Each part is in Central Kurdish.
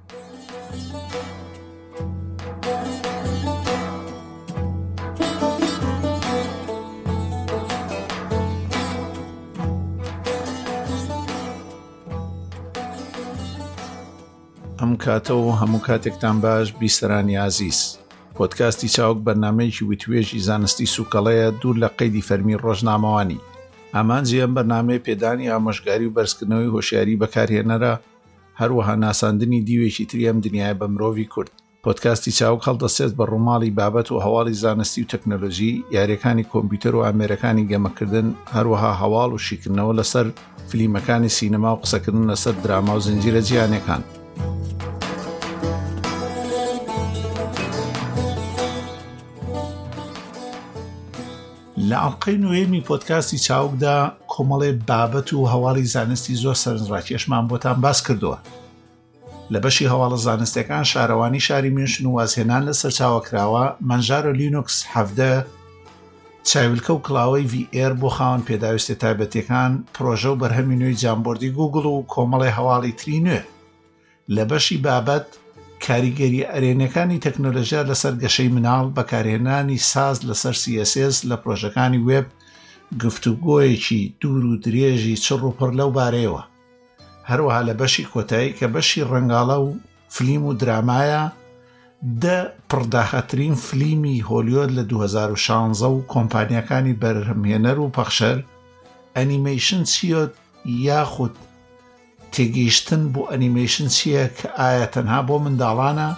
ئەم کاتە و هەموو کاتێکتان باش بیسەرانی عزیز. پۆدکاستی چاوک بەرنامەیەکی وتوێژی زانستی سوکەڵەیە دوور لە قەیدی فەرمی ڕۆژنامەوانی. ئامانجی ئەم بەرنامەیە پێدانی ئامۆژگاری و بەرزکردنەوەی هۆشیاری بەکارهێنەرە، هەروەها ناساندنی دیوێکی تری ئەم دنیای بە مرۆڤی کورد. پۆدکاستی چاوک هەڵدەسێت بە ڕووماڵی بابەت و هەواڵی زانستی و تەکنۆلۆژی، یاریەکانی کۆمپیوتەر و ئامێرەکانی گەمەکردن، هەروەها هەواڵ و شیکردنەوە لەسەر فلیمەکانی سینەما و قسەکردن لەسەر دراما و زنجیرە جیهانیەکان. لە ئەڵقەی نوێمی پۆدکاستی چاوکدا کۆمەڵێ بابەت و هەواڵی زانستی زۆر سەرنجڕاکێشمان بۆتان باس کردووە. لە بەشی هەواڵە زانستیەکان شارەوانی شاری میونخ و وازهێنان لە سەرچاوەکراوە، مەنژارە لینوکس 17 چاویلکە و کڵاوەی VR بۆ خاوەن پێداویستە تایبەتیەکان، پرۆژە و بەرهەمی نوێی جامبۆردی گوگڵ و کۆمەڵی هەواڵی تری نوێ. لە بەشی بابەت کاریگەری ئەرێنەکانی تەکنۆلۆژیا لەسەر گەشەی مناڵ، بەکارهێنانی ساز لەسەر CSS لە پرۆژەکانی وێب، گفتوگۆیەکی دوور و درێژی چڕ و پڕ لەو بارەیەوە. هەروەها لە بەشی کۆتایی کە بەشی ڕەنگاڵە و فلیم و درامایە، پڕداخەترین فلیمی هۆلیوود لە 2016 و کۆمپانیەکانی بەرهەمهێنەر و پەخشەر ئەنیمەیشن چیە یاخود تێگەیشتن بۆ ئەنیمەیشن چییە کە ئایا تەنها بۆ منداڵانە،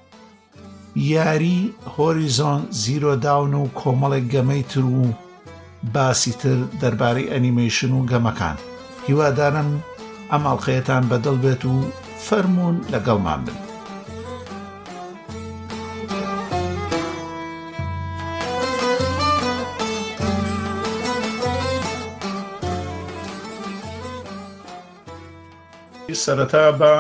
یاری هۆریزۆن زیرۆ داون و کۆمەڵێک گەمەی تر و باسی تر دەربارەی ئەنیمەیشن و گەمەکان. هیوادارم ئەم ئەڵقەیەتان بەدڵ بێت و فەرموون لەگەڵمان بن. سەرەتا بە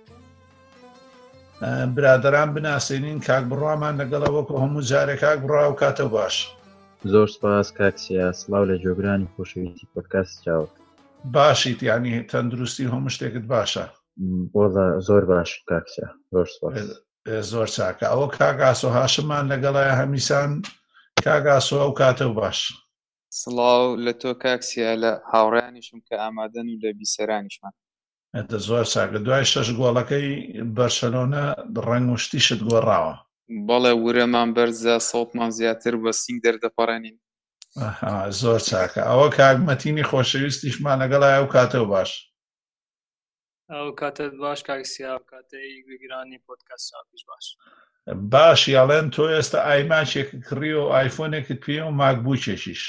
برادەران بناسێنین. کاک بڕوامان لەگەڵەوە کە هەموو جارێک کاک بڕوا و کاتە باش. زۆر سپاس کاکسیا، سڵاو لە جۆگرانی خۆشەویستی پۆدکاست چاوک. باشیت، یعنی تەندروستی هەموو شتێکت باشە؟ زۆر باش کاکسیا، زۆر سپاس. زۆر چاکە. ئەوە کاک ئاسۆ هاشممان لەگەڵایە هەمیسان. کاک ئاسۆ ئەو کاتە باش. سڵاو لە تۆ کاکسیا، لە هاوڕێیانیشم کە ئامادەن و لە بیسەرانیشمان. زۆر چاکە. دوای 6 گۆڵەکەی بەرشەلۆنە ڕەنگ و شتیشت گۆڕاوە. بەڵێ ورەمان بەرزە، سەڵتمان زیاتر بە سینگ دەردەپەڕێنین. زۆر چاکە. ئەوە کاگمەتینی خۆشەویستیشمان لەگەڵای ئەو کاتە باش. ئەو کاتت باش کاکسیا، کاتەی گوێگرانی پۆدکاست چاوکیش باش. باش، یاڵێن تۆ ئێستا ئایماچێک کڕی و ئایفۆنێکت پێ و ماکبووکێکیش.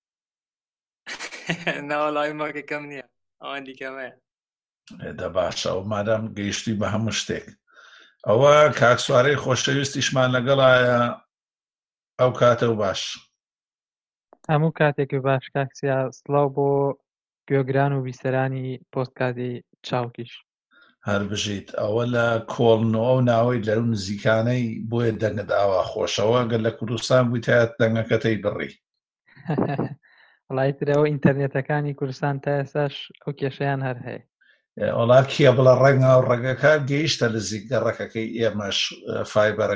ناوەڵای ماکەکەم نییە، ئەوان دیکەمەیە. دە باشە، ئەو مادام گەیشتی بە هەموو شتێک. ئەوە کاکسوارەی خۆشەویستیشمان لەگەڵایە ئەو کاتە و باش. هەموو کاتێکی باش کاکسیا، سڵاو بۆ گوێگران و بیسەرانی پۆدکاستی چاوکیش. هەر بژیت. ئەوە لە کۆڵنەوە و ناوەی لەو نزیکانەی بۆیە دەنگت ئاوا خۆشەوە، گەر لە کوردستان بوویتایەت دەنگەکەتەی بڕی. وڵای ترەوە ئینتەرنێتەکانی کوردستان تا ئێستاش ئەو کێشەیان هەر هەیە. وڵات کیە بڵە ڕەنگە و ڕێگەکە گەیشتە لە گەڕەکەکەی ئێمەش فایبەرە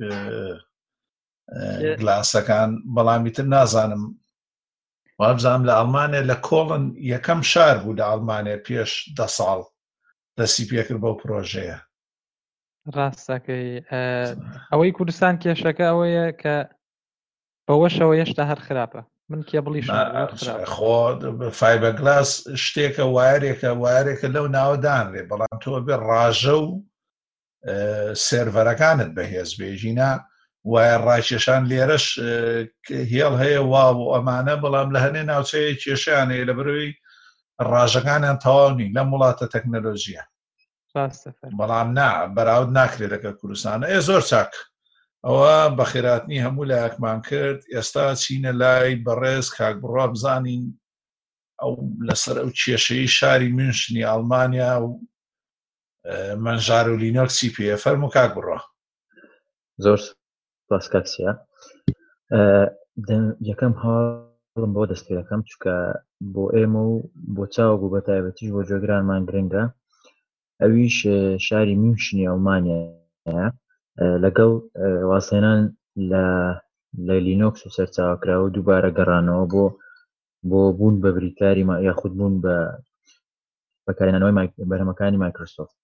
گلاسەکان، بەڵامی تر نازانم. وابزانم لە ئەڵمانیا لە کۆڵن یەکەم شار بوو لە ئەڵمانیا پێش 10 ساڵ دەستی پێکرد بەو پرۆژەیە. ڕاستەکەی ئەوەی کوردستان کێشەکە ئەوەیە کە بەوەشەوە هێشتا هەر خراپە. من کێبڵیش خۆ فایبەرگلاس شتێکە، وایرێکە لەو ناوەدانرێ، بەڵام تۆ بێ ڕاژە و سێرڤەرەکانت بەهێز بێژینە وایە ڕاکێشان. لێرەش هێڵ هەیە وا بۆ ئەمانە، بەڵام لە هەنێ ناوچەیە کێشیانەیە لە بەروی ڕاژەکانیان تەواونی لەم وڵاتە تەکنۆلۆژیە. بەڵام بەراورد ناکرێت لەگە کوردستانە. زۆر چاک. ئەوە بەخێراتنی هەموو لایەکمان کرد. ئێستا چینە لای بەڕێز کاک بڕوا بزانین ئەو لەسەر ئەو کێشەی شاری میونخی ئەڵمانیا و مەنژار و لینۆکسی پێ. فەرموو کاک بڕوا. زۆر سپاس کاکسیا. یەکەم هەواڵم بۆ دەستپێرەکەم، چونکە بۆ ئێمە و بۆ چاوک و بە تایبەتیش بۆ جۆگرانمان گرنگە. ئەویش شاری میونشنی ئەڵمانیایە لەگەڵ واسێنان لە لینۆکس و سەرچاوکراوە دووبارە گەڕانەوە بۆ بوون بە بریکاری یاخود بوون بە بەکارهێنانەوەی بەرهەمەکانی مایکرۆسۆفت.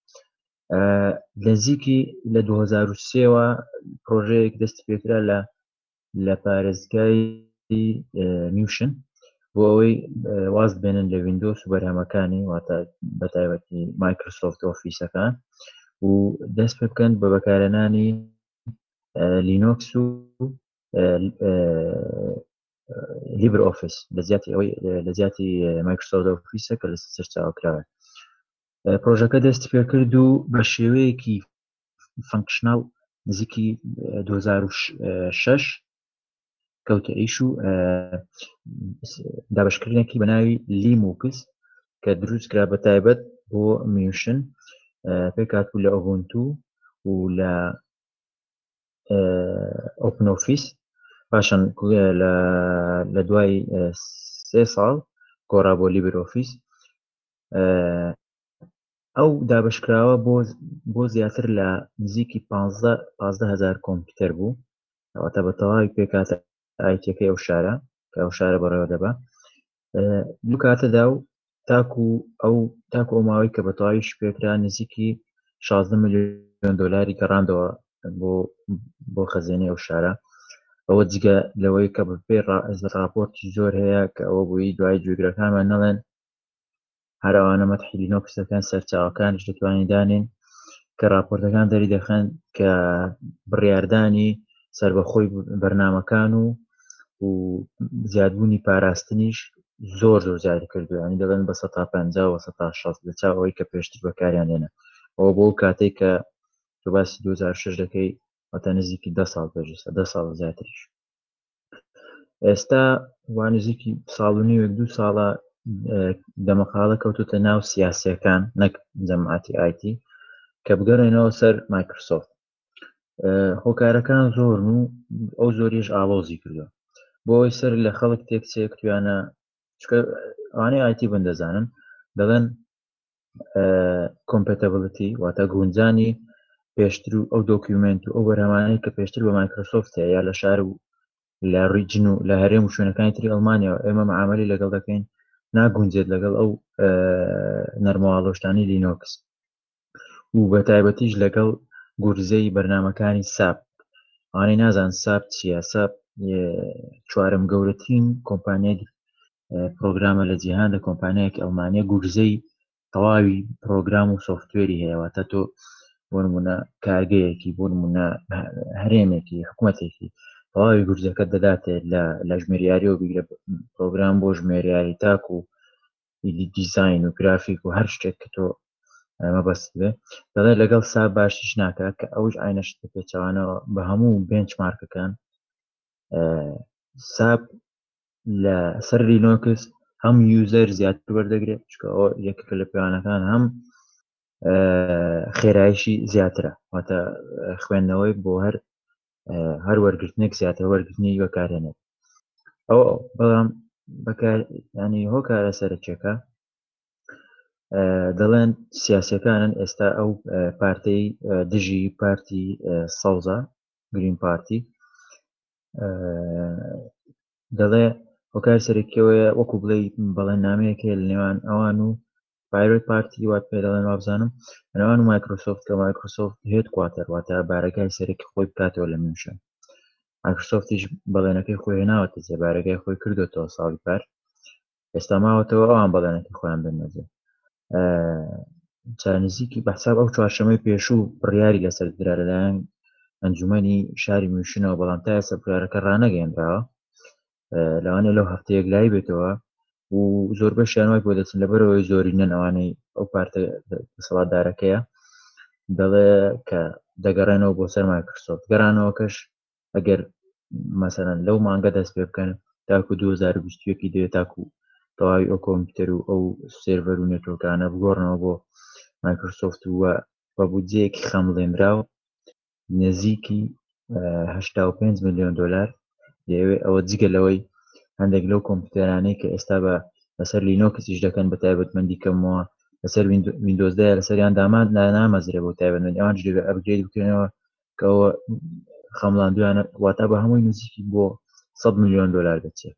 نزیکی لە 2003ەوە پرۆژەیەک دەستی پێکرا لە پارێزگای میوشن بۆ ئەوەی واز بێنن لە ویندۆس و بەرهەمەکانی واتە بەتایبەتی مایکرۆسۆفت ئۆفیسەکان و دەست پێ بکەن بە بەکارهێنانی لینۆکس و لیبر ئۆفیس لە زیاتی مایکرۆسۆفت ئۆفیسە کە لە سەرچاوکراوە. پرۆژەکە دەستی پێکرد و بە شێوەیەکی فانکشناڵ نزیکی 2006 کەوتە ئیش و دابشکردنێکی بەناوی لیموکس کە دروستکرا بە تایبەت بۆ میوشن پێکهاتبوو لە ئۆبونتو و لە ئۆپن ئۆفیس. پاشان لە دوای 3 ساڵ گۆڕا بۆ لیبر ئۆفیس. ئەو دابشکراوە بۆ زیاتر لە نزیکی 15,000 کۆمپیوتەر بوو ئەواتە بە تەواوی پێکاتە ئایتیەکەی ئەو شارە کە ئەو شارە بەڕێوە دەبا. دوو کاتەدا و تاکو ئەو ماوەی کە بە تەواویش پێکرا نزیکی 16 ملیۆن دۆلاری گەڕاندەوە بۆ خەزینەی ئەو شارە. ئەوە جگە لەوەی کە بەپێ راپۆرتی زۆر هەیە کە ئەوە بووی دوای گوێگرەکانمان نەڵێن هەر ئەوانە مەتحی لینۆکس دەکەن سەرچاوەکانش دەتوانین دانێن کە راپۆرتەکان دەری دەخەن کە بڕیاردانی سربەخۆی بەرنامەکان و زیادبوونی پاراستنیش زۆر زیاد کردووە. ینی دەبن بە 150 و 160 لەچاو ئەوەی کە پێشتر بەکاریان هێنا. ئەوە بۆ کاتێک کە تۆ باسی 2006 دەکەی واتە نزیکی 10 ساڵ پێشە 10 ساڵ زیاتریش. ئێستا وا نزیکی ساڵ و نیوێک 2 ساڵە دەمەقاڵە کەوتوتە ناو سیاسیەکان نەک جەماعەتی ئایتی کە بگەڕێنەوە سەر مایکرۆسۆفت. هۆکارەکان زۆرن و ئەو زۆریش ئاڵۆزی کردووە بۆ ئەوی سەر لە خەڵک تێکچێک توانە ئەوانەی ئایتی بندەزانن دەڵێن کۆمپەتیبڵیتی واتە گونجانی پێشتر و ئەو دۆکیومنت و ئەو بەرهەمانەی کە پێشتر بە مایکرۆسۆفت هەیە یا لە شار و لە ڕیجن و لە هەرێم و شوێنەکانی تری ئەڵمانیاوە ئێمە مەعامەلی لەگەڵ دەکەین ناگونجێت لەگەڵ ئەو نەرمەواڵۆشتانی لینۆکس و بە تایبەتیش لەگەڵ گورزەی بەرنامەکانی ساپ. ئەوانەی نازان ساپ چییە؟ ساپ چوارەم گەورەترین کۆمپانیای پرۆگرامە لە جیهاندا، کۆمپانیایەکی ئەڵمانیە گورزەی تەواوی پرۆگرام و سۆفتوێری هەیە. واتە تۆ بۆ نمونە کارگەیەکی بۆ نمونە هەرێمێکی حکوومەتێکی تەواوی گورجەکەت دەداتێ لە ژمێریاریەوە بیگرە پرۆگرام بۆ ژمێریاری تاک و دیزاین و گرافیک و هەر شتێک کە تۆ مەبەست بێ دەڵێ لەگەڵ ساب باشیش ناکات کە ئەوش ئاینەشت پێچەوانەوە بە هەموو بێنچمارکەکان. ساب لە سەر لینۆکس هەم یوزەر زیاتر وەردەگرێت چکە ئەوە یەکێکە لە پێوانەکان هەم خێرایشی زیاترە واتە خوێندنەوەی بۆ هەر وەرگرتنێک زیاتر وەرگرتنی بەکارهێنێت. ئەو بەڵام ینی هۆکارە سەرچێکە دەڵێن سیاسیەکانن ئێستا ئەو پارتەی دژی پارتی سەوزە گرین پارتی دەڵێ هۆکار سەرکیەوەیە وەکو بڵێن نامەیەکێ لە نێوان ئەوان و پایرۆت پارتی وات پێ دەڵێن وابزانم نێوان و مایکرۆسۆفت کە مایکرۆسۆفت هێد کواتەر واتە بارەگای سەرەکی خۆی بکاتەوە لە میوشن. مایکرۆسۆفتیش بەڵێنەکەی خۆی هێناوەتە جێ بارەگای خۆی کردوێتەوە ساڵی پار ئێستا ماوەتەوە ئەوان بەڵێنەکەی خۆیان بنەجێ. چارنزیکی بەحساب ئەو چوارشەمەی پێشوو بڕیاری لەسەر درا لەلایەن ئەنجومەنی شاری میوشنەوە بەڵام تا ئێستا بڕیارەکە ڕانەگەیەنراوە لەوانەیە لەو هەفتەیەک لای بێتەوە و زۆربەشیان وای بۆ دەچن لەبەرەوەی زۆرینەن ئەوانەی ئەو پارتە دەسەڵاتدارەکەیە دەڵێ کە دەگەڕێنەوە بۆ سەر مایکرۆسۆفت. گەڕانەوەکەش ئەگەر مەسەلەن لەو مانگە دەست پێ بکەن تاکو 2021 دەوێت تاکو تەواوی ئەو کۆمپیوتەر و ئەو سێرڤەر و نێتۆرکانە بگۆڕنەوە بۆ مایکرۆسۆفت وە بە بودجەیەکی خەمڵێنراو نزیکی 85 ملیۆن دۆلار دەیەوێت. ئەوە جگە لەوەی هەندێک لەو کۆمپیوتەرانەی کە ئێستا بەسەر لینۆکسیش دەکەن بە تایبەتمەندی کەمەوە لەسەر ویندۆزدا لەسەریان دامان نامەزرێ بۆ تایبەتمەندی ئەوان دەبێت ئەپگرێد بکەنەوە کە ئەوە خەمڵاندویانە واتە بە هەمووی نزیکی بۆ $100 ملیۆن دەچێت.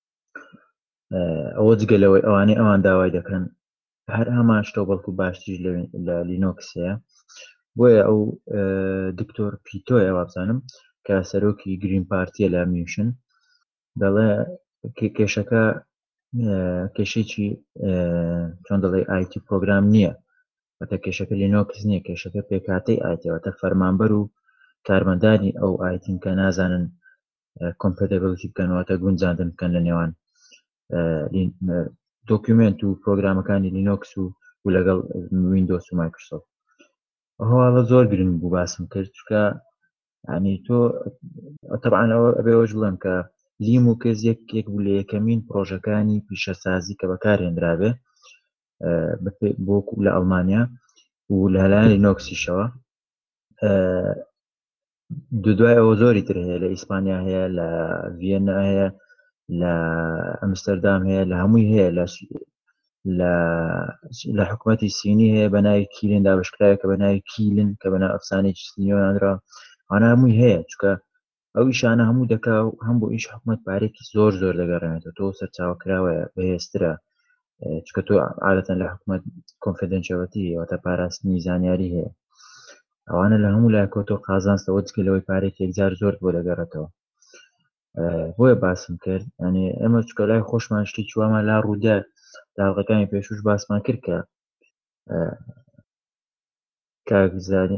ئەوە جگەلەوەی ئەوانەی ئەوان داوای دەکەن هەر هەمان شتە بەڵکو باشتیش لە لینۆکس هەیە. بۆیە ئەو دکتۆر پیتۆیە وابزانم کە سەرۆکی گرین پارتیە لە میوشن دەڵێ کێشەکە کێشێکی چۆن دەڵێ ئایتی پرۆگرام نییە، واتە کێشەکە لینۆکس نییە، کێشەکە پێکاتەی ئایتیواتە فەرمانبەر و کارمەندانی ئەو ئایتین کە نازانن کۆمپەتیبڵیتی بکەنەوەتە گونجاندن بکەن لە نێوان دۆکیومنت و پرۆگرامەکانی لینۆکس و لەگەڵ ویندۆس و مایکرۆسۆفت. هەواڵە زۆر گرنگ بوو باسم کرد چکە ینی تۆ طبعاً ئەوە ئەبێەوەش بڵێم کە لیموکس یەک بوو لە یەکەمین پرۆژەکانی پیشەسازی کە بەکارهێنرابێ بۆکو لە ئەڵمانیا و لە لایەن لینۆکسیشەوە. دوای ئەوە زۆری تر هەیە، لە ئیسپانیا هەیە، لە ڤیێنا هەیە، لە ئەمستەردام هەیە، لە هەمووی هەیە، لە حکوومەتی سینی هەیە بە ناوی کیلن دابشکراوە کە بە ناوی کیلن کە بە ناو ئەفسانەیەکی سینیۆناندرا ئەوانە هەمووی هەیە چکە ئەو ئیشانە هەموو دەکا و هەم بۆ ئیش حکوومەت پارێکی زۆر دەگەڕێنێتەوە. تۆ سەرچاوەکراوەیە بەهێزترە چکە تۆ عادەتەن لە حکوومەت کۆنفیدەنشەڵەتی واتە پاراستنی زانیاری هەیە. ئەوانە لە هەموو لایەکەوە تۆ قازانستەوە جگەلەوەی پارێکی یەکجار زۆر بۆ دەگەڕێتەوە. بۆیە باسم کرد ینی ئێمە چکە لای خۆشمان شتێکی وامان لا ڕوودا لاڵقەکانی پێشوش باسمان کرد کە کاک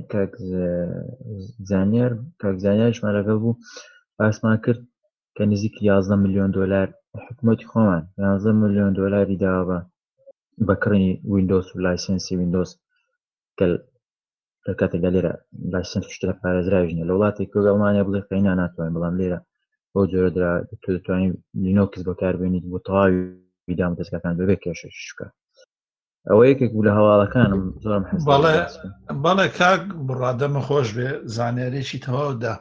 زانیاریشمان لەگەڵ بوو باسمان کرد کە نزیک $11 ملیۆن حکوومەتی خۆمان $11 ملیۆن داوە بە کڕینی ویندۆس و لایسەنسی ویندۆس کە لە کاتێکدا لێرە لایسەنس شتە پارێزراویژنە لە وڵاتی کە ئەڵمانیا بڵێ قەینا ناتوانین، بەڵام لێرە بۆ جۆرە تۆ دەتوانین لینۆکس بەکاربێنیت بۆ تەواوی دام دەستگاکان بەبێ کێشەش بکە. ئەوە یەکێک بوو لە هەواڵەکانم زۆرم حەز. بەڵێ کاک بڕادەمە خۆش بێ زانیارێکی تەواودا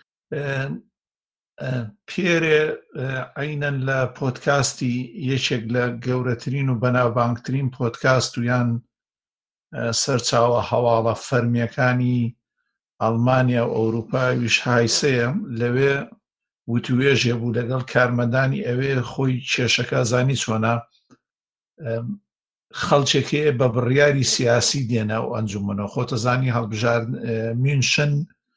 پێرێ عینەن لە پۆدکاستی یەکێک لە گەورەترین و بەناوبانگترین پۆدکاست و یان سەرچاوە هەواڵە فەرمیەکانی ئەڵمانیا و ئەوروپاویش هایسەیە لەوێ وتوێژێ بوو لەگەڵ کارمەندانی ئەوێ خۆی کێشەکە زانی چۆنا خەڵچێکێ بە بڕیاری سیاسی دێنە و ئەنجومەنەوە خۆتە زانی هەڵبژار میونشن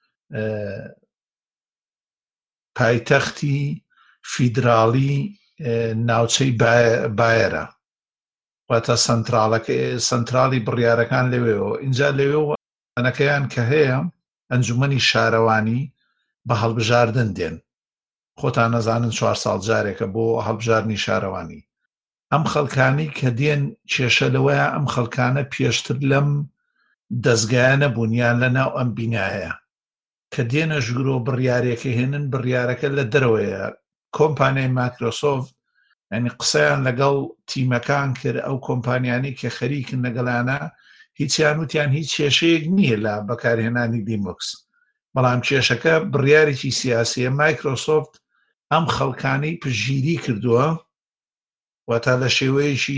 پایتەختی فیدراڵی ناوچەی بایەرە واتە سەنتراڵی بڕیارەکان لەوێەوە. اینجا لەوێ ئەنەکەیان کە هەیە ئەنجومەنی شارەوانی بە هەڵبژاردن دێن. خۆتان نەزانن 4 ساڵ جارێکە بۆ هەڵبژاردنی شارەوانی. ئەم خەڵکانی کە دێن کێشە لەوەیە ئەم خەڵکانە پێشتر لەم دەستگایانە بوونیان لەناو ئەم بینایە کە دێنە ژگرۆ بڕیارێکە هێنن بڕیارەکە لە دەرەوەیە. کۆمپانیای مایکرۆسۆفت ینی قسەیان لەگەڵ تیمەکان کرد ئەو کۆمپانیانی کە خەریکن لەگەڵانە هیچیان وتیان هیچ کێشەیەک نییە لە بەکارهێنانی لیموکس، بەڵام کێشەکە بڕیارێکی سیاسیە. مایکرۆسۆفت ئەم خەڵکانەی پژگیری کردووە واتە لە شێوەیەکی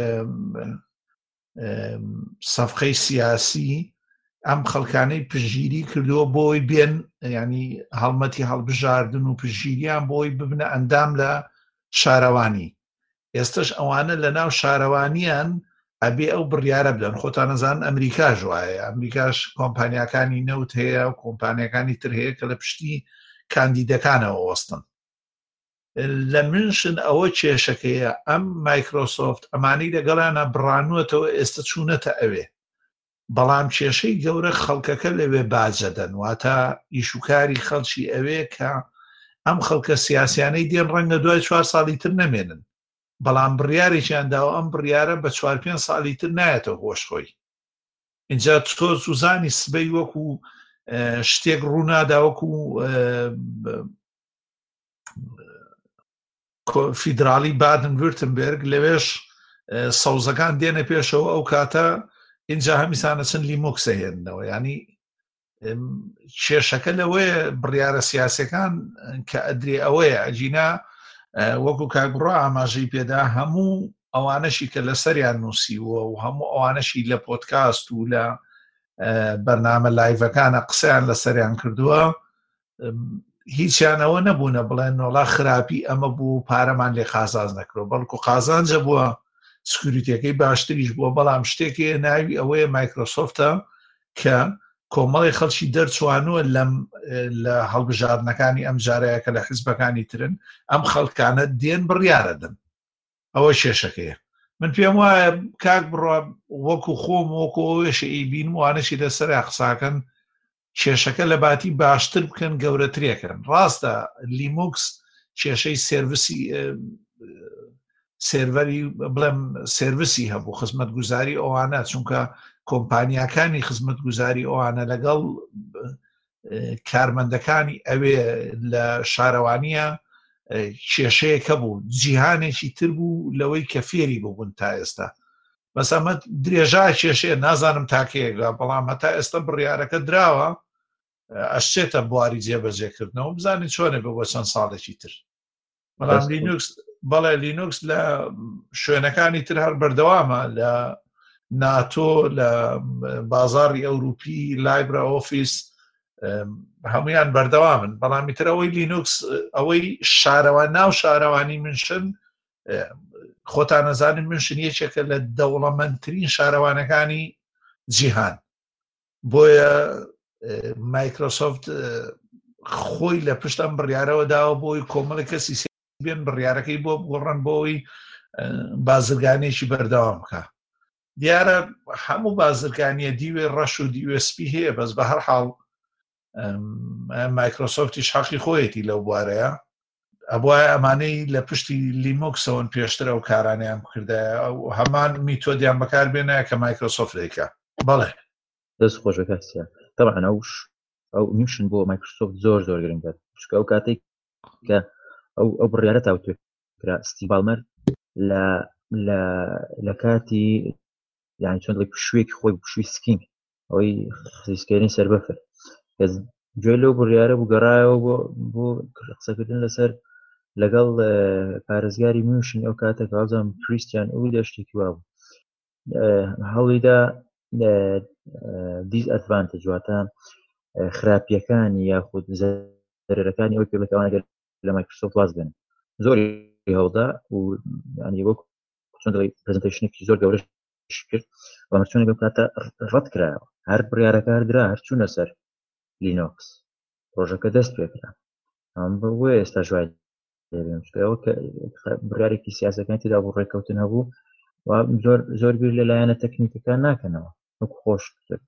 سەفقەی سیاسی ئەم خەڵکانەی پژگیری کردووە بۆی بێن ینی هەڵمەتی هەڵبژاردن و پژگیریان بۆی ببنە ئەندام لە شارەوانی. ئێستش ئەوانە لە ناو شارەوانیان ئەبێ ئەو بڕیارە بدەن. خۆتان نەزانن ئەمریکاش وایە، ئەمریکاش کۆمپانیەکانی نەوت هەیە و کۆمپانیەکانی تر هەیە کە لە پشتی کاندیدەکانەوە وەستن. لە منشن ئەوە کێشەکەیە ئەم مایکرۆسۆفت ئەمانەی لەگەڵانە بڕانوەتەوە ئێستا چوونەتە ئەوێ، بەڵام کێشەی گەورە خەڵکەکە لەوێ باجەدەن واتە ئیشوکاری خەڵکی ئەوێ کە ئەم خەڵکە سیاسیانەی دێن ڕەنگە دوای 4 ساڵی تر نەمێنن، بەڵام بڕیارێکیان داوە ئەم بڕیارە بە 4-5 ساڵی تر نایەتەوە هۆشخۆی. اینجا تۆ سوزانی سبەی وەکو شتێک ڕوونادا وەکو فیدراڵی بادن ورتنبرگ لەوێش سەوزەکان دێنە پێشەوە ئەو کاتە اینجا هەمیسانە چەند لیمۆکسە هێننەوە. ینی کێشەکە لەوەیە بڕیارە سیاسەکان کە ئەدرێ ئەوەیە ئەجینا وەکو کاگڕۆ ئاماژەی پێدا هەموو ئەوانەشی کە لە سەریان نووسیوە و هەموو ئەوانەشی لە پۆدکاست و لە بەرنامە لایڤەکانە قسەیان لە سەریان کردووە، هیچیانەوە نەبوونە بڵێن نۆڵا خراپی ئەمە بوو پارەمان لێ قازانج نەکرۆ، بەڵکو قازانجە بووە، سکوریتەکەی باشتریش بووە. بەڵام شتێکی ناوی ئەوەیە مایکرۆسۆفتە کە کۆمەڵی خەڵکی دەرچوانووە لە هەڵبژاردنەکانی ئەم جارەیە کە لە حیزبەکانی ترن ئەم خەڵکانە دێن بڕیارەدەن. ئەوە کێشەکەیە. من پێم وایە کاک بڕە وەکو خۆم وەکو ئەوێشە ئیبین وانەشی لەسەر قساکەن کێشەکە لە باتی باشتر بکەن گەورەترێکن. ڕاستە لیموکس کێشەی سێڤەری بڵێم سێڤیسی هەبوو خزمەتگوزاری ئەوانە، چونکە کۆمپانیاکانی خزمەتگوزاری ئەوانە لەگەڵ کارمەندەکانی ئەوێ لە شارەوانیە کێشەیەکە بوو، جیهانێکی تر بوو لەوەی کە فێری بوون تا ئێستا. بەس ئەمە درێژا کێشەیە، نازانم تاکەیەگە، بەڵام هەتا ئێستا بڕیارەکە دراوە ئەشتێتە بواری جێبەجێکردنەوە، بزانین چۆنە بە چەند ساڵێکی تر. بەڵام لینوکس بەڵێ لینوکس لە شوێنەکانی تر هەر بەردەوامە، لە ناتۆ، لە بازاڕی ئەوروپی، لایبرە ئۆفیس هەمویان بەردەوامن. بەڵامی تر ئەوەی لینوکس ئەوەی شارەوان ناو شارەوانی منشن خۆتان نەزانین منشن یەکێکە لە دەوڵەمەندترین شارەوانەکانی جیهان. بۆیە مایکرۆسۆفت خۆی لە پشت ئەم بڕیارەوە داوە بۆی کۆمەڵی کەسی بێن بڕیارەکەی بۆ بگۆڕن بۆەوەی بازرگانێکی بەردەوام بکە. دیارە هەموو بازرگانیە دیوێ ڕەش و دیوێ سپی هەیە، بەس بە هەر حاڵ مایکرۆسۆفتیش حەقی خۆیەتی لەو بوارەیە. ئەبوایە ئەمانەی لە پشتی لیمۆکسەوەن پێشترە و کارانیان بکردایە ئەو هەمان میتۆدیان بەکار بێنایە کە مایکرۆسۆفت دەیکا. بەڵێ دەست خۆشە کاسیە. طبعا ئەو میشن بۆ مایکرۆسۆفت زۆر زۆر گرنگە، چونکە ئەو کاتێک کە ئەو بڕیارە تاوتێکرا ستیڤ بالمەر لە کاتی یعنی چۆن شوێکی خۆی شووی سکینگ ئەوەی خزیسکێنی سەر بەفر گوێ لەو بڕیارە بوو گەڕایەوە بۆ قسەکردن لەسەر لەگەڵ پارێزگاری میشن ئەو کاتە کازم کریستیان ئەوی دەشتێکی وا بوو هەڵیدا دیز ئەدڤانتێج واتە خراپیەکانی یاخود زەرەرەکانی ئەوەی پێبێتەوانەگەر لە مایکرۆسۆفت واز بن زۆری هەڵدا و ینی وەک چۆن دەڵێ پرزنتیشنێکی زۆر گەورەش کرد و ئەمە بەو کاتە ڕەت کرایەوە، هەر بڕیارەکە هەردرا هەر چوونە سەر لینۆکس ڕۆژەکە دەست پێکرا. ئەم بۆیە ئێستا ژوای لێبێنەوە کە بڕیارێکی سیاسەکانی تێدا بۆ ڕێکەوتن هەبوو و زۆر بیر لەلایەنە تەکنیکەکان ناکەنەوە وەکو خۆش کرد.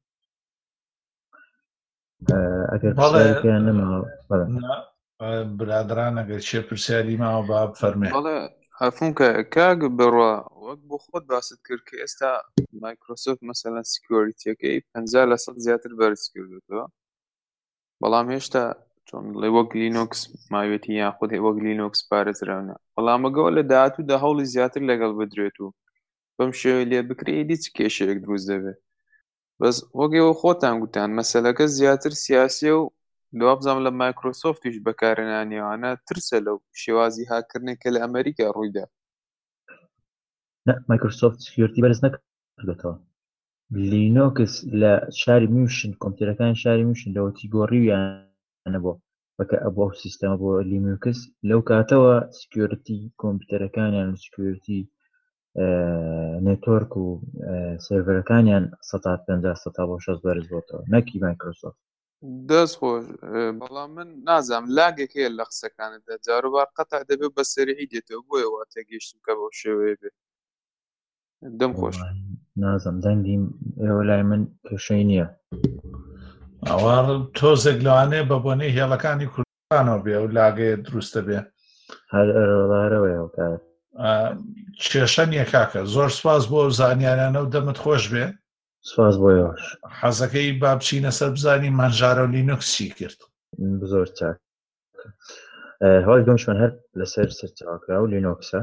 ئەگەر پرسیارێکیان نەماوە برادران ئەگەر چێ پرسیاری ماوە با بفەرمێ. بەڵێ هەفونکە کاک بڕوا وەک بۆ خۆت باست کرد کە ئێستا مایکرۆسۆفت مەسەلەن سکیۆریتیەکەی 50% زیاتر بەرز کردوتەوە، بەڵام هێشتا چۆن بڵێ وەک لینۆکس ماوێتی یاخود وەک لینۆکس پارێزراونە، بەڵام ئەگەوە لە داهاتوودا هەوڵی زیاتر لەگەڵ بدرێت و بەم شێوەیە لێ بکرێ دیچ کێشەیەک دروست دەبێت. بەس وەگەوە خۆتان گوتان مەسەلەکە زیاتر سیاسیە و لەوا بزانم لە مایکرۆسۆفتیش بەکارهێنانیەوانە ترسە لەو شێوازی هاکردنێکە لە ئەمریکا ڕوویدا. مایکرۆسۆفت سکیۆریتی بەرز نەکردێتەوە. لینۆکس لە شاری میوشن کۆمپیوتەرەکانی شاری میوشن لەوەتی گۆڕیویانە بۆ بەکە ئەبوو ئەو سیستەمە بۆ لینۆکس لەو کاتەوە سکیۆریتی کۆمپیوتەرەکانیان سکیۆریتی نێتۆرک و سێڤەرەکانیان 150-160 بەرز بۆتەوە نەکی مایکرۆسۆفت. دەست خۆش، بەڵام من نازانم لاگێک هەیە لە قسەکانتدا جاروبار قەتع دەبێت بە سەریعی دێتەوە بۆیە وا تێگەیشتم کە بەو شێوەیە بێت. دەم خۆش نازم دەنگیم ئێوە لای من کێشەی نییە. ئەوە تۆزێک لەوانەیە بە بۆنەی هێڵەکانی کوردستانەوە بێ و لاگەیە دروستە بێ هەر ئەرەوەیەوە کار کێشە نییە کاکە. زۆر سپاس بۆ زانیارانە و دەمت خۆش بێ. سپاس بۆیەوەش. حەزەکەی با بچینە سەر بزانی مانژارە و لینۆکس چی کرد. زۆر چاک. هەوڵی دۆمشمان هەر لەسەر سەرچاوکرا و لینۆکسە.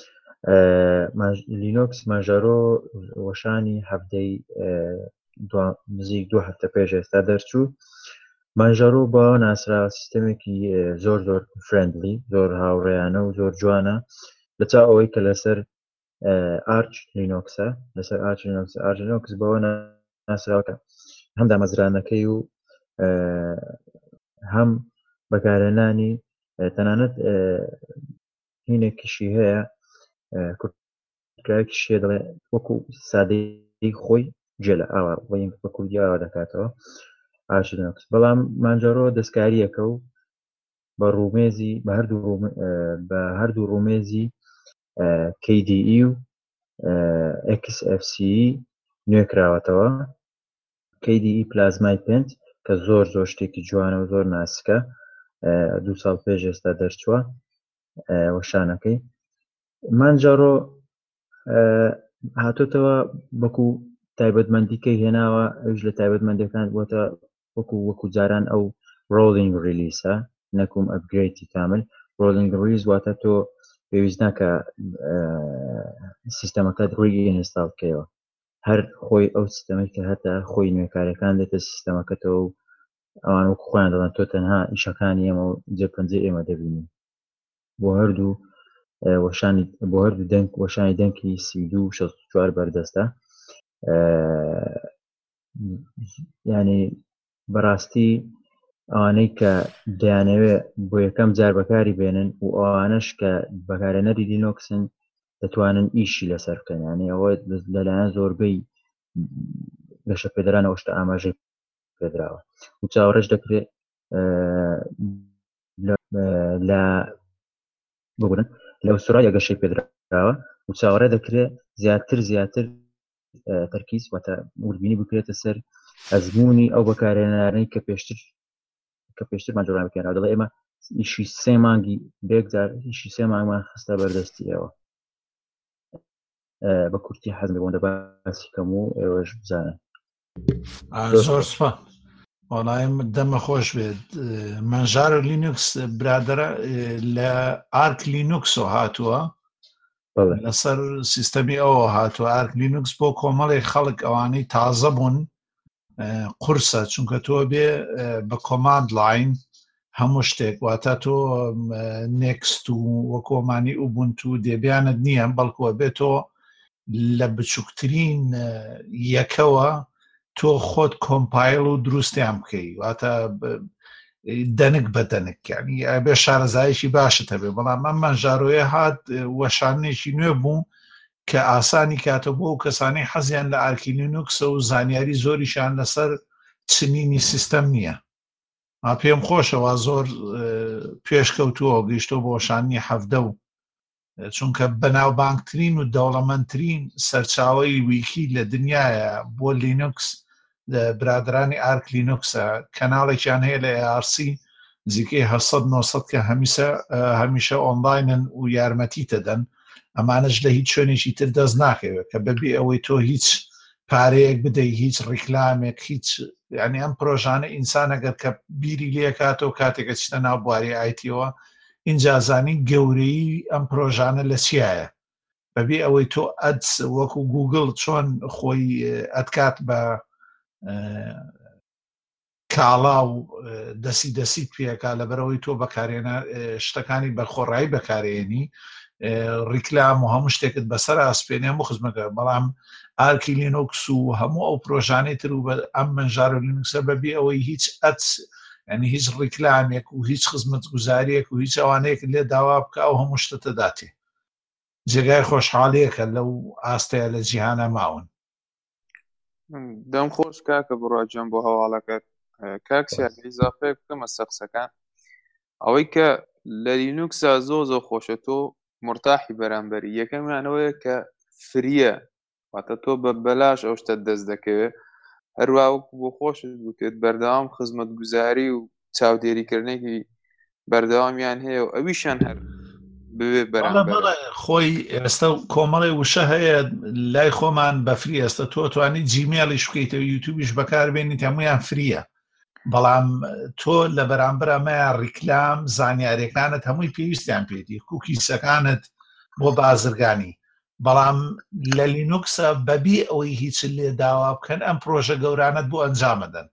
لینۆکس ماژەرۆ وەشانی هەفتەی نزیک 2 هەفتە پێش ئێستا دەرچوو. ماژەرۆ بە ناسرا سیستەمێکی زۆر زۆر فرێندلی، زۆر هاوڕێیانە و زۆر جوانە لەچا ئەوەی کە لەسەر ئارچ لینۆکسە لەسەر ئارچ لینۆکس بەوە ناسراوەکە هەم دامەزرانەکەی و هەم بەکارهێنانی تەنانەت هینێکیشی هەیە کورتایەکیشیە دەڵێ وەکو سادەی خۆی جێ لە ئاوا بە کوردی ئاوا دەکاتەوە ئارچ لینۆکس بەڵام مانجارۆ دەستکاریەکە و بە ڕومێزی بە هەردوو ڕومێزی KDE و XFCE نوێکراوەتەوە KDE پلازمای پێنج کە زۆر شتێکی جوانە و زۆر ناسکە 2 ساڵ پێش ئێستا دەرچووە وەشانەکەی مانجارۆ هاتوتەوە بەکو تایبەتمەندیکەی هێناوە ئەوش لە تایبەتمەندیەکان بۆتە وەکو جاران ئەو ڕۆڵینگ ریلیسە نەکوم ئەپگرێتی کامل ڕۆڵینگ ریلیز واتە تۆ پێویست ناکە سیستەمەکەت ڕووی ئینستاڵ بکەیەوە هەر خۆی ئەو سیستەمەی کە هەتا خۆی نوێکارەکان دێتە سیستەمەکەتەوە و ئەوان وەکو خۆیان دەڵێن تۆ تەنها ئیشەکانی ئێمە و جێپەنجەی ئێمە دەبینی بۆ هەردوو دەنگ وەشانی دەنگی 32-64 بەردەستە یعنی بەڕاستی ئەوانەی کە دەیانەوێ بۆ یەکەم جار بەکاری بێنن و ئەوانەش کە بەکارهێنەری لینۆکسن دەتوانن ئیشی لەسەر بکەن یعنی ئەوە لەلایەن زۆربەی گەشە پێدەرانەوە شتە ئاماژەی پێدراوە و چاوەڕێش دەکرێت لە ئوسترالیا گەشەی پێدراوە و چاوەڕێ دەکرێت زیاتر تەرکیز واتە وردبینی بکرێتە سەر ئەزمموی ئەو بەکارهێنانەی کە پێشتر ماجۆران بکەنەوە دەڵێ ئێمە ئیشی 3 مانگی بێکجار ئیشی 3 مانگمان خستە بەردەستی ئێوە بە کورتی حەزم بۆ دەباسی کەم و ئێوەش بزانن زۆر سپا وەڵایم دەمە خۆش بێت مانجارۆ لینوکس برادرە لە ئارک لینوکسۆ هاتووە لەسەر سیستەمی ئەوە هاتووە ئارک لینوکس بۆ کۆمەڵی خەڵک ئەوانەی تازە بوون قورسە چونکە تۆ بێ بە کۆماند لاین هەموو شتێک واتە تۆ نێکست و وەکۆمانی ئوبونتو دێبیانت نییە بەڵکووە بێت تۆ لە بچووکترین یەکەوە تۆ خۆت کۆمپایل و دروستیان بکەی واتە دەنک بە دەنکیانی بێ شارەزایشی باشت هەبێ بەڵام ئەم مانجارۆیە هات وەشانێکی نوێ بوو کە ئاسانی کاتە بۆ و کەسانی حەزیان لە ئارکی لینوکسە و زانیاری زۆریشان لەسەر چنینی سیستەم نییە پێم خۆشەوە زۆر پێشکەوتووە گەیشتۆ بۆ وەشانی حەفدە و چونکە بەناوبانگترین و دەوڵەمەندترین سەرچاوەی ویکی لە دنیاە بۆ لینوکس برادرانی ئارک لینوکسە کەناڵێکیان هەیە لە ARC نزیکەی 700-900 کە هەمیشە ئۆنلاینن و یارمەتی دەدەن ئەمانەش لە هیچ شوێنێکی تر دەست ناکەوێت کە بەبێ ئەوەی تۆ هیچ پارەیەک بدەی هیچ ڕیکلامێک هیچ یعنی ئەم پرۆژانە ئینسان ئەگەر کە بیری لێکاتەوە کاتێکە چتە ناو بواری ئایتیەوە اینجازانی گەورەی ئەم پرۆژانە لە چیایە بەبێ ئەوەی تۆ ئەدس وەکو گوگڵ چۆن خۆی ئەدکات بە کاڵا و دەسیت پێکا لەبەرەوەی تۆ بەکارێنە شتەکانی بەخۆڕایی بەکارێنی ڕیکلام و هەموو شتێکت بەسەر ئاسپێنێ و خزمەکە بەڵام ئارکی لینوکس و هەموو ئەو پرۆژانەی تر و ئەم منژارۆ لینوکسە بەبێ ئەوەی هیچ ئەدس یعنی هیچ ڕیکلامێک و هیچ خزمەت گوزاریەک و هیچ ئەوانەیەک لێ داوا بکە و هەموو شتە داتێ جێگای خۆشحاڵیەکە لەو ئاستەیە لە جیهانە ماون دەم خۆش کاکە بڕواجیان بۆ هەواڵەکەت کاکسیان ئیزافەیە بکەمە سەقسەکان ئەوەی کە لە لینوکسا زۆ خۆشە تۆ مرتاحی بەرامبەری یەکەمیانەوەیە کە فریە واتە تۆ بە بەلاش ئەو شتە دەست دەکەوێت هەروە بۆ خۆشت بکرێت بەردەوام خزمەت گوزاری و چاودێریکردنێکی بەردەوامیان هەیە و ئەویشان هەر بوێ بەرامبەر خۆی ئێستا کۆمەڵی وشە هەیە لای خۆمان بە فری ئێستا تۆ توانی جیمێڵیش بکەیتەوە یوتیوبیش بەکاربێنیت هەمویان فریە بەڵام تۆ لە بەرامبەر ئەمەیان ڕیکلام زانیاریەکانت هەمووی پێویستیان پێدی کوکیسەکانت بۆ بازرگانی بەڵام لە لینوکسە بەبێ ئەوەی هیچ لێ داوا بکەن ئەم پرۆژە گەورانت بۆ ئەنجامەدەن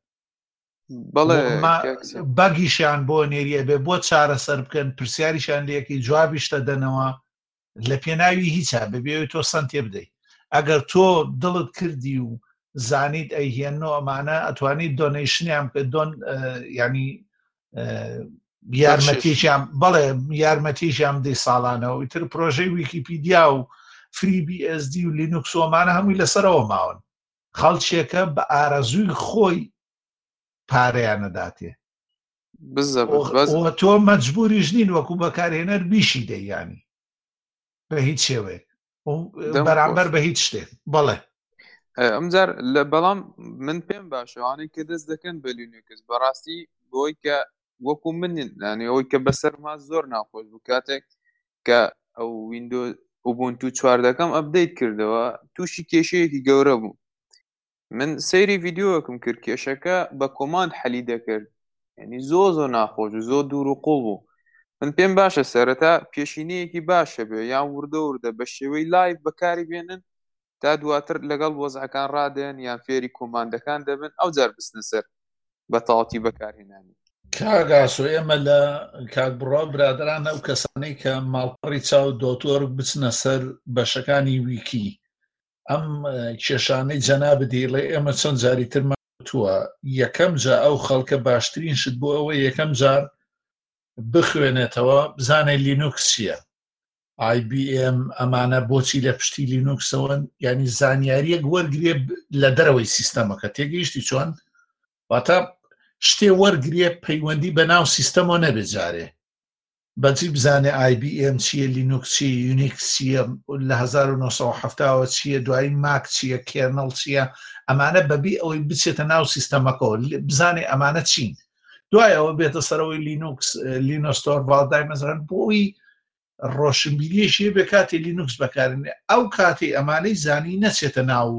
بەگیشیان بۆ نێریە بێ بۆ چارەسەر بکەن پرسیاریشان لەکەی جوابیشتە دەنەوە لە پێناوی هیچە بەبێ تۆ سنتێ بدەیت ئەگەر تۆ دڵت کردی و زانیت ئەیهێنەوە ئەمانە ئەتوانیت دۆنیشنیان کە دۆن ینی یارمەتیشیان بەڵێ یارمەتیشیان دەی ساڵانەوە ئیتر پرۆژەی ویکیپیدیا و فری BSD و لینوکس ومانە هەمووی لەسەرەوە ماون خەڵکێکە بە ئارەزووی خۆی پارەیانەداتێ تۆ مەجبوریش نین وەکو بەکارهێنەر بیشی دەیانی بە هیچ شێوەیە بەرامبەر بە هیچ شتێک بەڵێ ئەمجار لە بەڵام من پێم باشەوانەی کە دەست دەکەن بە لینوکس بەڕاستی بۆی کە وەکو منین ینی ئەوەی کە بەسەرما زۆر ناخۆش بوو کاتێک کە ئەو ویندۆز ئوبونتو 14ەکەم ئەپدەیت کردەوە تووشی کێشەیەکی گەورە بوو من سەیری ڤیدیۆکم کرد کێشەکە بە کۆماند حەلی دەکرد ینی زۆر ناخۆش و زۆر دوور و قوڵ بوو من پێم باشە سەرەتا پێشینەیەکی باشە بێ یان وردە بە شێوەی لایڤ بەکاری بێنن تا دواتر لەگەڵ وەزعەکان ڕادێن یان فێری کۆماندەکان دەبن ئەو جار بستنە سەر بە تەواوەتی بەکارهێنانی کاگاسۆ ئێمە لە کاکبڕۆ برادران ئەو کەسانەی کە ماڵپەڕی چاو دۆتۆر بچنە سەر بەشەکانی ویکی ئەم کێشانەی جەناب دێڵێ ئێمە چەند جاری ترماتووە یەکەم جا ئەو خەڵکە باشترین شت بۆ ئەوە یەکەم جار بخوێنێتەوە بزانێ لینوکس چییە IBM ئەمانە بۆچی لە پشتی لینوکسەوەن ینی زانیاریەک وەرگێ لە دەرەوەی سیستەمەکە تێگەیشتی چۆن واتە شتێ وەرگێ پەیوەندی بە ناو سیستەمەوە نەبێت جارێ بەجی بزانێ IBM چییە لینوکس چیە یونیکس چییە لە 1970ەوە چییە دوایی ماک چییە کێرنەڵ چییە ئەمانە بەبی ئەوەی بچێتە ناو سیستەمەکەەوە بزانێ ئەمانە چین دوایەوە بێتە سەرەوەی لینوکس لینۆستۆر ڤالدای مەزران بۆی ڕۆشنبیریشیە بێ کاتی لینوکس بەکارێنێ ئەو کاتی ئەمانەی زانی نەچێتە ناو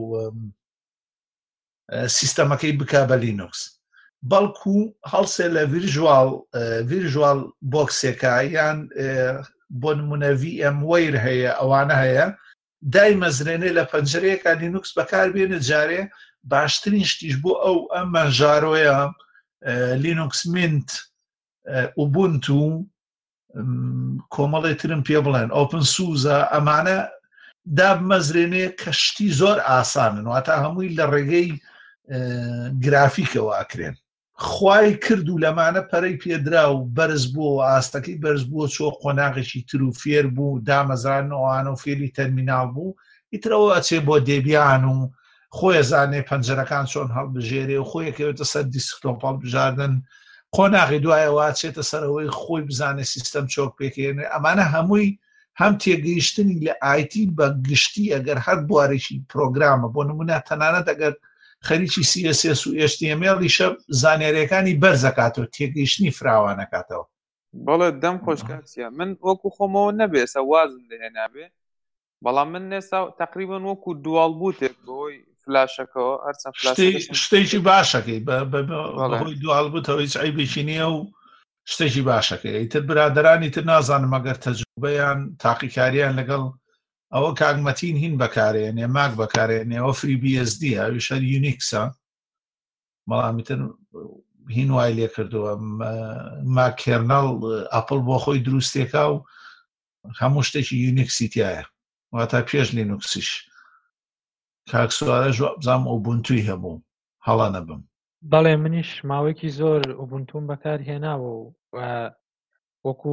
سیستەمەکەی بکا بە لینوکس بەڵکو هەڵسێ لە ڤیرژوال بۆکسێکە یان بۆ نمونە VMware هەیە ئەوانە هەیە دای مەزرێنێ لە پەنجەرەیەکە لینوکس بەکار بێنە جارێ باشترین شتیش بۆ ئەو مەنژارۆیە لینوکس منت ئوبونتو کۆمەڵی ترم پێ بڵێن ئۆپن سوزە ئەمانە دابمەزرێنێ کە شتی زۆر ئاسانن واتە هەمووی لە ڕێگەی گرافیکەوە ئەکرێن خوای کرد و لەمانە پەرەی پێدرا و بەرز بووە ئاستەکەی بەرز بووە چۆ قۆناغێکی تر و فێر بوو دامەزرانەوەوانە و فێری تەرمیناڵ بوو ئیترەوە ئەچێ بۆ دێبیان و خۆی زانێ پەنجەرەکان چۆن هەڵبژێرێ و خۆیەکەوێتە سەر دیسکتۆپ هەڵبژاردن قۆناغی دوایەوە چێتە سەرەوەی خۆی بزانێ سیستەم چۆک پێکێنێ ئەمانە هەمووی هەم تێگەیشتنی لە ئایتی بە گشتی ئەگەر هەر بوارێکی پرۆگرامە بۆ نمونە تەنانەت ئەگەر خەریکی CSS و HTML-یشە زانیاریەکانی بەرزەکاتەوە تێگەیشتنی فراوانەکاتەوە بەڵێ دەم خۆشکاتسیە من وەکو خۆمەوە نەبێسە وازم لێنابێ بەڵام من نێستا تقریبان وەکو دوال بوتێک بەهۆی فلاشەکەەوە هەرچەند شتێکی باشەکەی بەهۆی دوال بوتەوە هیچ عیبێکی نییە و شتێکی باشەکەی ئیتر برادرانی تر نازانم ئەگەر تەجروبەیان تاقیکاریان لەگەڵ ئەوە کاگمەتین هین بەکارێنێ ماک بەکارێنێەوە فری BSD هەویشە یونیکسە بەڵامی تر هین وای لێ کردووە ماک کێرنەڵ ئەپڵ بۆ خۆی دروستێکا و هەموو شتێکی یونیکسی تایە واتە پێش لینوکسیش کاکسوارە بزانام ئوبونتوی هەبوو هەڵا نەبم بەڵێ منیش ماوەیەکی زۆر ئوبونتوم بەکار هێناوە و وەکو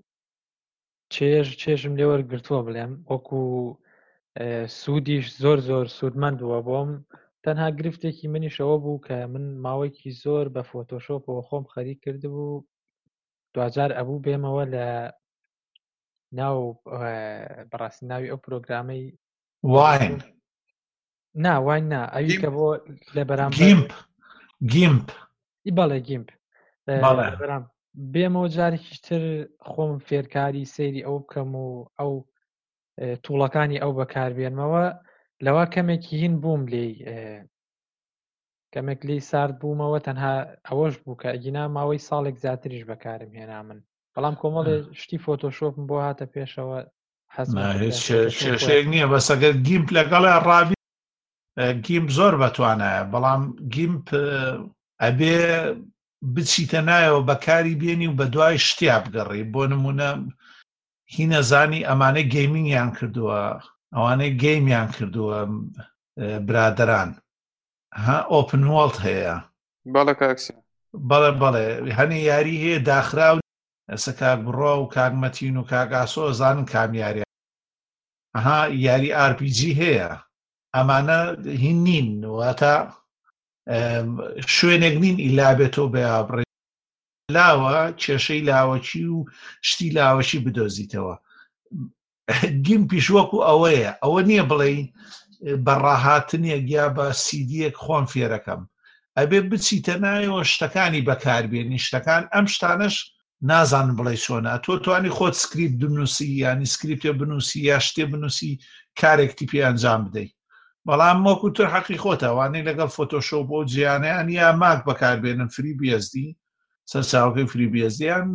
چێژم لێ وەرگرتووە بڵێم وەکو سوودیش زۆر سوودمەند بووە بۆم تەنها گرفتێکی منیشەوە بوو کە من ماوەیەکی زۆر بە فۆتۆشۆپەوە خۆم خەریک کردبوو دوجار ئەبوو بێمەوە لە ناو بەڕاستی ناوی ئەو پرۆگرامەی واین واین ئەوی کە بۆ لە بەرامبەر گیمپ بەڵێ گیمپ بێمەوە جارێکی تر خۆم فێرکاری سەیری ئەو بکەم و ئەو تووڵەکانی ئەو بەکاربێنمەوە لەوە کەمێکی هین بووم لێ کەمێک لی سارد بوومەوە تەنها ئەوەش بوو کە ئەگینا ماوەی ساڵێک زیاتریش بەکارم هێنا من بەڵام کۆمەڵێ شتی فۆتۆشۆپم بۆ هاتە پێشەوە شێشەیەک نییە بەسەگەر گیمپ لەگەڵە ڕابی گیمپ زۆر بەتوانایە بەڵام گیمپ ئەبێ بچیتە نایەوە بەکاری بێنی و بە دوای شتیا بگەڕی بۆ نمونە هی نەزانی ئەمانەی گەیمینگیان کردووە، ئەوانەی گەیمیان کردووە برادران ئۆپن وۆڵد هەیە. بەڵێ کاکسیا بەڵێ هەنێ یاری هەیە داخراو ئەسە کاک بڕۆ و کاگمەتین و کاگاسۆ زانن کامیاریە یاری RPG هەیە. ئەمانە هین نین واتە شوێنێک نین ئیلابێتەوە بەیابڕێ لاوە کێشەی لاوەچی و شتی لاوەشی بدۆزیتەوە. گیم پیشوەکو ئەوەیە، ئەوە نییە بڵێ بەڕاهاتنێک یا بە سیدیەک خۆم فێرەکەم، ئەبێ بچیتە نایەوە شتەکانی بەکاربێنی شتەکان. ئەم شتانش نازانم بڵێ چۆنە، تۆ توانی خۆت سکریپت بنووسی ینی سکریپتێ بنووسی یا شتێ بنووسی کارێکتی پێ ئەنجام بدەیت، بەڵام وەکو تر حەقی خۆتەوانەی لەگەڵ فۆتۆشۆپ بۆ جیانیان یا ماک بەکاربێنن فری BSD سەرچاوەکەی فری BSDیان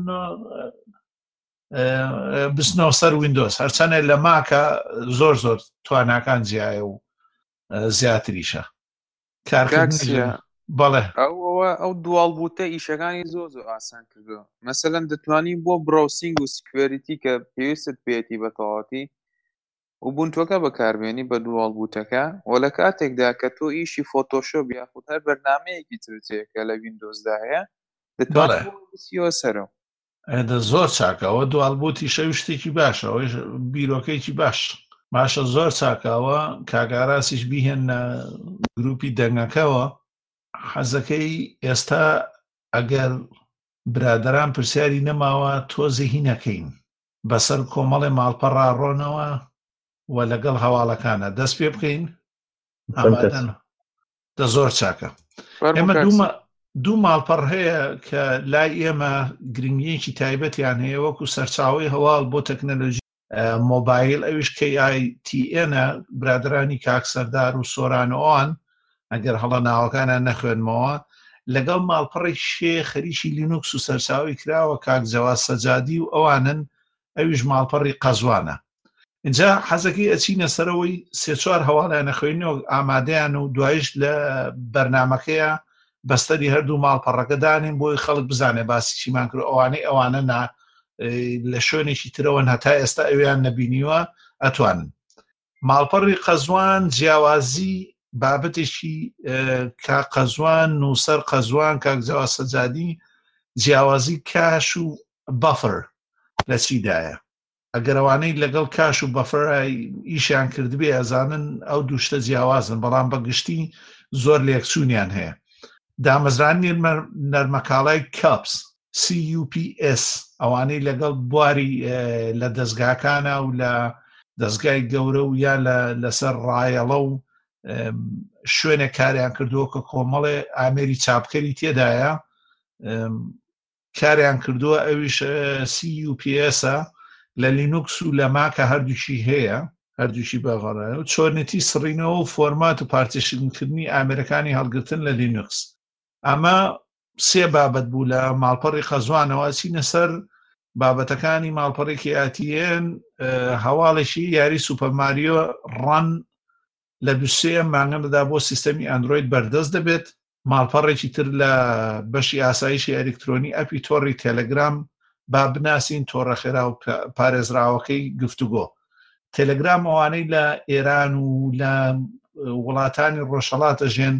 بستنەوە سەر ویندۆز، هەرچەنە لە ماکە زۆر تواناکان جیایە و زیاتریشە کارکردن. بەڵێ ئەو دووەڵبووتە ئیشەکانی زۆر ئاسان کردووە. مەسەلەن دەتوانی بۆ براوسینگ و سکوێریتی کە پێویستت پێێتی بە تەواتی و بوونتوەکە بەکاربێنی بە دووەڵبووتەکە و لە کاتێکدا کە تۆ ئیشی فۆتۆشۆپ یاخود هەر بەرنامەیەکی ترجەیەکە لە ویندۆزدا هەیە دەتوانیتەوە سەرەوە. زۆر چاکەوە دووەڵبووتی شەوی شتێکی باشە، ئەوەی بیرۆکەیکی باشە زۆر چاکەوە. کاگاراسیش بیهێنە گروپی دەنگەکەەوە. حەزەکەی ئێستا ئەگەر برادران پرسیاری نەماوە تۆزە هینەکەین بەسەر کۆمەڵی ماڵپەڕ ڕۆنەوە و لەگەڵ هەواڵەکانە دەست پێ بکەین. دە زۆر چاکە. ئێمە دوو ماڵپەڕ هەیە کە لای ئێمە گرنگیەکی تایبەتیان هەیە وەکو سەرچاوی هەواڵ بۆ تەکنەلۆژی مۆبایل، ئەویش KITN-ە برادرانی کاک سەردار و سۆرانەوەوان ئەگەر هەڵە ناوەکانیان نەخوێنمەوە، لەگەڵ ماڵپەڕی شێ خەریکی لینوکس و سەرچاوی کراوە کاک جەواز سەجادی و ئەوانن، ئەویش ماڵپەڕی قەزوانە. اینجا حەزەکەی ئەچینە سەرەوەی سێ چوار هەواڵیان نەخوێنەوە ئامادەیان و دوایش لە بەرنامەکەیە بەستەری هەردوو ماڵپەڕەکە دانین بۆی خەڵک بزانێ باسی چیمان کرد. ئەوانە لە شوێنێکی ترەوەن هەتا ئێستا ئەویان نەبینیوە ئەتوانن. ماڵپەڕی قەزوان جیاوازی بابەتێکی کاک قەزوان نووسەر قەزوان کاک جەواز سەجادی جیاوازی کاش و بەفر لە چیدایە. ئەگەرەوانەی لەگەڵ کاش و بەفر ئیشیان کردبێ ئەزانن ئەو دووشتە جیاوازن، بەڵام بەگشتی زۆر لێکچوونیان هەیە. دامەزرانی نەرمەکاڵای کاپس CUPS ئەوانەی لەگەڵ بواری لە دەستگاکانە و لە دەستگای گەورە و یا لەسەر ڕایەڵە و شوێنێک کاریان کردووە کە کۆمەڵێ ئامێری چاپکەری تێدایە کاریان کردووە. ئەویش CUPS-ە لە لینوکس و لە ماکە هەردووشی هەیە، هەردووشی بەغەڕە و چۆرنێتی سڕینەوە و فۆرمات و پارتیشنکردنی ئامێرەکانی هەڵگرتن لە لینوکس. ئەمە سێ بابەت بوو لە ماڵپەڕی قەزوانەوە. چینە سەر بابەتەکانی ماڵپەڕێکی ئاتیێن هەواڵێکی یاری سوپەرماریۆ ڕەن لە دووسێ مانگەمەدا بۆ سیستەمی ئەندرۆید بەردەست دەبێت. ماڵپەڕێکی تر لە بەشی ئاسایشی ئەلکترۆنی ئەپی تۆڕی تێلەگرام با بناسین تۆڕە خێرا و پارێزراوەکەی گفتوگۆ. تێلەگرام ئەوانەی لە ئێران و لە وڵاتانی ڕۆژهەڵاتە ژێن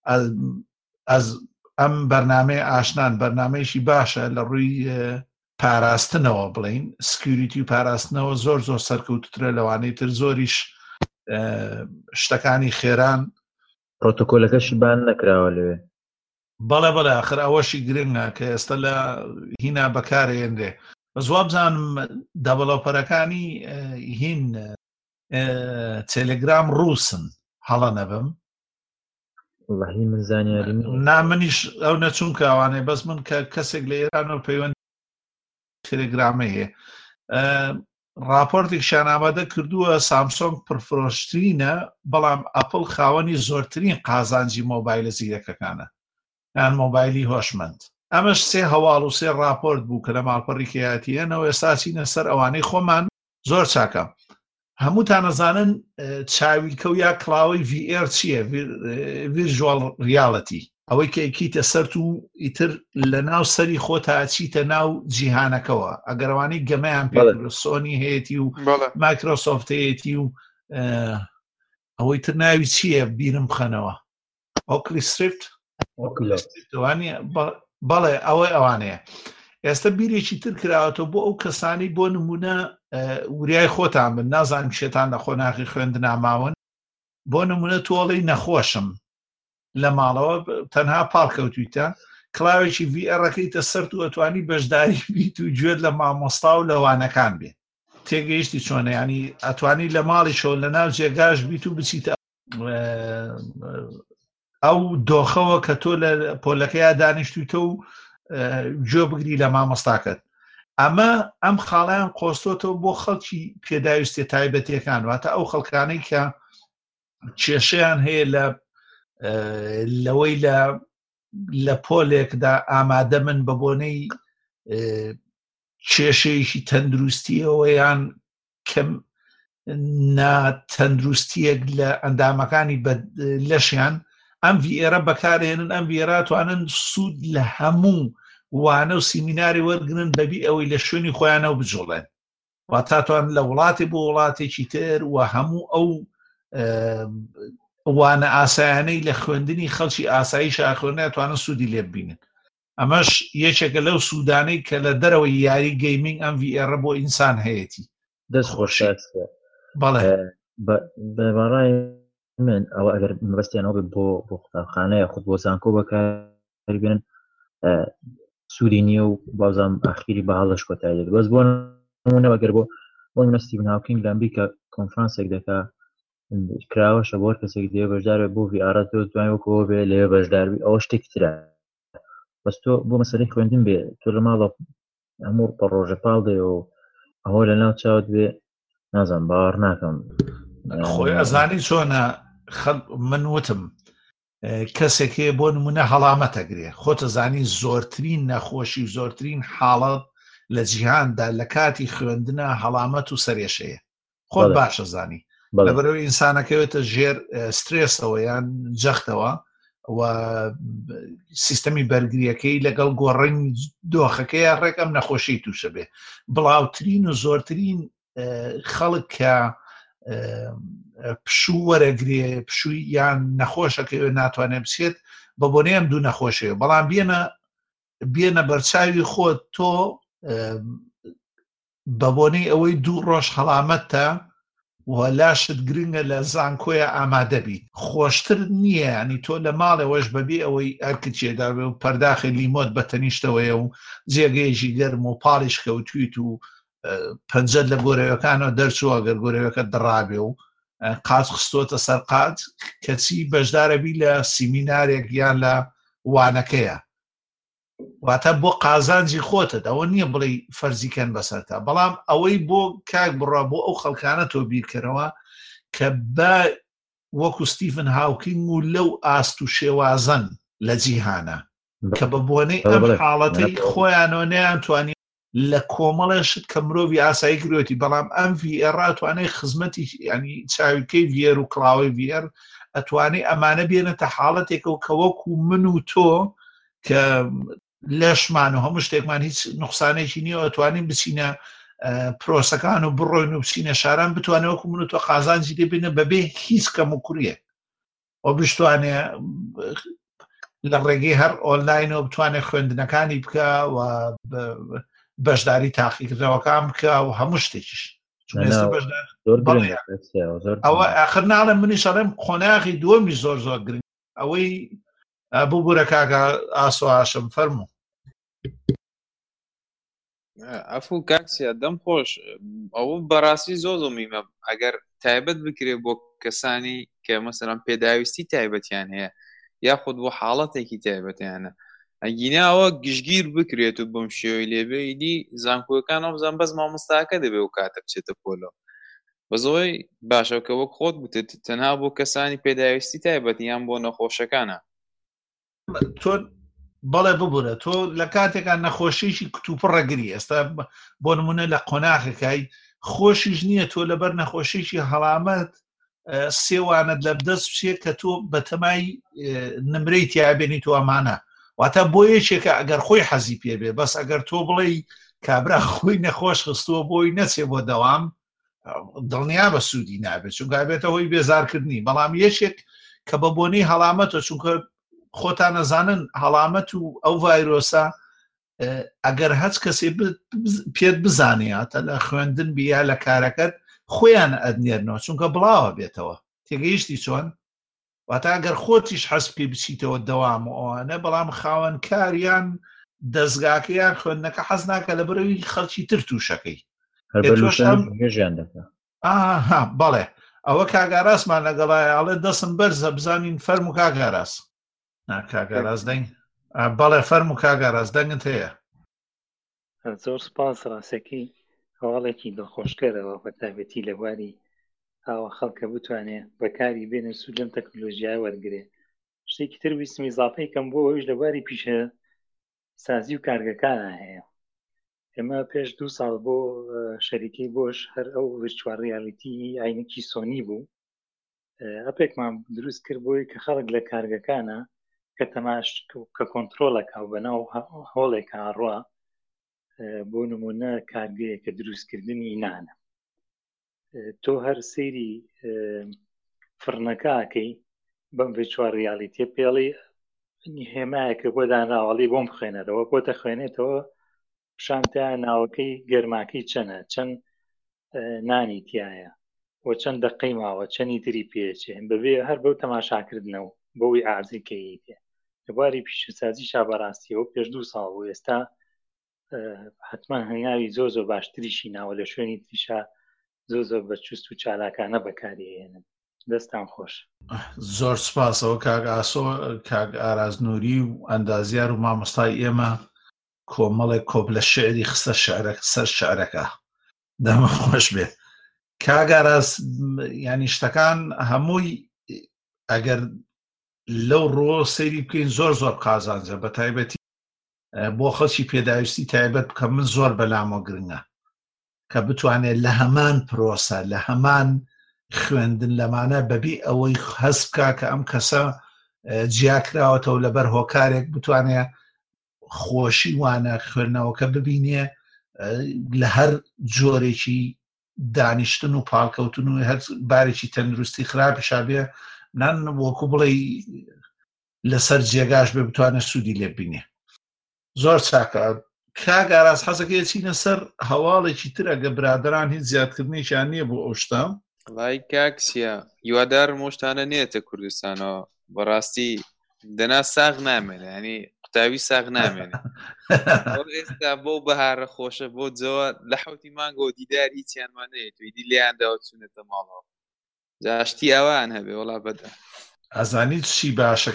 ئەم بەرنامەیە ئاشنان بەرنامەیەشی باشە لە ڕووی پاراستنەوە بڵین سکیوریتی و پاراستنەوە زۆر سەرکەوتوترە لەوانەی تر زۆریش شتەکانی خێران. پرۆتۆکۆلەکەشی بان نەکراوە لەوێ. بەڵێ ئاخر ئەوەشی گرنگە کە ئێستا لە هینا بەکارهێنرێ. بەزوا بزانم دەڤەلۆپەرەکانی هین تێلەگرام ڕووسن هەڵە نەبم وڵاهی من زانیاری نامنیش ئەو نەچوون کاوانێ بەس من کە کەسێک لە ئێرانەوە پەیوەند تێلەگرامەیە راپۆرتێکشان ئامادە کردووە سامسۆنگ پرفرۆشترینە بەڵام ئەپڵ خاوەنی زۆرترین قازانجی مۆبایلە زیرەکەکانە یان مۆبایلی هۆشمەند. ئەمەش سێ هەواڵ و سێ راپۆرت بوو کە لە ماڵپەڕی کێیاتیەنەوە ئێستا چینە سەر ئەوانەی خۆمان زۆر چاکە. هەمووتان نەزانن چاویلکە و یا کڵاوی VR چییە؟ ڤیرژوال ریاڵەتی ئەوەی کە ئەیکیتە سەرت و ئیتر لە ناو سەری خۆتا ئەچیتە ناو جیهانەکەەوە ئەگەڕوانەی گەمەیان پێ سۆنی هەیەی و مایکرۆسۆفت هەیەی و ئەوەی تر ناوی چییە بیرم بخەنەوە ئۆکلیستریفت بەڵێ ئەوەی ئەوانەیە ئێستا بیرێکی تر کراوەتەوە بۆ ئەو کەسانی بۆ نمونە وریای خۆتان بن نازانم شێتان لە خۆناغی خوێندناماون بۆ نمونە تۆڵی نەخۆشم لە ماڵەوە تەنها پاڵکەوتویتە کڵاوێکی VRەکەیتە سەر و ئەتوانی بەشداری بیت و گوێت لە مامۆستا و لەوانەکان بێ تێگەیشتی چۆنە ینی ئەتوانی لە ماڵی شۆ لە ناو جێگاش بیت و بچیتە ئەو دۆخەوە کە تۆ لە پۆلەکەیە دانیشتویتە و گوێ بگری لە مامۆستاکەت ئەم خاڵیان قۆستۆتەوە بۆ خەڵکی پێداویستێ تایبەتیەکان واتە ئەو خەڵکانەی کە کێشەیان هەیە لەوەی لە پۆلێکدا ئامادە من بە بۆنەی کێشەیەکی تەندروستیەوە یان کەم ناتەندروستیەک لە ئەندامەکانی لەشیان ئەم VRە بەکارهێنن ئەم VRە توانن سوود لە هەموو وانە و سیمیناری وەرگرن بەبی ئەوەی لە شوێنی خۆیانەوە بجوڵێن واتاتوان لە وڵاتی بۆ وڵاتێکی تر و هەموو ئەو وانە ئاسایانەی لە خوێندنی خەڵکی ئاسایی شاخۆنە توانن سوودی لێ ببینن ئەمەش یەکێکە لەو سوودانەی کە لە دەرەوەی یاری گەیمینگ ئەم VRە بۆ ئینسان هەیەی دەست خۆش بەڵێ بەڕای من ئەوە ئەگەر مەبەستیانەوە بۆ قوتابخانەیە خود بۆ زانکۆ بەکاربێنن سوودی نییە و بازام ئاخیری بەهاڵش کۆتایی بەس بۆ نمونە ئەگەر بۆ ستیڤن هاوکینگ لە ئەمریکا کۆنفرانسێک دەکا کراوەشە بۆ کەسێک دێ بەشدار بۆ VR تۆ دوای وەکەوە بێ لێ بەشداربی ئەوە شتێک ترە بەس تۆ بۆ مەسەلەی خوێندن بێ تۆ لە ماڵە هەموو ڕۆژە پاڵ دێ و ئەوە لە ناو چاوت بێ نازانم باوەڕ ناکەم خۆی ئەزانی چۆنە من وتم کەسێک هەیە بۆ نمونە هەڵامەتەگرێ خۆتە زانی زۆرترین نەخۆشی و زۆرترین حاڵەت لە جیهاندا لە کاتی خوێندنە هەڵامەت و سەرێشەیە خۆت باشە زانی لەبەرەوەی ئینسانەکەوێتە ژێر سترێسەوە یان جەختەوە و سیستەمی بەرگریەکەی لەگەڵ گۆڕین دۆخەکەی ڕێکم نەخۆشی تووشە بێ بڵاوترین و زۆرترین خەڵک کە پشوو وەرەگرێ پشووی یان نەخۆشەکەوێ ناتوانێت بچێت بە بۆنەی ئەم دوو نەخۆشەیە بەڵام بێنە بەرچاوی خۆت تۆ بە بۆنەی ئەوەی دوو ڕۆژ هەڵامەتە وەلاشت گرنگە لە زانکۆیە ئامادە بیت خۆشتر نییە ینی تۆ لە ماڵەوەش بەبێ ئەوەی ئەرکچێدا بێ و پەرداخی لیمۆت بە تەنیشتەوەیە و جێگەیەکی گەرم و پاڵیش کەوتویت و پەنجەت لە گۆرەوەکانەوە دەرچووە گەر گۆرەوەکە دڕابێ و قاچ خستۆتە سەر قاچ کەچی بەشدارەبی لە سیمینارێک یان لە وانەکەیە واتە بۆ قازانجی خۆتت ئەوە نییە بڵێ فەرزیکەن بەسەرتا بەڵام ئەوەی بۆ کاک بڕا بۆ ئەو خەڵکانە تۆ بیرکەرەوە کە بە وەکو ستیڤن هاوکینگ و لەو ئاست و شێوازن لە جیهانە کە بە بۆنەی ئەم حاڵەتەی خۆیانەوە نەیانتوانی لە کۆمەڵێشت کە مرۆڤی ئاسایی گرۆتی بەڵام ئەم VR ئەتوانێت خزمەتی ینی چاویکەی VR و کڵاوی VR ئەتوانێت ئەمانە بێنێتە حاڵەتێکەوە کە وەکو من و تۆ کە لەشمان و هەموو شتێکمان هیچ نوقسانێکی نییە ئەتوانین بچینە پرۆسەکان و بڕۆین و بچینە شاران بتوانێت وەکو من و تۆ قازانجی دەبێنە بەبێ هیچ کەم و کوڕیە ئەو بتوانێت لە ڕێگەی هەر ئۆنلاینەوە بتوانێت خوێندنەکانی بکە و بەشداری تاقیکردنەوەکان بکە و هەموو شتێکیش ئەوە ئاخر ناڵێم منیش ئەڵێم خۆناغی دووەمی زۆر زۆر گرنگ ئەوەی بوو بوورە کاکە ئاسۆ هاشم فەرموو ئەفو کاکسیا دەم خۆش ئەوە بەڕاستی زۆ میمە ئەگەر تایبەت بکرێت بۆ کەسانی کە مەسەڵەن پێداویستی تایبەتیان هەیە یاخود بۆ حاڵەتێکی تایبەتیانە ئەگیناوە گشتگیر بکرێت و بەم شێوەی لێبێیدی زانکۆیەکان ئەو بزان بەس مامۆستاکە دەبێ و کاتە بچێتە پۆلەوە بەزەوەی باشەکە وەک خۆت بتێت تەنها بۆ کەسانی پێداویستی تایبەتیان بۆ نەخۆشەکانە تۆ بەڵێ ببوورە تۆ لە کاتێکان نەخۆشیشی کتوپڕەگری ئێستا بۆ نمونە لە قۆناغەکەی خۆشیش نییە تۆ لەبەر نەخۆشیشی هەڵامەت سێوانت لە بدەست بچێت کە تۆ بەتەمای نمرەی تیابێنی تۆ ئەمانە واتە بۆ یەکێکە ئەگەر خۆی حەزی پێ بێ بەس ئەگەر تۆ بڵێ کابرا خۆی نەخۆش خستووە بۆی نەچێ بۆ دەوام دڵنیا بە سوودی نابێت چونکە بێتە هۆی بێزارکردنی بەڵام یەکێک کە بە بۆنەی هەڵامەتە چونکە خۆتان نەزانن هەڵامەت و ئەو ڤایرۆسە ئەگەر هەچ کەسێ پێت بزانێتە لە خوێندن بیا لە کارەکەت خۆیان ئەدنێرنەوە چونکە بڵاوە بێتەوە تێگەیشتی چۆن واتە ئەگەر خۆتیش حەز پێ بچیتەوە دەوام و ئەوانە بەڵام خاوەن کاریان دەستگاکەیان خوێندنەکە حەز ناکە لە بەرەوەی خەڵکی تر تووشەکەی بەڵێ ئەوە کاگاڕاستمان لەگەڵایە ئەڵێ دەسم بەرزە بزانین فەرم و کاگاڕاست کاگاڕاست دەنگ بەڵێ فەرم و کاگاڕاست دەنگت هەیە زۆر سپاس ڕاستەکەی هەواڵێکی دڵخۆشکەرەوە بە تایبەتی لە بواری ئاوە خەڵکە بتوانێت بەکاری بێنە سوود لەم تەکنۆلۆژیای وەرگێ شتێکی تر ویستمی ئیزافەی کەم بۆ ئەوش لە بواری پیشە سازی و کارگەکانە هەیە ئێمە پێش 2 ساڵ بۆ شەریکەی بۆش هەر ئەو ڤیرچوال ریالیتی عینەکی سۆنی بوو ئەپێکمان دروست کرد بۆی کە خەڵک لە کارگەکانە کە تەماش کە کۆنترۆلەکە و بەناو هۆڵێکە ڕوا بۆ نمونە کارگەیە کە دروستکردنی نانە تۆ هەر سەیری فرنەکەکەی بەم ڤیرچوال ریالیتیە پێڵی هێمایەکە بۆ دانراوەڵی بۆم بخوێنەرەوە بۆتە خوێنێتەوە شانتە ناوەکەی گەرماکەی چەنە چەند نانی تایە و چەند دقەی ماوە چەندی تری پێچێن بەبێ هەر بەو تەماشاکردنەوە بەوەی ئازیکەی تێ لەبواری پیشەسازی شابەڕاستیەوە پێش 2 ساڵ بوو ئێستا حتما هەنگاوی زۆ باشتریشی ناوە لە شوێنی تریشا زۆ بەچوست و چالاکانە بەکارهێنن دەستان خۆش زۆر سپاسەوە کاگ ئارازنووری و ئەندازیار و مامۆستای ئێمە کۆمەڵێک کۆب لە شعری خستە سەر شعرەکە دەمە خۆش بێ کاگاراز ینی شتەکان هەمووی ئەگەر لەو ڕۆ سەیری بکەین زۆر قازانجە بە تایبەتی بۆ خەڵکی پێداویستی تایبەت بکە من زۆر بەلامۆ گرنگە کە بتوانێت لە هەمان پرۆسە لە هەمان خوێندن لەمانە بەبێ ئەوەی هەز بکە کە ئەم کەسە جیاکراوەتەوە لەبەر هۆکارێک بتوانێت خۆشی وانە خوێندنەوەکە ببینێ لە هەر جۆرێکی دانیشتن و پاڵکەوتن و هەر بارێکی تەندروستی خراپی شابێ نان وەکو بڵێ لەسەر جێگاش بێ بتوانێت سوودی لێ بینێ زۆر چاکە کاگاراز حەزەکەی چینە سەر هەواڵێکی تر ئەگە برادران هیچ زیادکردنیشان نییە بۆ ئەو شتە وای کاکسیە هیوادار مۆشتانە نێتە کوردستانەوە بەڕاستی دەنا ساغ نامێنێ ینی قوتاوی ساغ نامێنێ ئێستا بۆ بەهارە خۆشە بۆ جەوە لە حوتی مانگۆ دیدار هیچیانمانەیە توی دی لێیانداوە چوونێتە ماڵەوە جاشتی ئەوان هەبێ وڵا بەدە ئەزانیت چی باشە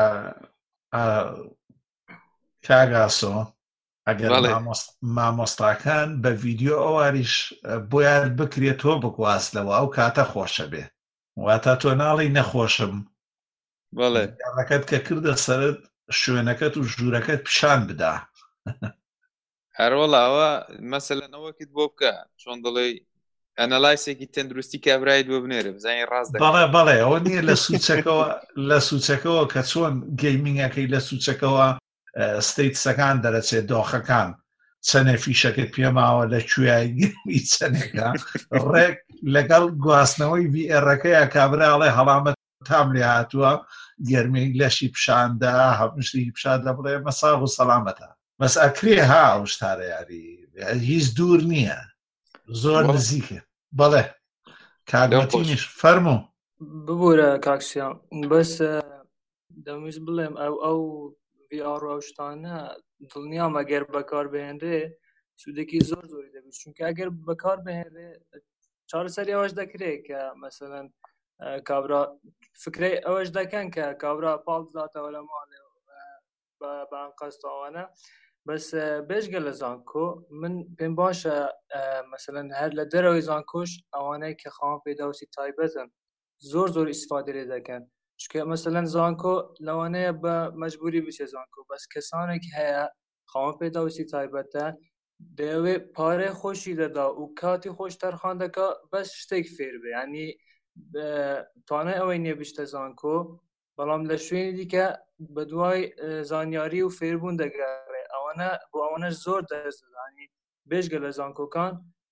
کاگاسۆ ئەگەر مامۆستاکان بە ڤیدیۆ ئەواریش بۆیان بکرێتەوە بگوازلەوە ئەو کاتە خۆشە بێ واتە تۆ ناڵی نەخۆشم ڕەکەت کە کردە سەرت شوێنەکەت و ژوورەکەت پیشان بدا هەروەڵاوە مەسەلەنەوەکت بۆ بکە چۆن دڵێ ئەنەلایسێکی تەندروستی کابرایت بۆ بنێرە بزانین ڕاست بەڵێ ئەوە نییە لە سوچەکەەوە کە چۆن گەیمینگەکەی لە سوچەکەەوە ستیتسەکان دەرەچێت دۆخەکان چەنێ فیشەکەت پێماوە لە کوێیگەمی چەنێکە ڕێک لەگەڵ گواستنەوەی VRەکەیە کابراڵێ هەڵامەت تام لێ هاتووە گەرمەی لەشی پیشاندا هەمشتی پیشاندا بڵێ مەساغ و سەلامەتە بەس ئەکرێ ها ئەو شتارە یاری هیچ دوور نییە زۆر نزیکە بەڵێ کارگەتینیش فەرموو ببوورە کاکسیان بەس دەمویست بڵێم ئەو VR و ئەو شتانە دڵنیام ئەگەر بەکار بهێنرێ سوودێکی زۆری دەبێت چونکە ئەگەر بەکار بهێنرێ چارەسەری ئەوەش دەکرێت کە مەسەلەن کابرا فکرەی ئەوەش دەکەن کە کابرا پاڵ داتەوە لە ماڵێ بە ئەنقەستەوانە بەس بێژگە لە زانکۆ من پێم باشە مەسەلەن هەر لە دەرەوەی زانکۆش ئەوانەی کە خاوەن پێداویستی تایبەتن زۆر ئیسفادە لێ دەکەن چونکە مەسەلەن زانکۆ لەوانەیە بە مەجبوری بچێ زانکۆ بەس کەسانێک هەیە خاوەن پێداویستی تایبەتە دەیەوێت پارەی خۆشی دەدا و کاتی خۆش تەرخان دەکا بەس شتێک فێر بێ ینی توانای ئەوەی نییە بیشتە زانکۆ بەڵام لە شوێنی دیکە بە دوای زانیاری و فێربوون دەگەڕێ ئەوانە بۆ ئەوانەش زۆر دەستدانی بێژگە لە زانکۆکان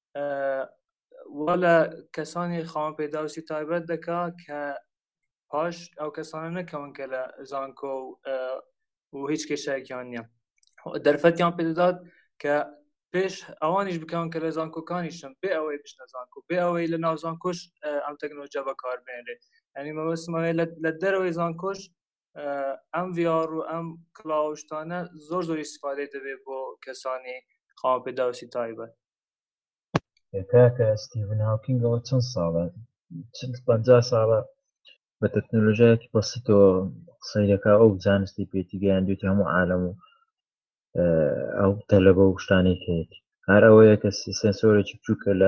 وا لە کەسانی خاوەن پێداویستی تایبەت دەکا کە پاش ئەو کەسانە نەکەون کە لە زانکۆ و هیچ کێشەیەکیان نییە دەرفەتیان پێدەدات کە پێش ئەوانیش بکەون کە لە زانکۆکانیشم بێ ئەوەی بشنە زانکۆ بێ ئەوەی لە ناو زانکۆش ئەم تەکنۆلۆژیا بەکاربێنرێ یعنی مەبەستمەوەی لە دەرەوەی زانکۆش ئەم VR و ئەم کلااوشتانە زۆر استیفادە دەبێت بۆ کەسانی خاوەن پێداویستی تایبەت. کاکە ستیڤن هاوکینگەوە چەند ساڵە 50 ساڵە بە تەکنۆلۆژیایەکی بەسیطەوە قسەی دەکا ئەو زانستی پێتی گەیاندوێتی هەموو عالەم و ئەو تەلەبە و شتانێک هەیە هەر ئەوەیە کە سنسۆرێکی بچووکە لە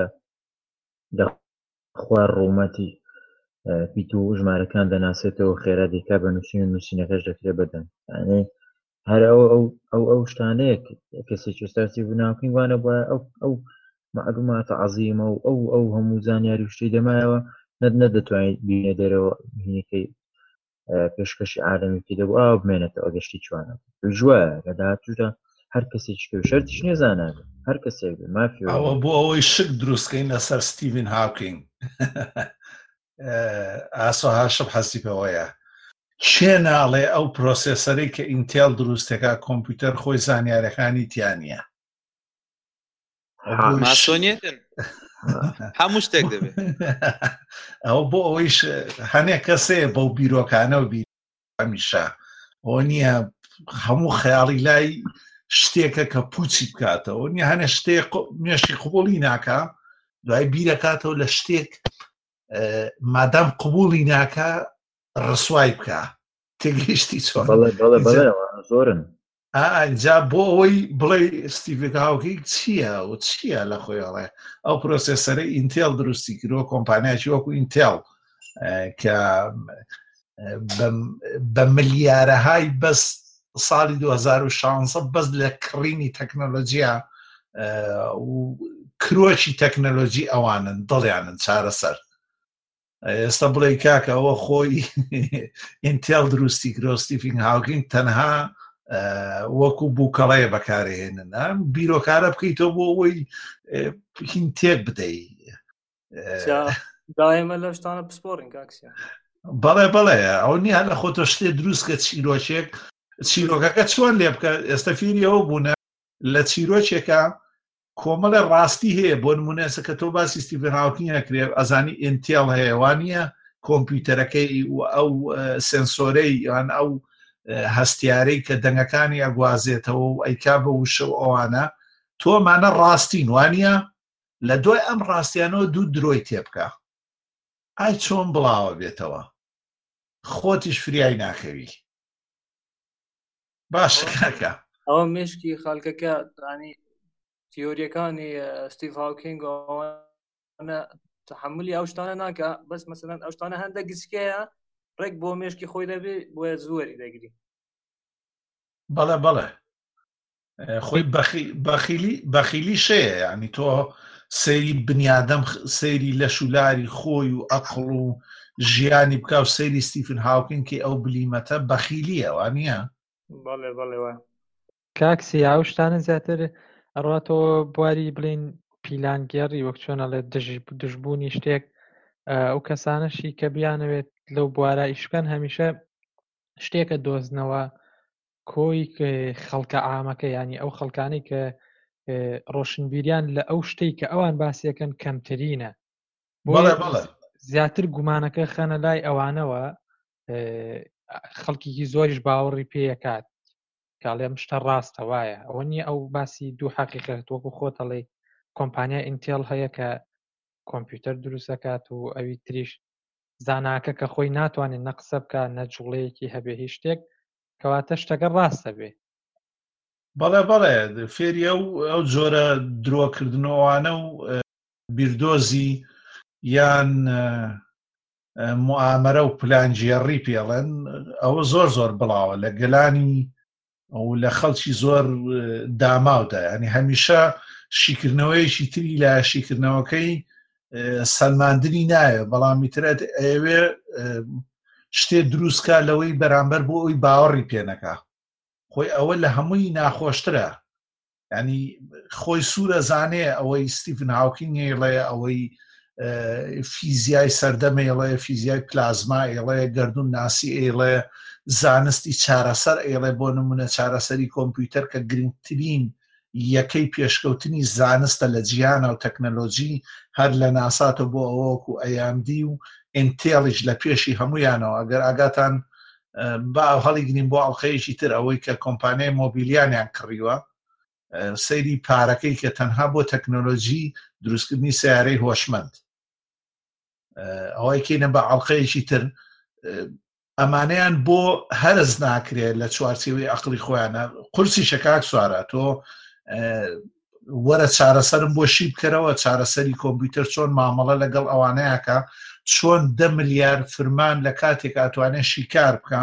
خوار ڕوومەتی پیت و ژمارەکان دەناسێتەوە خێرا دیکا بە نووسینەکەش دەکرێت بەدەن یعنی هەر ئەو شتانەیە کەسێکی ئێستاسی بناوکین وانە بە ئەو معلوماتە عەزیمە و ئەو هەموو زانیاری و شتەی دەمایەوە نەدەتوانێت بینێ دەرەوە هینەکەی پێشکەشی عالەمی پێ دەبوو ئاوا بمێنێتەوە گەشتی چوانە ژوایە لە داهاتوودا هەر کەسێکی کە شەرتیش نێزانابێت هەر کەسێک مافی ئەوە بۆ ئەوەی شک دروستکەین لەسەر ستیڤن هاوکینگ ئاسۆ هاشم حەزی پێوەیە چێ ناڵێ ئەو پرۆسێسەرەی کە ئینتێل دروستەکە کۆمپیوتەر خۆی زانیارەکانی تیانە ماسۆنیەتن هەموو شتێک دەبێت ئەو بۆ ئەوەیش هەنێک کەسەیە بەو بیرۆکانە و هەمیشە ئەوە نییە هەموو خەیاڵی لای شتێکە کە پوچی بکاتەوە نیە هەنێ شتێک مێشی قوبوڵی ناکە دوای بیرەکاتەوە لە شتێک مادام قوبوڵی ناکە ڕسوای بکە تێگەیشتی چۆن زۆرن ئەجا بۆ ئەوەی بڵێ ستیڤن هاوکینگ چییە و چییە لە خۆیڵێ ئەو پرۆسێسەرەی ئینتێل دروستی کردووە کۆمپانیاکی وەکو ئینتێل کە بە ملیارەهای بەس ساڵی 2016 بەس لە کڕینی تەکنۆلۆژیا و کرۆکی تەکنۆلۆژی ئەوانن دڵیانن چارەسەر ئێستا بڵێ کاکە ئەوە خۆی ئینتێل دروستی کرۆ ستیڤن هاوکینگ تەنها وەکو بووکەڵەیە بەکارهێنن بیرۆکارە بکەیتەوە بۆ ئەوەی هین تێک بدەی داێمە لە شتانە پسپۆڕین کاکسیان بەڵێ ئەو نیە لە خۆتە شتێ دروستکە چیرۆکێک چیرۆکەکە چۆن لێ بکە ئێستا فیری ئەوە بوونە لە چیرۆکێکە کۆمەڵە ڕاستی هەیە بۆ نمونەسە کە تۆ باسی ستیڤن هاوکینگ نەکرێ ئەزانی ئینتێل هەیەوانە کۆمپیوتەرەکەی و ئەو سنسۆرەی یان ئەو هەستیارەی کە دەنگەکانی ئەگوازێتەوە و ئەیکا بە وشە و ئەوانە تۆمانە ڕاستین وانە لە دوای ئەم ڕاستیانەوە دوو درۆی تێبکە ئای چۆن بڵاوە بێتەوە خۆتیش فریای ناکەوی باش کاکە ئەوە مشکی خەڵکەکە ڕانی تیۆریەکانی ستیڤ هاوکینگ تحملی ئەو شتانە ناکە بەس مەسەلەن ئەو شتانە هەندە گچکەیە ڕێک بۆ مێشکی خۆی دەبێ بۆیە زۆری دەگری بەڵێ خۆی بەخیلی شەیە یعنی تۆ سەیری بنیادەم سەیری لە شولاری خۆی و ئەقڵ و ژیانی بکە و سەیری ستیڤن هاوکینگ کە ئەو بلیمەتە بەخیلیە وانە بەڵێ کاکسی ئەو شتانە زیاتر ئەڕاتەوە بواری بڵین پیلانگێڕی وەک چۆنەڵێ دژبوونی شتێک ئەو کەسانەشی کە بیانەوێت لەو بوارە ئیشکەن هەمیشە شتێکە دۆزنەوە کۆی خەڵکە عامەکە ینی ئەو خەڵکانی کە ڕۆشنبیریان لە ئەو شتەی کە ئەوان باسیەکەن کەمترینە زیاتر گومانەکە خەنە لای ئەوانەوە خەڵکیی زۆریش باوەڕی پێیەکات کاڵێم شتە ڕاستە وایە ئەوە نییە ئەو باسی دوو حەقیقەت وەکو خۆتەڵێ کۆمپانیا ئینتێل هەیە کە کۆمپیوتەر دروستەکات و ئەوی تریش زاناکە کە خۆی ناتوانێت نەقسە بکە نەجوڵەیەکی هەبێ هیچ شتێک کەواتە شتەکە ڕاستە بێ بەڵێ فێری ئەو جۆرە درۆکردنەوەوانە و بیردۆزی یان موامەرە و پلانجیێڕی پێڵێن ئەوە زۆر بڵاوە لە گەلانی ئەو لە خەڵکی زۆر داماودا ینی هەمیشە شیکردنەوەیشی تری لە شیکردنەوەکەی سەلماندنی نایە بەڵام میترێت ئەوێ شتێ دروستکە لەوەی بەرامبەر بۆ ئەوی باوەڕی پێنەکە خۆی ئەوە لە هەمووی ناخۆشترە ینی خۆی سوورە زانێ ئەوەی ستیفن هاوکینگ ئێڵێ ئەوەی فیزیای سەردەمێڵێ فیزیای پلازما ئێڵێ گەردون ناسی ئێڵێ زانستی چارەسەر ئێڵێ بۆ نمونە چارەسەری کۆمپیوتەر کە گرنگترین یەکەی پێشکەوتنی زانستە لە جیهانە و تەکنەلۆژی هەر لە ناساتە بۆ ئەوەکو ئەیامدی و ئینتێڵیش لە پێشی هەمویانەوە ئەگەر ئاگاتان با هەڵی گرین بۆ ئەڵخەیەکی تر ئەوەی کە کۆمپانیای مۆبیلیانیان کڕیوە سەیری پارەکەی کە تەنها بۆ تەکنۆلۆژی دروستکردنی سیارەی هۆشمەند ئەوەی کەینە بە ئەڵخەیەکی تر ئەمانەیان بۆ هەرز ناکرێت لە چوارچێوەی عەقڵی خۆیانە قورسی شەکاک سوارە تۆ وەرە چارەسەرم بۆ شی بکەرەوە چارەسەری کۆمپیوتەر چۆن مامەڵە لەگەڵ ئەوانەیەکە چۆن 10 ملیار فرمان لە کاتێک ئاتوانێت شیکار بکە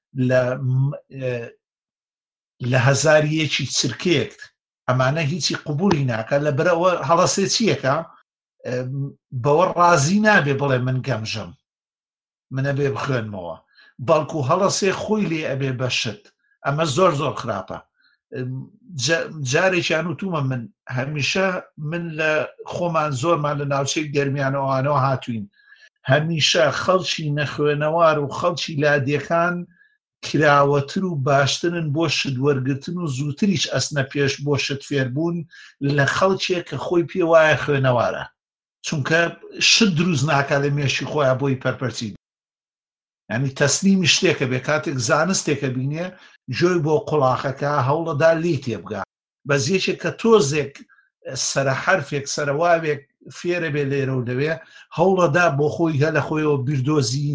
لە هەزاری یەکی چرکێک ئەمانە هیچی قبولی ناکە لە بەرەوە هەڵەسێ چیەکە بەوە ڕازی نابێ بڵێ من گەمژم منە بێ بخوێنمەوە بەڵکو هەڵەسێ خۆی لێ ئەبێ بەشت ئەمە زۆر زۆر خراپە جارێکیان وتومە من هەمیشە من لە خۆمان زۆرمان لە ناوچەی گەرمیانەوەوانەوە هاتوین هەمیشە خەڵکی نەخوێنەوار و خەڵکی لادیەکان کراوەتر و باشترن بۆ شت وەرگرتن و زووتریش ئەسنە پێش بۆ شت فێربوون لە خەڵکێک کە خۆی پێ وایە خوێنەوارە چونکە شت دروست ناکە لە مێشی خۆیان بۆی پەرپەرچی ینی تەسلیمی شتێکە بێ کاتێک زانستێکە بینێ جۆی بۆ قوڵاخەکە هەوڵەدا لی تێبگا بەزیەکێک کە تۆزێک سرە حرفێک سەرواوێک فێرە بێ لێرە و لەوێ هەوڵەدا بۆ خۆی هە لە خۆیەوە بیردۆزی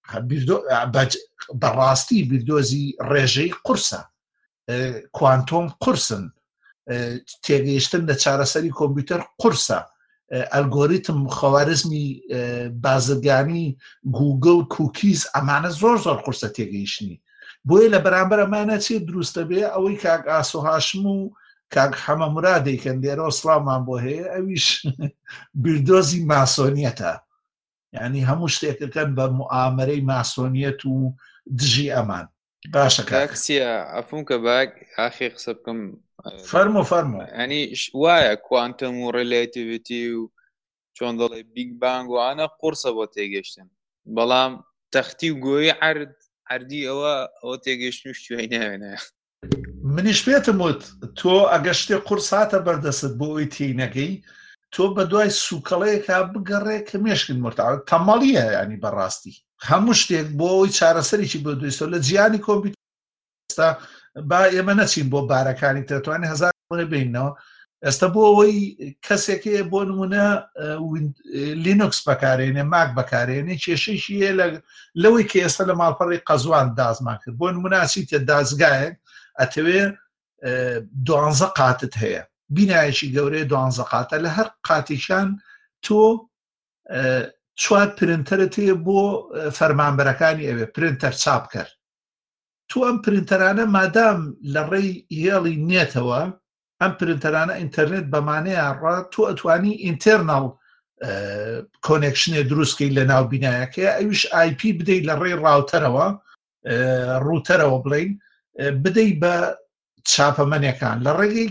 بەڕاستی بیردۆزی ڕێژەی قورسە کوانتۆم قورسن تێگەیشتن لە چارەسەری کۆمپیوتەر قورسە ئەلگۆریتم خەوارزمی بازرگانی گوگل کوکیز ئەمانە زۆر زۆر قورسە تێگەیشتنی بۆیە لە بەرامبەر ئەمانە چێ دروستە بێ ئەوەی کاک ئاسۆ هاشم و کاک حەمە مرادێکن لێرەوە سڵامان بۆ هەیە ئەویش بیردۆزی ماسۆنیەتە یعنی هەموو شتێکەکەن بە موئامەرەی ماسۆنیەت و دژی ئەمان باشە کاکسیە ئەفون کە باک ئاخی قسە بکەم فەرمو ینی وایە کوانتم و ڕێلێتیڤیتی و چۆن دەڵێ بیگ بانگ وانە قورسە بۆ تێگەشتن بەڵام تەختی و گۆیی عەردی ئەوە تێگەشتن شتوی ناوێنە منیش پێتم وت تۆ ئەگە شتێ قورس هاتە بەردەست بۆ ئەوی تێینەکەی تۆ بە دوای سوکەڵەیەکا بگەڕێ کە مێشکن مرتاع تەمەڵیە ینی بەڕاستی هەموو شتێک بۆ ئەوی چارەسەریی بۆ دویستۆ لە جیانی کۆمپیوتەر با ئێمە نەچین بۆ بارەکانی ترتوانێ هەزار بینەوە ئێستا بۆ ئەوەی کەسێکەیە بۆ نمونە لینوکس بەکارێنێ ماک بەکارێنێ کێشەیشی لەوەی کە ئێستا لە ماڵپەڕی قەزوان دازمان کرد بۆ نموناچیتە دازگایەک ئەتەوێ 12 قاتت هەیە بینایەکی گەورەیە 12 قاتە لە هەر قاتیشان تۆ 4 پرنتەرت هەیە بۆ فەرمانبەرەکانی ئەوێ پرنتەر چاپ کرد تو ئەم پرنتەرانە مادام لە ڕێی هێڵی نێتەوە ئەم پرنتەرانە ئینتەرنێت بەمانەیە ڕا تۆ ئەتوانی ئینتەرنەڵ کۆنێکشنێ دروستکەی لە ناو بینایەکەیە ئەویش IP بدەیت لە ڕێی ڕاوتەرەوە ڕوتەرەوە بڵین بدەیت بە چاپەمەنیەکان لە ڕێگەی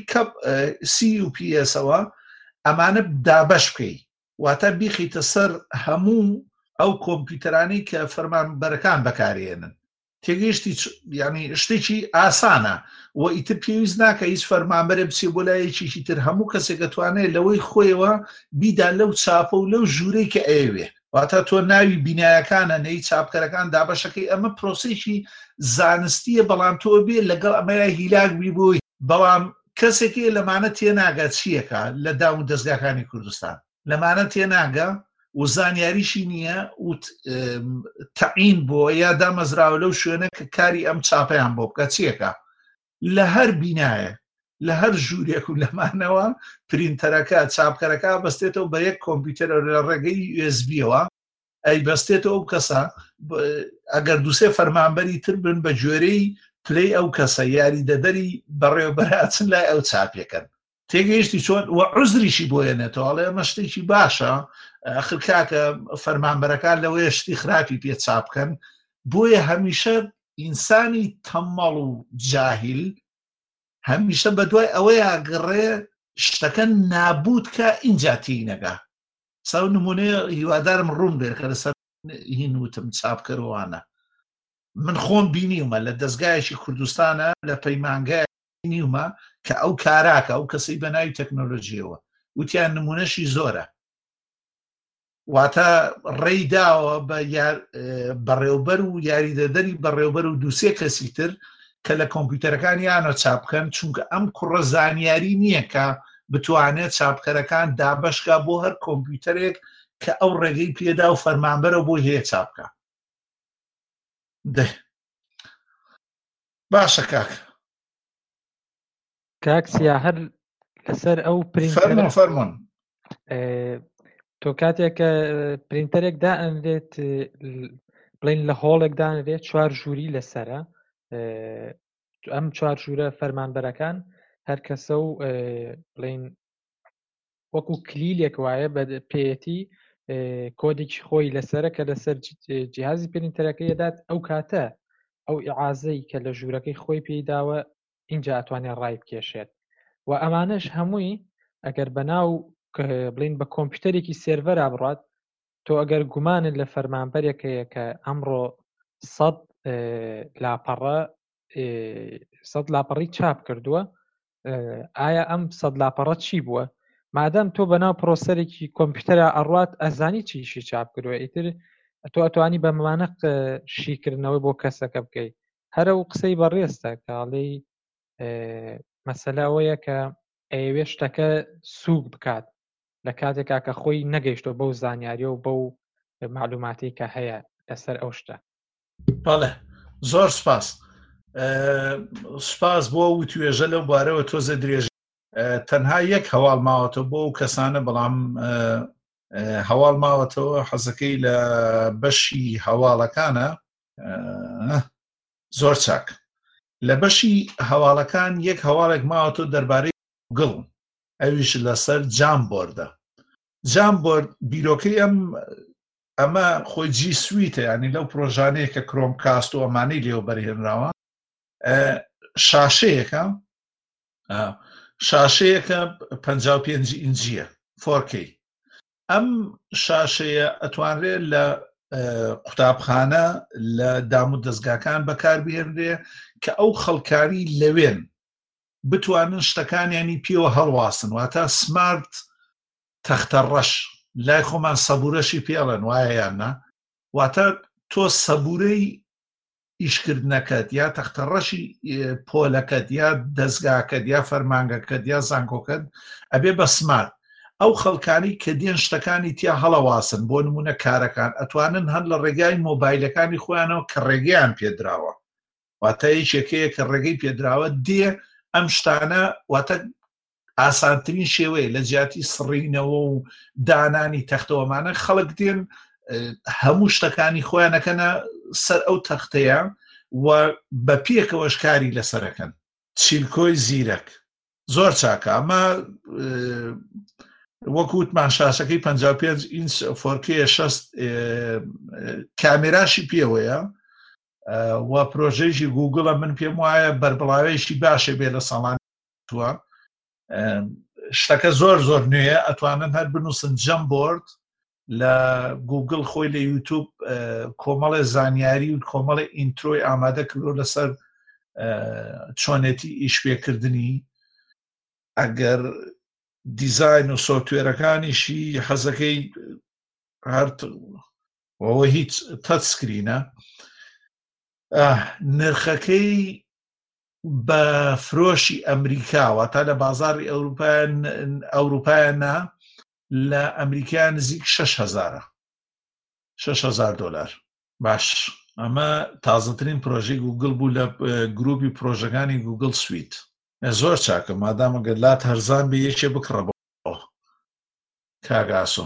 CUPS-ەوە ئەمانە دابەش بکەی واتە بیخیتە سەر هەموو ئەو کۆمپیوتەرانی کە فەرمانبەرەکان بەکارێنن تێگەیشتی ینی شتێکی ئاسانە و ئیتر پێویست ناکە هیچ فەرمانبەرێ بچێ بۆ لایەکێکی تر هەموو کەسێک دەتوانێت لەوەی خۆیەوە بیدا لەو چاپە و لەو ژوورەی کە ئەوێ واتە تۆ ناوی بینایەکانە نەی چاپکەرەکان دابەشەکەی ئەمە پرۆسێکی زانستیە بەڵام تۆ بێ لەگەڵ ئەمەیە هیلاک بی بۆی بەڵام کەسێکی لەمانە تێناگە چیەکە لە داو دەستگاکانی کوردستان لەمانە تێناگە و زانیاریشی نییە و تەعین بۆ یا دامەزراوە لەو شوێنە کە کاری ئەم چاپەیان بۆ بکە چیەکە لە هەر بینایە لە هەر ژوورێک و لەمانەوە پرینتەرەکە چاپکەرەکە بەستێتەوە بە یەک کۆمپیوتەر لە ڕێگەی USB-ەوە ئەی بەستێتەوە ئەو کەسە ئەگەر دووسێ فەرمانبەری تر بن بە جۆرەی پلەی ئەو کەسە یاری دەدەری بەڕێوەبەرچن لای ئەو چاپێکن تێگەیشتی چۆن و عوزریشی بۆیەنێتەوە ئەڵێ ئەمە شتێکی باشە ئەخر کاکە فەرمانبەرەکان لەوەیە شتی خراپی پێ چاپ بکەن بۆیە هەمیشە ئینسانی تەمەڵ و جاهیل هەمیشە بەدوای ئەوەی ئاگەڕێ شتەکە نابوت کە اینجا تینەگا ساو نمونەیە هیوادارم ڕوون بێت کە لەسەر هین وتم چاپکەروانە من خۆم بینیومە لە دەستگایەکی کوردستانە لە پەیمانگای بینیومە کە ئەو کاراکە ئەو کەسەی بەناوی تەکنۆلۆژیەوە وتیان نمونەشی زۆرە واتە ڕێی داوە بەڕێوبەر و یاریدەدەری بەڕێوبەر و دووسێ کەسی تر کە لە کۆمپیوتەرەکان یانە چاپ بکەن چونکە ئەم کوڕە زانیاری نییە کە بتوانێت چاپکەرەکان دابشکا بۆ هەر کۆمپیوتەرێک کە ئەو ڕێگەی پێدا و فەرمانبەرە بۆ هەیە چاپکە باشە کاکسیا هەر لەسەر ئەو فەرمۆن تۆ کاتێک کە پرینتەرێک دائەنرێت بڵین لە هۆڵێک دانرێت 4 ژووری لەسرە ئەم 4 ژوورە فەرمانبەرەکان هەر کەسە و بڵین وەکو کلیلێک وایە بە پێەتی کۆدێکی خۆی لەسرە کە لەسەر جیهازی پرینتەرەکە دەدات ئەو کاتە ئەو ئیعازەی کە لە ژوورەکەی خۆی پێداوە اینجا ئەتوانێت ڕای بکێشێت و ئەمانەش هەمووی ئەگەر بەناو بڵین بە کۆمپیوتەرێکی سێرڤەرا بڕات تۆ ئەگەر گومانت لە فەرمانبەرێکەیە کە ئەمڕۆ 100 لاپەڕی چاپ کردووە ئایا ئەم 100 لاپەڕە چی بووە مادەم تۆ بەناو پرۆسەرێکی کۆمپیوتەرە ئەڕوات ئەزانی چیشی چاپ کردووە ئیتر تۆ ئەتوانی بە مەمانە شیکردنەوەی بۆ کەسەکە بکەیت هەرە و قسەی بەڕێستە کاڵی مەسەلە ئەوەیە کە ئەوێ شتەکە سووک بکات لە کاتێکا کە خۆی نەگەیشتۆ بەو زانیاریە و بەو معلوماتی کە هەیە لەسەر ئەو شتە بەڵێ زۆر سپاس بۆ و توێژە لەو بارەوە تۆزە درێژ تەنها یەک هەواڵ ماوەتەوە بۆ ئەو کەسانە بەڵام هەواڵ ماوەتەوە حەزەکەی لە بەشی هەواڵەکانە زۆر چاک لە بەشی هەواڵەکان یەک هەواڵێک ماوەتەوە دەربارەی گوگڵ ئەویش لەسەر جامبۆردە جامبۆرد بیرۆکەی ئەمە خۆی جی سویتە ینی لەو پرۆژانەیە کە کرۆم کاست و ئەمانەی لێوە بەرهێنراوە شاشەیەکە 55 ئینجیە 4K ئەم شاشەیە ئەتوانرێت لە قوتابخانە لە دام و دەستگاکان بەکاربهێنرێ کە ئەو خەڵکاری لەوێن بتوانن شتەکانیانی پێوە هەڵواسن واتە سمارت تەختە ڕەش لای خۆمان سەبورەشی پێڵێن وایە یاننا واتە تۆ سەبورەی ئیشکردنەکەت یا تەختە ڕەشی پۆلەکەت یا دەستگاکەت یا فەرمانگەکەت یا زانکۆکەت ئەبێ بە سمارت ئەو خەڵکانی کە دێن شتەکانی تیا هەڵەواسن بۆ نمونە کارەکان ئەتوانن هەر لە ڕێگای مۆبایلەکانی خۆیانەوە کە ڕێگەیان پێدراوە واتە یەکێکەیە کە ڕێگەی پێدراوە دێ ئەم شتانە واتە ئاسانترین شێوەیە لە جیاتی سڕینەوە و دانانی تەختەوەمانە خەڵک دێن هەموو شتەکانی خۆیانەکەنە سەر ئەو تەختەیە و بە پێکەوەش کاری لەسەرەکەن چیلکۆی زیرەک زۆر چاکە ئەمە وەکووتمان شاشەکەی 55 ئینچ 4K 60 کامێراشی پێوەیە و پرۆژەیەکی گوگڵە من پێم وایە بەربڵاوەیەکی باشێ بێ لە ساڵان تووە شتەکە زۆر نوێیە ئەتوانن هەر بنووسن جەمبۆرد لە گوگڵ خۆی لە یوتیوب کۆمەڵی زانیاری و کۆمەڵی ئینترۆی ئامادە کردو لەسەر چۆنێتی ئیشپێکردنی ئەگەر دیزاین و سۆفتوێرەکانیشی حەزەکەی هەرەوە هیچ تەچ سکرینە نرخەکەی بە فرۆشی ئەمریکاوە تا لە بازاری ئەوروپایانە لە ئەمریکا نزیک 6,000 دلار باش ئەمە تازەترین پرۆژەی گوگڵ بوو لە گروپی پرۆژەکانی گوگڵ سویت زۆر چاکە مادامە گەلات هەرزان بە یەکێ بکڕەبەوە کاگاسۆ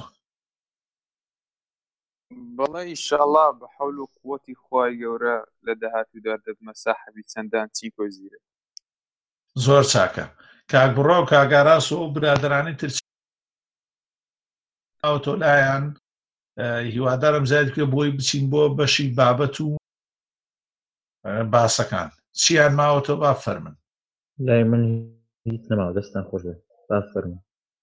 بەڵێ ئیشەڵا بە حەول و قووەتی خوای گەورە لە داهاتوودا دەبمە ساحەبی چەندان چیکۆ زیرە زۆر چاکە کاک بڕا و کاگاراس و برادرانی تر ئەوتۆ لایەن هیوادارم زیاد کرێ بۆی بچین بۆ بەشی بابەت و باسەکان چیان ماوەتۆ با فەرمن. لای من هیچ نەماوە دەستان خۆش بێت با فەرموو.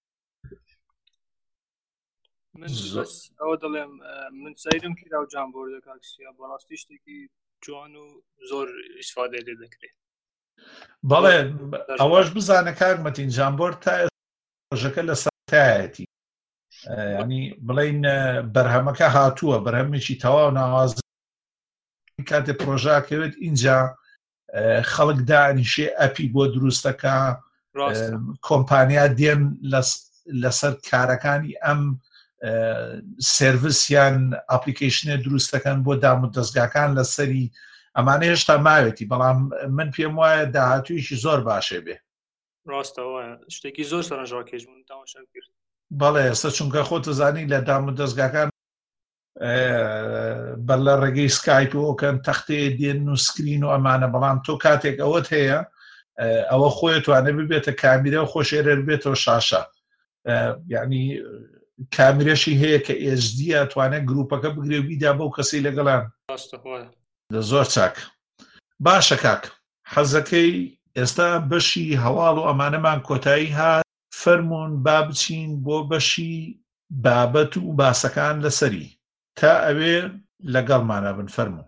من بەس ئەوە دەڵێم من سەیرم کرا و جانبۆردە کاکسیا بەڕاستی شتێکی جوان و زۆر ئیسفادەی لێ دەکرێت. بەڵێ ئەوەش بزانە کارمەتین جانبۆرد تا ڕۆژەکە لە سەرایەتی ینی بڵین بەرهەمەکە هاتووە بەرهەمێکی تەواو ناواز کاتێ پرۆژاکەوێت اینجا خەڵک دانیشێ ئەپی بۆ دروستەکە کۆمپانیا دێن لەسەر کارەکانی ئەم سێڤیسیان ئاپلیکیشنێ دروستەکەن بۆ دام و دەستگاکان لەسەری ئەمانە هێشتا ماوێتی بەڵام من پێم وایە داهاتوویشی زۆر باشێ بێ. ڕاستەوە شتێکی زۆر سەرنجڕاکێش بوون تاماشا کرد. بەڵێ ئێستا چونکە خۆتە زانی لە دام و دەستگاکان بەر لە ڕێگەی سکایپۆکەن تەختەیە دێن و سکرین و ئەمانە بەڵام تۆ کاتێک ئەوەت هەیە ئەوە خۆی توانێت ببێتە کامیرە و خۆشێرە بێتەوە شاشە یعنی کامیرەشی هەیە کە ئێژدیە توانێت گروپەکە بگرێ بیدا بەو کەسی لەگەڵان زۆر چاک. باشە کاک حەزەکەی ئێستا بەشی هەواڵ و ئەمانەمان کۆتایی هات فەرمونون با بچین بۆ بەشی بابەت و باسەکان لەسەری تا ئەوێ لەگەڵمانە بن فەرموو.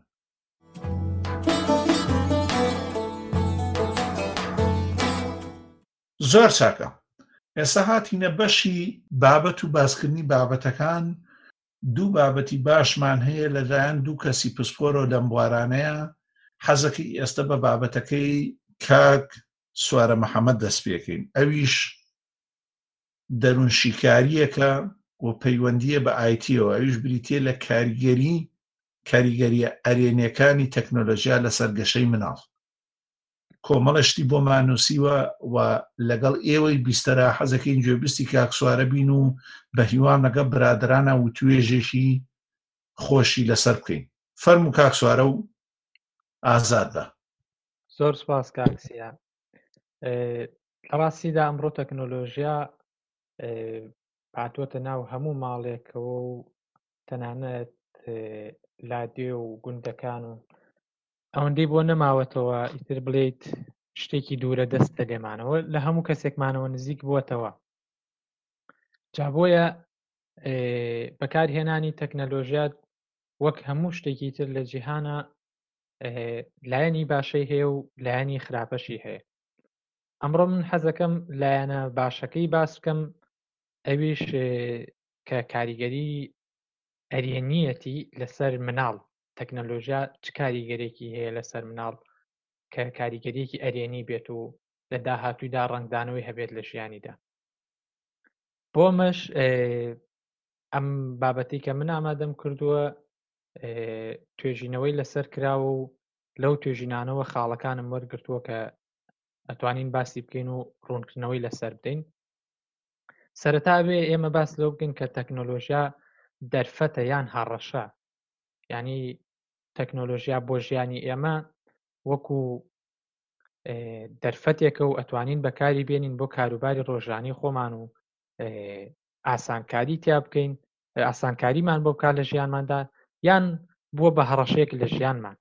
زۆر چاکە ئێستا هاتینە بەشی بابەت و باسکردنی بابەتەکان. دوو بابەتی باشمان هەیە لەلایەن دوو کەسی پسپۆرە و لەم بوارانەیە. حەزەکەی ئێستا بە بابەتەکەی کاک سوارە مەحەممەد دەست پێکەین. ئەویش دەروون شیکاریەکە و پەیوەندیە بە ئایتیەوە. ئەویش بریتێ لە کاریگەریە ئەرێنیەکانی تەکنۆلۆژیا لەسەر گەشەی مناڵ. کۆمەڵشتی بۆ مانوسیوە و لەگەڵ ئێوەی بیستەرە حەزەکەین گوێبیستی کاکسوارە بین و بە هیوام لەگە برادرانە و توێژێکی خۆشی لەسەر بکەین. فەرموو کاکسوارە و ئازاد بە. زۆر سپاس کاکسیا. لە ڕاستیدا ئەمڕۆ تەکنۆلۆژیا هاتووەتە ناو هەموو ماڵێکەوە و تەنانەت لادێ و گوندەکان و ئەوەندەی بۆ نەماوەتەوە ئیتر بڵێیت شتێکی دوورە دەستە لێمانەوە لە هەموو کەسێکمانەوە نزیک بووەتەوە. جا بۆیە بەکارهێنانی تەکنەلۆژیات وەک هەموو شتێکی تر لە جیهانە لایەنی باشەی هەیە و لایەنی خراپەشی هەیە. ئەمڕۆ من حەزەکەم لایەنە باشەکەی باس بکەم ئەویش کە کاریگەری ئەرێنیەتی لەسەر مناڵ. تەکنەلۆژیا چ کاریگەرێکی هەیە لەسەر مناڵ کە کاریگەریەکی ئەرێنی بێت و لە داهاتوویدا ڕنگدانەوەی هەبێت لە ژیانیدا. بۆمەش ئەم بابەتی کە من ئامادەم کردووە توێژینەوەی لەسەر کراوە و لەو توێژینانەوە خاڵەکانم وەرگرتووە کە ئەتوانین باسی بکەین و ڕوونکردنەوەی لەسەر بدەین. سەرەتا بێ ئێمە باس لەو بکەین کە تەکنۆلۆژیا دەرفەتە یان هاڕەشە. یعنی تەکنۆلۆژیا بۆ ژیانی ئێمە وەکو دەرفەتێکە و ئەتوانین بەکاری بێنین بۆ کاروباری ڕۆژانی خۆمان و ئاسانکاری تیا بکەین، ئاسانکاریمان بۆ بکات لە ژیانماندا یان بووە بە هەڕەشەیەک لە ژیانمان.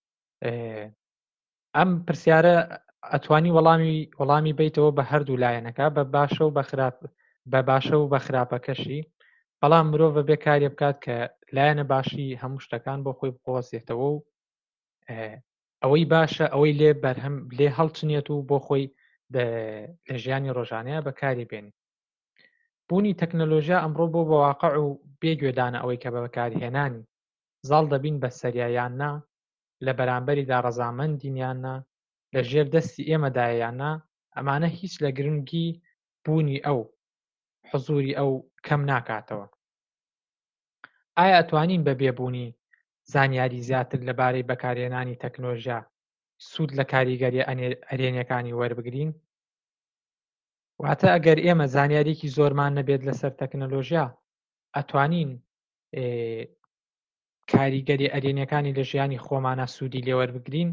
ئەم پرسیارە ئەتوانی وەڵامی بیتەوە بە هەردوو لایەنەکە بە باشە و بە خراپەکەشی. بەڵام مرۆڤ بێ کارێ بکات کە لایەنە باشی هەموو شتەکان بۆ خۆی بقۆزێتەوە و ئەوەی باشە ئەوەی لێ هەڵچنێت و بۆ خۆی لە ژیانی ڕۆژانەیە بەکاری بێنی. بوونی تەکنەلۆژیا ئەمڕۆ بۆ بەواقع و بێگوێدانە ئەوەی کە بە بەکارهێنانی زاڵ دەبین بە سەریایاننا لە بەرامبەریدا ڕەزامەندینیاننا لە ژێر دەستی ئێمەدایاننا ئەمانە هیچ لە گرنگی بوونی ئەو حزوری ئەو کەم ناکاتەوە. ئایا ئەتوانین بە بێبوونی زانیاری زیاتر لەبارەی بەکارهێنانی تەکنۆلۆژیا سوود لە کاریگەری ئەرێنیەکانی وەربگرین؟ واتە ئەگەر ئێمە زانیاریکی زۆرمان نەبێت لەسەر تەکنەلۆژیا ئەتوانین کاریگەری ئەرێنیەکانی لە ژیانی خۆمانە سوودی لێوەربگرین؟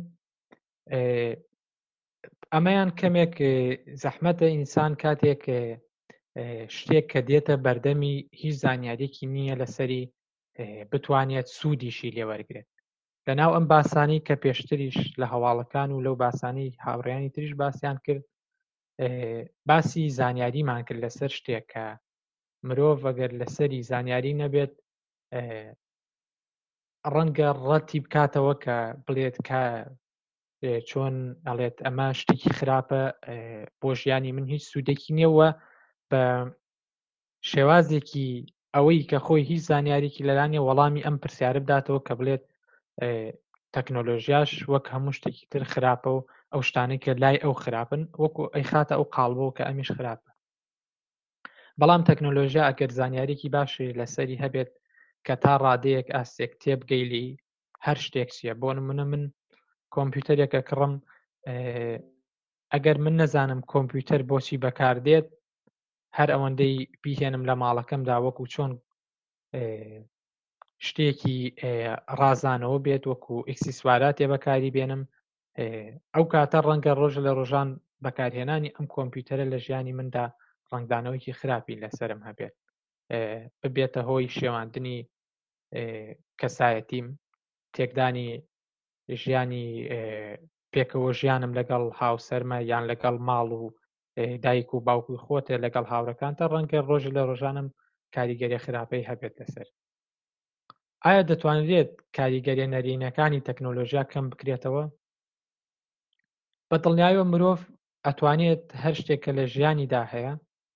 ئەمەیان کەمێک زەحمەتە ئینسان کاتێک شتێک کە دێتە بەردەمی هیچ زانیاریەکی نییە لەسەری بتوانێت سوودیشی لێوەرگێت. لەناو ئەم باسانی کە پێشتریش لە هەواڵەکان و لەو باسانی هاوڕێیانی تریش باسییان کرد، باسی زانیاریمان کرد لەسەر شتێک کە مرۆڤ ئەگەر لەسەری زانیاری نەبێت ڕەنگە ڕەتی بکاتەوە کە بڵێت کە چۆن ئەڵێت ئەمە شتێکی خراپە، بۆ ژیانی من هیچ سوودێکی نییەوە بە شێوازێکی ئەوەی کە خۆی هیچ زانیاریکی لەلانێ وەڵامی ئەم پرسیارە بداتەوە کە بڵێت تەکنۆلۆژیاش وەک هەموو شتێکی تر خراپە و ئەو شتانەی کە لای ئەو خراپن وەکو ئەی خاتە ئەو قاڵبەوە کە ئەمیش خراپە. بەڵام تەکنۆلۆژیا ئەگەر زانیاریکی باشی لەسەری هەبێت کە تا ڕادەیەک ئاستێک تێبگەیلی هەر شتێک چیە. بۆ نمونە من کۆمپیوتەرێکە کڕم، ئەگەر من نەزانم کۆمپیوتەر بۆچی بەکاردێت، هەر ئەوەندەی بیهێنم لە ماڵەکەمدا وەکو چۆن شتێکی ڕازانەوە بێت وەکو ئەکسیسواراتێ بەکاری بێنم، ئەو کاتە ڕەنگە ڕۆژ لە ڕۆژان بەکارهێنانی ئەم کۆمپیوتەرە لە ژیانی مندا ڕنگدانەوەیکی خراپی لەسرم هەبێت، ببێتە هۆی شێواندنی کەسایەتیم، تێکدانی ژیانی پێکەوە ژیانم لەگەڵ هاوسەرمە یان لەگەڵ ماڵ و دایک و باوکوی خۆتە لەگەڵ هاوڕەکانتە ڕەنگە ڕۆژ لە ڕۆژانم کاریگەری خراپەی هەبێت لەسەر. ئایا دەتوانرێت کاریگەریە نەرینەکانی تەکنۆلۆژیا کەم بکرێتەوە؟ بە دڵنیاییەوە مرۆڤ ئەتوانێت هەر شتێکە لە ژیانیدا هەیە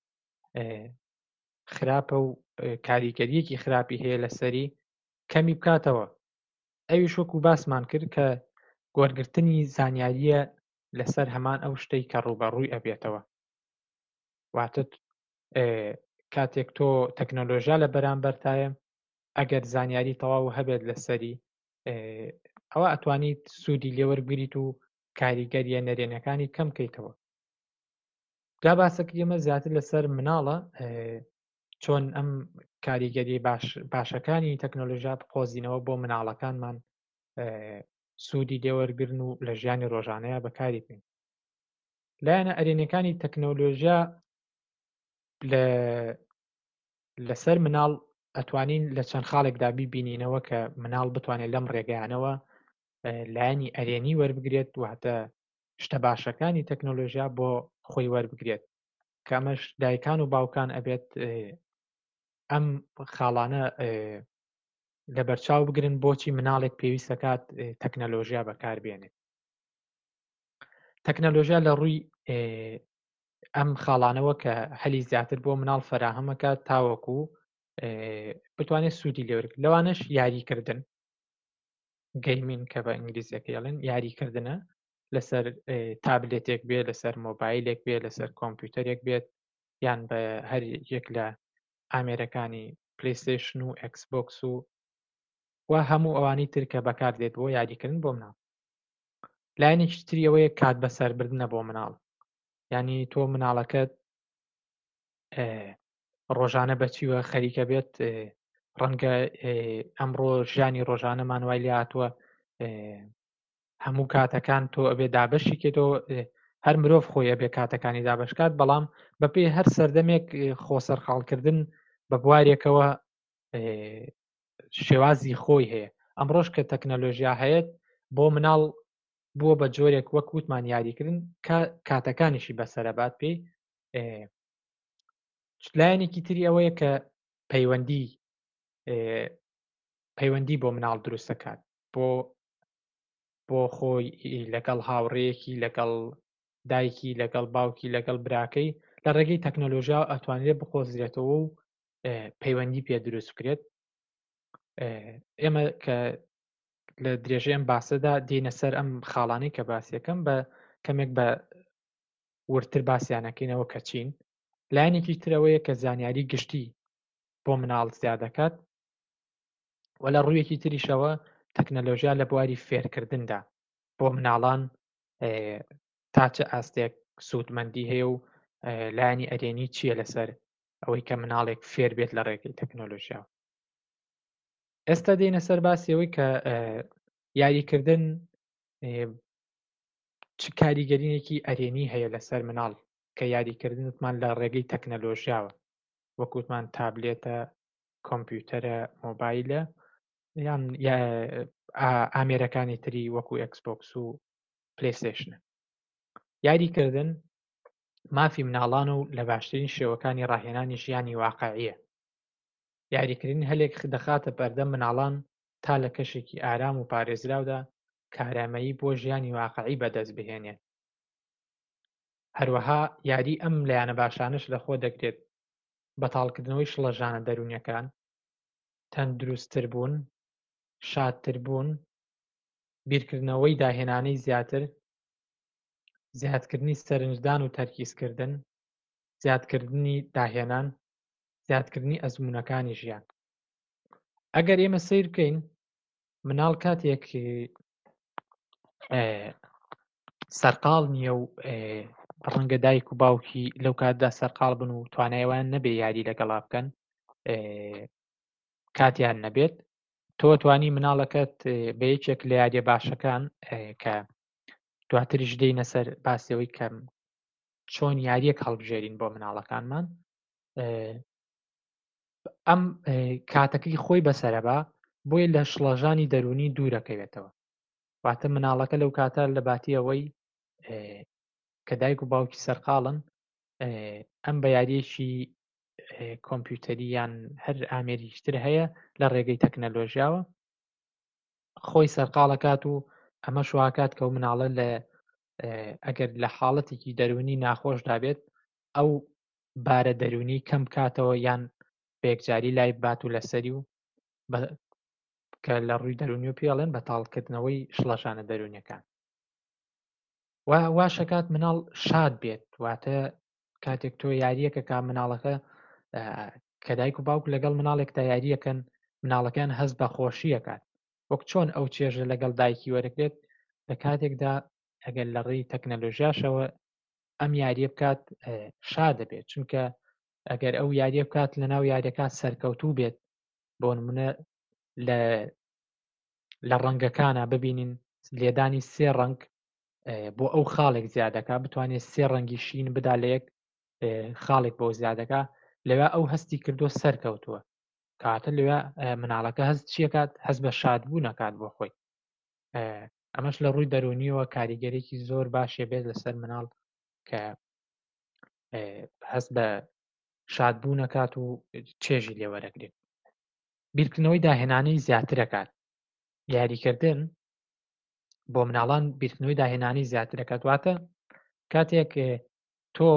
خراپە و کاریگەریەکی خراپی هەیە لەسەری کەمی بکاتەوە. ئەویش وەکو باسمان کرد کە گۆرگرتنی زانیاریە لەسەر هەمان ئەو شتەی کە ڕوبەڕووی ئەبێتەوە. واتە کاتێک تۆ تەکنۆلۆژیا لە بەرامبەرتایە، ئەگەر زانیاری تەواو هەبێت لەسەری ئەوە ئەتوانیت سوودی لێوەربگریت و کاریگەریە نەرێنەکانی کەم بکەیتەوە. جا باسەکە ئێمە زیاتر لەسەر مناڵە چۆن ئەم کاریگەری باشەکانی تەکنۆلۆژیا بقۆزینەوە بۆ مناڵەکانمان سوودی لێوەرگرن و لە ژیانی ڕۆژانەیە بەکاری بین. لایەنە ئەرێنەکانی تەکنۆلۆژیا لەسەر مناڵ ئەتوانین لە چەند خاڵێکدا بیبینینەوە کە مناڵ بتوانێت لەم ڕێگەیانەوە لایەنی ئەرێنی وەربگرێت، واتە شتە باشەکانی تەکنۆلۆژیا بۆ خۆی وەربگرێت، کەمەش دایکان و باوکان ئەبێت ئەم خاڵانە لە بەرچاو بگرن بۆچی مناڵێک پێویستەکات تەکنۆلۆژیا بەکاربێنێت. تەکنۆلۆژیا لە ڕووی ئەم خاڵانەوە کە هەلی زیاتر بۆ مناڵ فەراهەمەکات تاوەکو بتوانێت سوودی لێوەرگرێت. لەوانش یاریکردن، گەیمین کە بە ئینگلیزیەکەڵێن، یاریکردنە لەسەر تابلێتێک بێت، لەسەر مۆبایلێک بێت، لەسەر کۆمپیوتەرێک بێت، یان بە هەر یەک لە ئامێرەکانی پلەیستێشن و ئەکسبۆکس و هەموو ئەوانی تر کە بەکاردێت بۆ یاریکردن بۆ مناڵ. لایەنێکی تری ئەوەیە کات بەسەربردنە بۆ مناڵ، یعنی تۆ مناڵەکەت ڕۆژانە بەچیوە خەریکە بێت. ڕەنگە ئەمڕۆ ژیانی ڕۆژانەمان وای لێ هاتووە هەموو کاتەکان تۆ ئەبێ دابەشی کێتەوە، هەر مرۆڤ خۆی ئەبێ کاتەکانی دابشکات، بەڵام بەپێی هەر سەردەمێک خۆسەرخاڵکردن بە بوارێکەوە شێوازی خۆی هەیە. ئەمڕۆژ کە تەکنۆلۆژیا هەیەت بۆ مناڵ بووە بە جۆرێک وەک وتمان یاریکردن کاتەکانیشی بەسەرەبات پێی. لایەنێکی تری ئەوەیە کە پەیوەندی بۆ مناڵ دروست دەکات، بۆ خۆی لەگەڵ هاوڕێیەکی، لەگەڵ دایکی، لەگەڵ باوکی، لەگەڵ براکەی لە ڕێگەی تەکنۆلۆژیا ئەتوانرێت بخۆزرێتەوە و پەیوەندی پێ دروست بکرێت. ئێمە کە لە درێژەی ئەم باسەدا دێنە سەر ئەم خاڵانەی کە باسیەکەم بە کەمێک بە ورتر باسییانەکەینەوە کە چین. لایەنێکی ترەوەیە کە زانیاری گشتی بۆ مناڵ زیاد دەکات، و لە ڕوویەکی تریشەوە تەکنۆلۆژیا لە بواری فێرکردندا بۆ مناڵان تا چه ئاستێک سوودمەندی هەیە و لایەنی ئەرێنی چییە لەسەر ئەوەی کە مناڵێک فێر بێت لە ڕێگەی تەکنۆلۆژیا. ئێستا دێنە سەر باسی ئەوەی کە یاریکردن چ کاریگەرینێکی ئەرێنی هەیە لەسەر مناڵ کە یاریکردنتمان لە ڕێگەی تەکنەلۆژیاوە وەکوتمان تابلێتە کۆمپیوتەرە مۆبایلە یان ئامێرەکانی تری وەکو ئەکسبۆکس و پلەیستێشنە. یاریکردن مافی مناڵان و لە باشترین شێوەکانی ڕاهێنانی ژیانی واقعیە. یاریکردن هەلێک دەخاتە بەردەم مناڵان تا لە کەشێکی ئارام و پارێزراودا کارامەیی بۆ ژیانی واقعی بەدەست بهێنێت. هەروەها یاری ئەم لایەنە باشانش لەخۆ دەگرێت بەتاڵکردنەوەی شڵەژانە دەرونیەکان، تەندروستتر بوون، شادتر بوون، بیرکردنەوەی داهێنانەی زیاتر، زیادکردنی سەرنجدان و تەرکیزکردن، زیادکردنی داهێنان، زیادکردنی ئەزموونەکانی ژیان. ئەگەر ئێمە سیر بکەین مناڵ کاتێک سەرقاڵ نییە و ڕەنگە دایک و باوکی لەو کاتدا سەرقاڵ بن و توانایوان نەبێ یاری لەگەڵا بکەن کاتیان نەبێت، تۆ توانی مناڵەکەت بە یەکێک لە یاریە باشەکان کە دواتریش دێینە سەر باسیەوەی کەم چۆن یاریەک هەڵبژێرین بۆ مناڵەکانمان، ئەم کاتەکەی خۆی بەسەرەبا بۆیە لە شڵەژانی دەرونی دوورەکەوێتەوە. واتە مناڵەکە لەو کاتە لە باتی ئەوەی کە دایک و باوکی سەرقاڵن ئەم بە یاریەکی کۆمپیوتەری یان هەر ئامێریشتر هەیە لە ڕێگەی تەکنەلۆژیاوە خۆی سەرقاڵەکات و ئەمە شواکات کە و مناڵە لە ئەگەر لە حاڵەتێکی دەرونی ناخۆشدا بێت ئەو بارە دەرونی کەم بکاتەوە یان بەیەکجاری لای بات و لەسەری و کە لە ڕووی دەرونی و پێڵێن بەتاڵکردنەوەی شڵەژانە دەرونیەکان. واشەکات مناڵ شاد بێت، واتە کاتێک تۆ یاریەکە کا مناڵەکە کە دایک و باوک لەگەڵ مناڵێکدا یاریەکەن مناڵەکان هەز بە خۆشیەکات وەک چۆن ئەو چێژە لەگەڵ دایکی وەرەگرێت لە کاتێکدا ئەگەر لە ڕێی تەکنەلۆژیاشەوە ئەم یاریە بکات شاد دەبێت، چونکە ئەگەر ئەو یاریە بکات لە ناو یاریەکە سەرکەوتوو بێت بۆ نمونە لە ڕەنگەکانە ببینین لێدانی سێ ڕەنگ بۆ ئەو خاڵێک زیادەکە بتوانێت سێ ڕەنگی شین بدا لە یەک خاڵێک بۆ زیادەکە لەوێ ئەو هەستی کردو سەرکەوتووە کاتە لەوێ مناڵەکە هەست چیەکات هەست بە شادبوو نەکات بۆ خۆی. ئەمەش لە ڕووی دەرونیەوە کاریگەرێکی زۆر باشێ بێت لەسەر مناڵ کە هەست بە شادبوو نەکات و چێژی لێوەرەگرێت. بیرکردنەوەی داهێنانەی زیاترەکات. یاریکردن بۆ مناڵان بیرکردنەوەی داهێنانی زیاتر دەکات، واتە کاتێک تۆ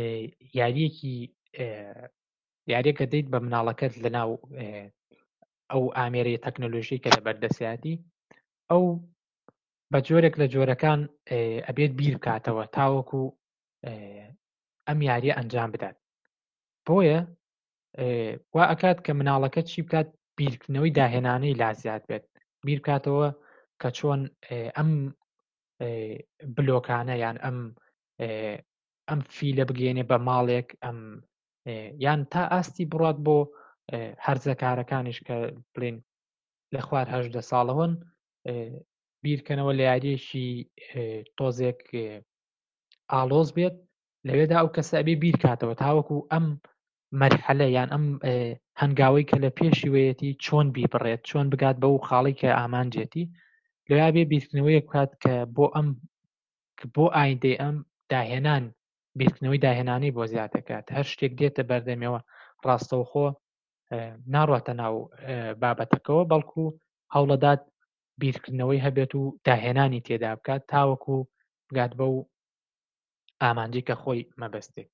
یاریەکە دەیت بە مناڵەکەت لەناو ئەو ئامێرەی تەکنەلۆژی کە لە بەردەستیاتی ئەو بە جۆرێک لە جۆرەکان ئەبێت بیر بکاتەوە تاوەکو ئەم یاریە ئەنجام بدات. بۆیە وا ئەکات کە مناڵەکە چی بکات بیرکردنەوەی داهێنانەی لازیات بێت، بیر بکاتەوە کە چۆن ئەم بلۆکانە یان ئەم فیلە بگەێنێ بە ماڵێک یان تا ئاستی بڕات بۆ هەرزەکارەکانیش کە بڵێن لە خوار 18 ساڵەوەن بیرکەنەوە لە یاریەکی تۆزێک ئالۆز بێت لەوێدا ئەو کەسە ئەبێ بیر کاتەوە تاوەکو ئەم مەرحەلە یان ئەم هەنگاوەی کە لە پێشی وەیەتی چۆن بیبڕێت چۆن بگات بەو خاڵی کە ئامانجێتی لەوێ بێ بیرکردنەوەی بکات کە بۆ ئایندەی ئەم داهێنان بیرکردنەوەی داهێنانی بۆ زیاتەکات هەر شتێک دێتە بەردەمیەوە ڕاستەوخۆ ناڕاتە ناو بابەتەکەەوە بەڵکو هەوڵەدات بیرکردنەوەی هەبێت و داهێنانی تێدا بکات تاوەکو بگات بەو ئامانجی کە خۆی مەبەستێت.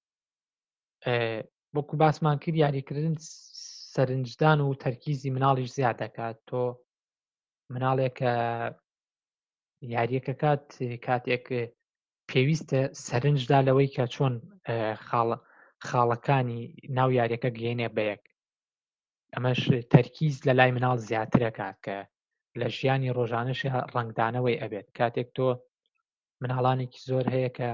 وەکو باسمان کرد یاریکردن سەرنجدان و تەرکیزی مناڵیش زیاد دەکات. تۆ مناڵێکە یاریەکەکات کاتێک پێویستە سەرنجدا لەوەی کە چۆن خاڵەکانی ناو یاریەکە گەێنێ بەیەک ئەمەش تەرکیز لە لای مناڵ زیاترەکات کە لە ژیانی ڕۆژانەش ڕنگدانەوەی ئەبێت. کاتێک تۆ مناڵانێکی زۆر هەیە کە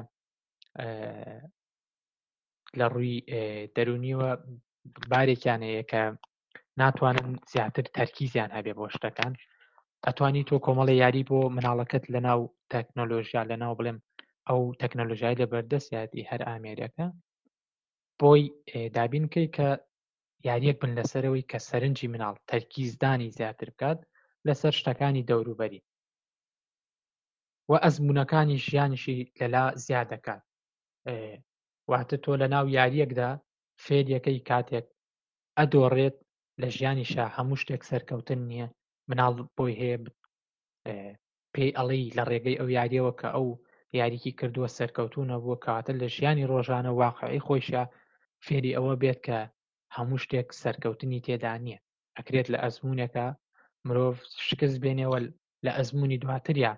لە ڕووی دەرونیەوە بارێکیان هەیە کە ناتوانن زیاتر تەرکیزیان هەبێ بۆ شتەکان ئەتوانی تۆ کۆمەڵی یاری بۆ مناڵەکەت لە ناو تەکنۆلۆژیا لە ناو بڵێم ئەو تەکنۆلۆژیای لەبەردەستیاتی هەر ئامێریەکە بۆی دابینکەی کە یاریەک بن لەسەرەوەی کە سەرنجی مناڵ تەرکیزدانی زیاتر بکات لەسەر شتەکانی دەوروبەری و ئەزمونونەکانی ژیانیشی لەلا زیاد دەکات. واتە تۆ لە ناو یاریەکدا فێریەکەی کاتێک ئەدۆڕێت لە ژیانیشا هەموو شتێک سەرکەوتن نییە مناڵ بۆی هەیە پێی ئەڵی لە ڕێگەی ئەو یاریەوە کە ئەو یاریکی کردووە سەرکەوتونە بووە کەواتە لە ژیانی ڕۆژانە واقعی خۆیشە فێری ئەوە بێت کە هەموو شتێک سەرکەوتنی تێدا نییە ئەکرێت لە ئەزمونێکە مرۆڤ شکست بێنێەوە لە ئەزمموی دواتریا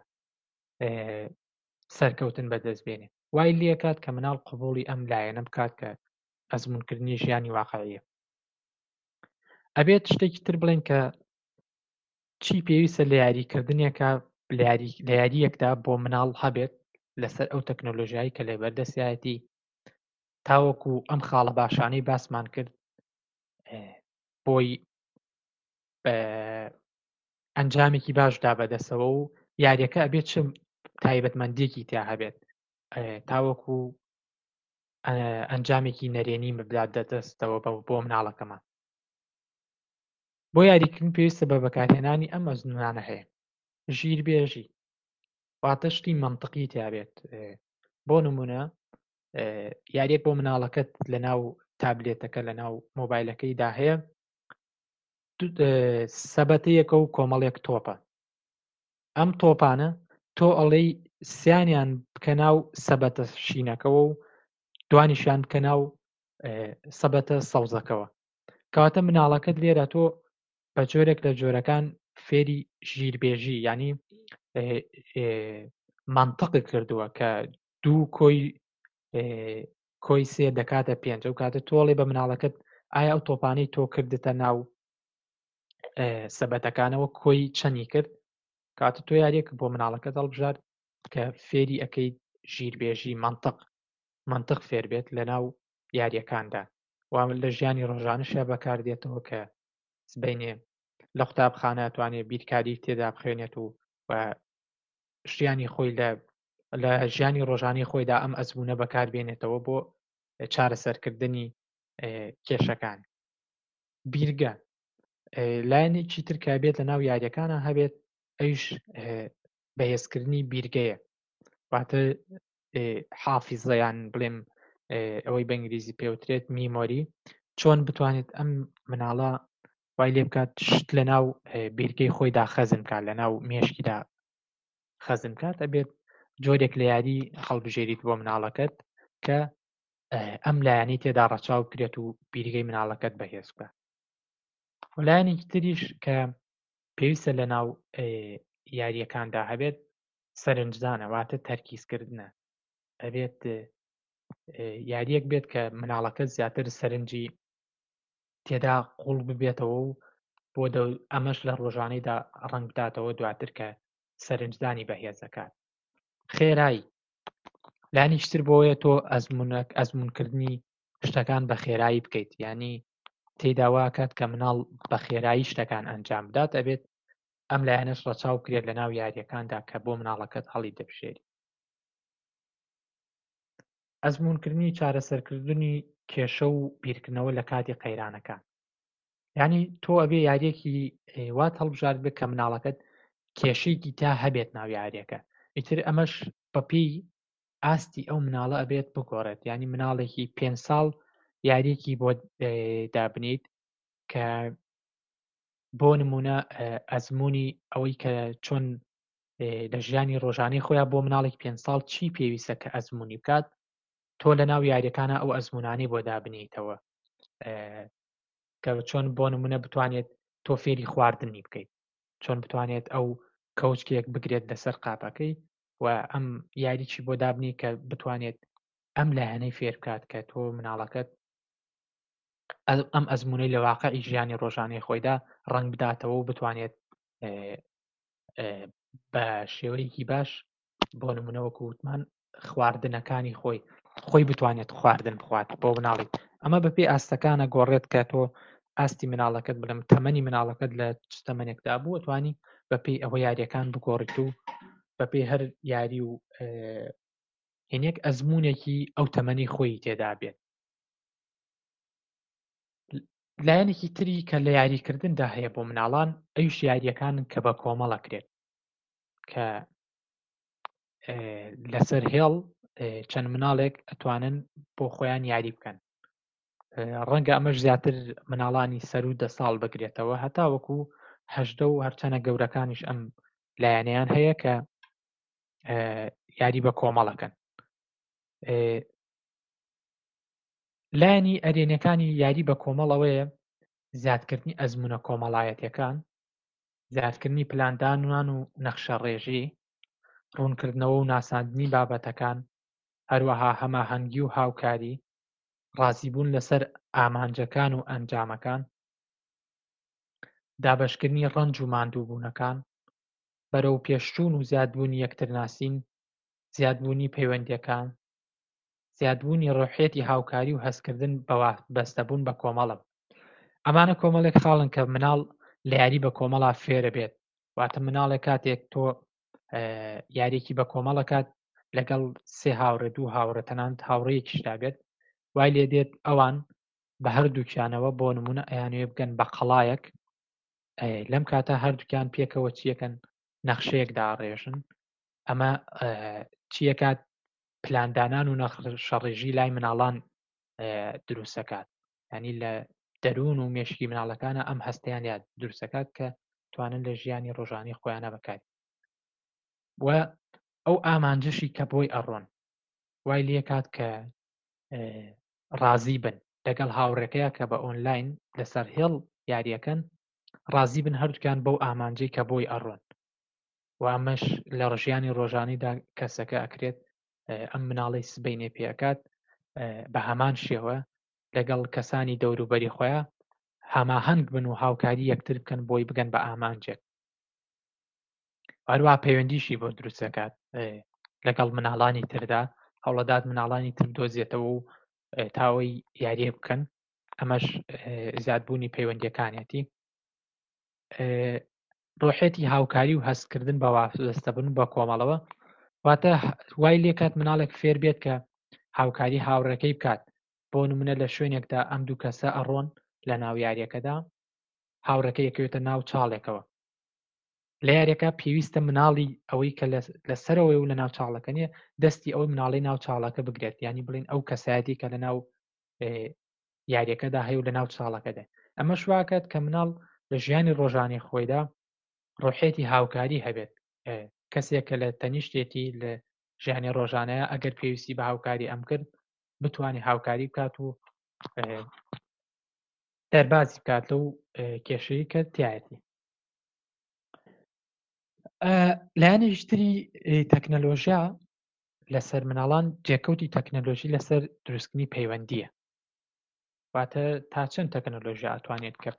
سەرکەوتن بەدەستبێنێ وای لێ کات کە مناڵ قبوڵی ئەم لایەنە بکات کە ئەزمونکردنی ژیانی واقعیە. ئەبێت شتێکی تر بڵێن کە چی پێویستە لە یاریکردنێکە لە یاریەکدا بۆ مناڵ هەبێت لەسەر ئەو تەکنۆلۆژیایی کە لێبەردەستایەتی تاوەکو ئەم خاڵە باشانەی باسمان کرد بۆی ئەنجامێکی باشدا بەدەسەوە و یاریەکە ئەبێت چ تایبەتمەندێکی تیا هەبێت تاوەکو ئەنجامێکی نەرێنی مبلات دەدەستەوە بۆ مناڵەکەمان. بۆ یاریکردن پێویستە بە بەکارهێنانی ئەم ئەزمونانە هەیە. ژیربێژی واتە شتی مەنتقی تیابێت. بۆ نمونە یاریەک بۆ مناڵەکەت لە ناو تابلێتەکە لە ناو مۆبایلەکەیدا هەیە سەبەتەیەکە و کۆمەڵێک تۆپە. ئەم تۆپانە تۆ ئەڵێی سیانیان بکە ناو سەبەتە شینەکەەوە و دوانیشان بکە ناو سەبەتە سەوزەکەەوە کەواتە مناڵەکەت لێرە تۆ بە جۆرێک لە جۆرەکان فێری ژیربێژی ینی مەنتقی کردووە کە دوو کۆی سێ دەکاتە پێنج ئەو کاتە تۆڵێ بە مناڵەکەت ئایا ئەو تۆپانەی تۆ کردتە ناو سەبەتەکانەوە کۆی چەندی کرد کاتە تۆ یاریەکە بۆ مناڵەکە دەڵبژار کە فێری ئەەکەی ژیربێژی منتق فێر بێت لە ناو یاریەکاندا وام لە ژیانی ڕۆژانەشە بەکاردێتەوە کە سبینێ لە قوتابخانە توانێت بیرکاری تێدا بخوێنێت و ژیانی خۆی لە ژیانی ڕۆژانی خۆیدا ئەم ئەزمونە بەکاربێنێتەوە بۆ چارەسەرکردنی کێشەکان. بیرگە لایەنێکی ترکا بێت لە ناو یاریەکانە هەبێت ئەوش بەهێزکردنی بیرگەیە واتە حافیزەیان بڵێم ئەوەی بە ئینگلیزی پێوترێت میمۆری چۆن بتوانێت ئەم مناڵە وای لێ بکات شت لە ناو بیرگەی خۆیدا خەزم کات لە ناو مێشکیدا خەزم کات ئەبێت جۆرێک لە یاری هەڵبژێریت بۆ مناڵەکەت کە ئەم لایەنی تێدا ڕەچاو بکرێت و بیرگەی مناڵەکەت بەهێز بکات. لایەنێکی تریش کە پێویستە لە ناو یاریەکاندا هەبێت سەرنجدانە واتە تەرکیزکردنە. ئەبێت یاریەک بێت کە مناڵەکە زیاتر سەرنجی تێدا قوڵ ببێتەوە و بۆ ئەمەش لە ڕۆژانەیدا ڕەنگ بداتەوە دواتر کە سەرنجدانی بەهێزەکات. خێرایی لانیشتر بۆیە تۆ ئەزمونکردنی شتەکان بە خێرایی بکەیت ینی تێداواکات کە مناڵ بە خێرایی شتەکان ئەنجام بدات ئەبێت ئەم لایەنەش ڕەچاو بکرێت لە ناو یاریەکاندا کە بۆ مناڵەکەت هەڵی دەبژێری. ئەزمونکردنی چارەسەرکردنی کێشە و بیرکردنەوە لە کاتی قەیرانەکان ینی تۆ ئەبێ یاریەکی وات هەڵبژار بێت کە مناڵەکەت کێشەیەکی تا هەبێت ناو یاریەکە ئیتر ئەمەش بەپێی ئاستی ئەو مناڵە ئەبێت بگۆڕێت ینی مناڵێکی 5 ساڵ یاریەکی بۆ دابنیت کە بۆ نمونە ئەزمموی ئەوەی کە چۆن لە ژیانی ڕۆژانەی خۆیان بۆ مناڵێک 5 ساڵ چی پێویستە کە ئەزمموی بکات تۆ لە ناو یاریەکانە ئەو ئەزممونانی بۆ دابنیتەوە کە چۆن بۆ نمونە بتوانێت تۆ فێری خواردنی بکەیت چۆن بتوانێت ئەو کەوچکێک بگرێت لەسەر قاپەکەی و ئەم یاریی بۆ دابنی کە بتوانێت ئەم لایەنەی فێر بکات کە تۆ مناڵەکەت ئەم ئەزممونەی لە واقعی ژیانی ڕۆژانەی خۆیدا ڕەنگ بداتەوە و بتوانێت بە شێوەیەکی باش بۆ نمونەوەکو وتمان خواردنەکانی خۆی بتوانێت خواردن بخوات بۆ مناڵی ئەمە بەپێی ئاستەکانە گۆڕێت کە تۆ ئاستی مناڵەکەت بڵم تەمەنی مناڵەکەت لە تەمەنێکدا بوو توانی بەپێی ئەوە یاریەکان بگۆڕیت و بەپێی هەر یاری و هێنێک ئەزمونێکی ئەو تەمەنی خۆی تێدا بێت. لایەنێکی تری کە لە یاریکردندا هەیە بۆ مناڵان ئەویش یاریەکانن کە بە کۆمەڵەکرێت کە لەسەر هێڵ چەند مناڵێک ئەتوانن بۆ خۆیان یاری بکەن. ڕەنگە ئەمەش زیاتر مناڵانی سەر و 10 ساڵ بگرێتەوە هەتا وەکو 18 و هەرچەنە گەورەکانیش ئەم لایەنەیان هەیە کە یاری بە کۆمەڵەکەن. لایەنی ئەرێنەکانی یاری بە کۆمەڵەوەیە زیادکردنی ئەزمونە کۆمەڵایەتیەکان، زیادکردنی پلاندانوان و نەخشە ڕێژی، ڕوونکردنەوە و ناساندنی بابەتەکان، هەروەها هەماهەنگی و هاوکاری، ڕازیبوون لەسەر ئامانجەکان و ئەنجامەکان، دابەشکردنی ڕەنج و ماندووبوونەکان، بەرەو پێشچوون و زیادبوونی یەکترناسین، زیادبوونی پەیوەندیەکان، زیادبوونی ڕۆحیەتی هاوکاری و هەستکردن بەستەبوون بە کۆمەڵە. ئەمانە کۆمەڵێک خاڵن کە مناڵ لە یاری بە کۆمەڵا فێرە بێت. واتە مناڵێک کاتێک تۆ یاریێکی بە کۆمەڵەکات لەگەڵ 3 هاوڕێ 2 هاوڕێ تەنانەت هاوڕێیەکیشدا بێت، وای لێ دێت ئەوان بە هەردووکیانەوە بۆ نمونە ئەیانوێ بگەن بە قەڵایەک، لەم کاتە هەردووکیان پێکەوە چیەکەن نەخشەیەک داڕێژن. ئەمە چیەکات پلاندانان و نەخشەڕێژی لای مناڵان دروستەکات، ینی لە دەروون و مێشکی مناڵەکانە ئەم هەستیان یاد دروستەکات کە توانن لە ژیانی ڕۆژانی خۆیانە بەکات. و ئەو ئامانجەشی کە بۆی ئەڕۆن وای لێ کات کە ڕازی بن لەگەڵ هاوڕێکەیە کە بە ئۆنلاین لەسەر هێڵ یاریەکەن، ڕازی بن هەردووکیان بەو ئامانجەی کە بۆی ئەڕۆن. و ئەمەش لە ڕژیانی ڕۆژانیدا کەسەکە ئەکرێت ئەم مناڵی سبەینێ پێکات بە هەمان شێوە لەگەڵ کەسانی دەوروبەری خۆیان هەماهەنگ بن و هاوکاری یەکتر بکەن بۆی بگەن بە ئامانجێک. هەروە پەیوەندیشی بۆ دروستەکات لەگەڵ مناڵانی تردا، هەوڵەدات مناڵانی تر دۆزێتەوە و تاوەی یاریە بکەن. ئەمەش زیادبوونی پەیوەندیەکانێتی. ڕۆحێتی هاوکاری و هەستکردن بە وابستەبوون بە کۆمەڵەوە، واتە وای لێ کات مناڵێک فێر بێت کە هاوکاری هاوڕێکەی بکات. بۆ نمونە لە شوێنێکدا ئەم دوو کەسە ئەڕۆن لە ناو یاریەکەدا، هاوڕێکە یەکەوێتە ناو چاڵێکەوە. لە یاریەکە پێویستە مناڵی ئەوەی کە لەسەرەوەی و لە ناو چاڵەکە نیە دەستی ئەوەی مناڵی ناو چاڵەکە بگرێت، ینی بڵین ئەو کەسایەتی کە لە ناو یاریەکەدا هەیە و لە ناو چاڵەکەدا. ئەمە شواکات کە مناڵ لە ژیانی ڕۆژانی خۆیدا ڕۆحێتی هاوکاری هەبێت. کەسێک کە لە تەنیشتێتی لە ژیانی ڕۆژانەیە ئەگەر پێویستی بە هاوکاری ئەم کرد بتوانێت هاوکاری بکات و دەربازی بکات لەو کێشەی کە تایەتی. لایەنێکی تری تەکنەلۆژیا لەسەر مناڵان جێکەوتی تەکنەلۆژی لەسەر دروستکردنی پەیوەندیە. واتە تا چەند تەکنەلۆژیا ئەتوانێت کە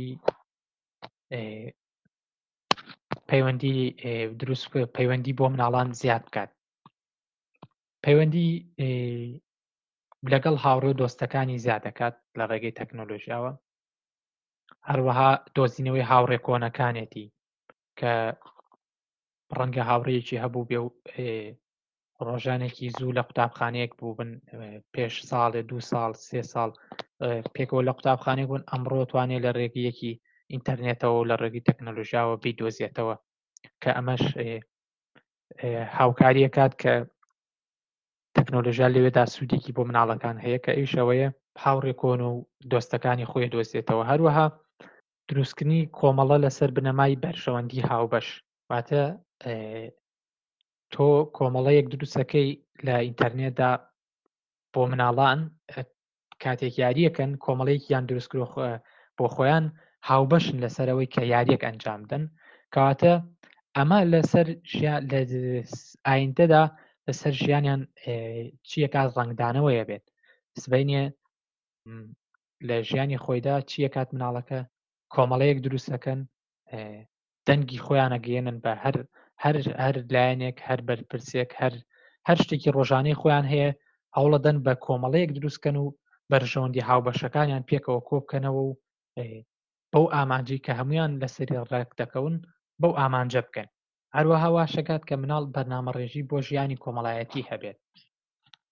پەیوەندی بۆ مناڵان زیاد بکات. پەیوەندی لەگەڵ هاوڕێ و دۆستەکانی زیاد دەکات لە ڕێگەی تەکنۆلۆژیاوە. هەروەها دۆزینەوەی هاوڕێ کۆنەکانێتی کە ڕەنگە هاوڕێیەکی هەبوو بێ و ڕۆژانێکی زوو لە قوتابخانەیەک بوو بن پێش ساڵێ 2 ساڵ 3 ساڵ پێکەوە لە قوتابخانەیەک بوون، ئەمڕۆ توانێت لە ڕێگەیەکی ئینتەرنێتەوە و لە ڕێگەی تەکنۆلۆژیاوە بیدۆزێتەوە کە ئەمەش هاوکاریە کات کە تەکنۆلۆژیا لەوێدا سوودێکی بۆ مناڵەکان هەیە کە ئەویشەوەیە هاوڕێ کۆن و دۆستەکانی خۆی دۆزێتەوە. هەروەها دروستکردنی کۆمەڵە لەسەر بنەمای بەرژەوەندی هاوبەش، واتە تۆ کۆمەڵەیەک دروستەکەی لە ئینتەرنێتدا بۆ مناڵان کاتێک یاریەکەن کۆمەڵەیەکیان دروستکرۆ بۆ خۆیان هاوبەشن لەسەرەوەی کە یاریەک ئەنجام بدەن، کەواتە ئەمە لەسەر ئایندەدا لەسەر ژیانیان چیەکات ڕنگدانەوەیە بێت. سبەینێ لە ژیانی خۆیدا چیەکات مناڵەکە کۆمەڵەیەک دروستەکەن، دەنگی خۆیانە گەێنن بە هەر لایەنێک، هەر بەرپرسێک، هەر شتێکی ڕۆژانەی خۆیان هەیە هەوڵەدەن بە کۆمەڵەیەک دروستکەن و بەرژەوەندی هاوبەشەکانیان پێکەوە کۆبکەنەوە و بەو ئامانجەی کە هەمویان لەسەری ڕێک دەکەون بەو ئامانجە بکەن. هەروەها واشەکات کە مناڵ بەرنامەڕێژی بۆ ژیانی کۆمەڵایەتی هەبێت.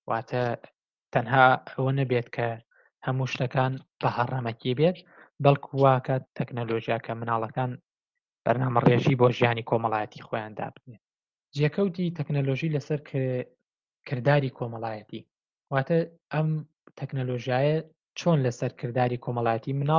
واتە تەنها ئەوە نەبێت کە هەموو شتەکان بە هەڕەمەکی بێت بەڵکو واکە تەکنەلۆژیاکە مناڵەکان بەرنامەڕێژی بۆ ژیانی کۆمەڵایەتی خۆیان دابنێت. جێکەوتی تەکنەلۆژی لەسەر کردداری کۆمەڵایەتی واتە ئەم تەکنەلۆژیایە چۆن لەسەر کردداری کۆمەڵایەتی مناڵ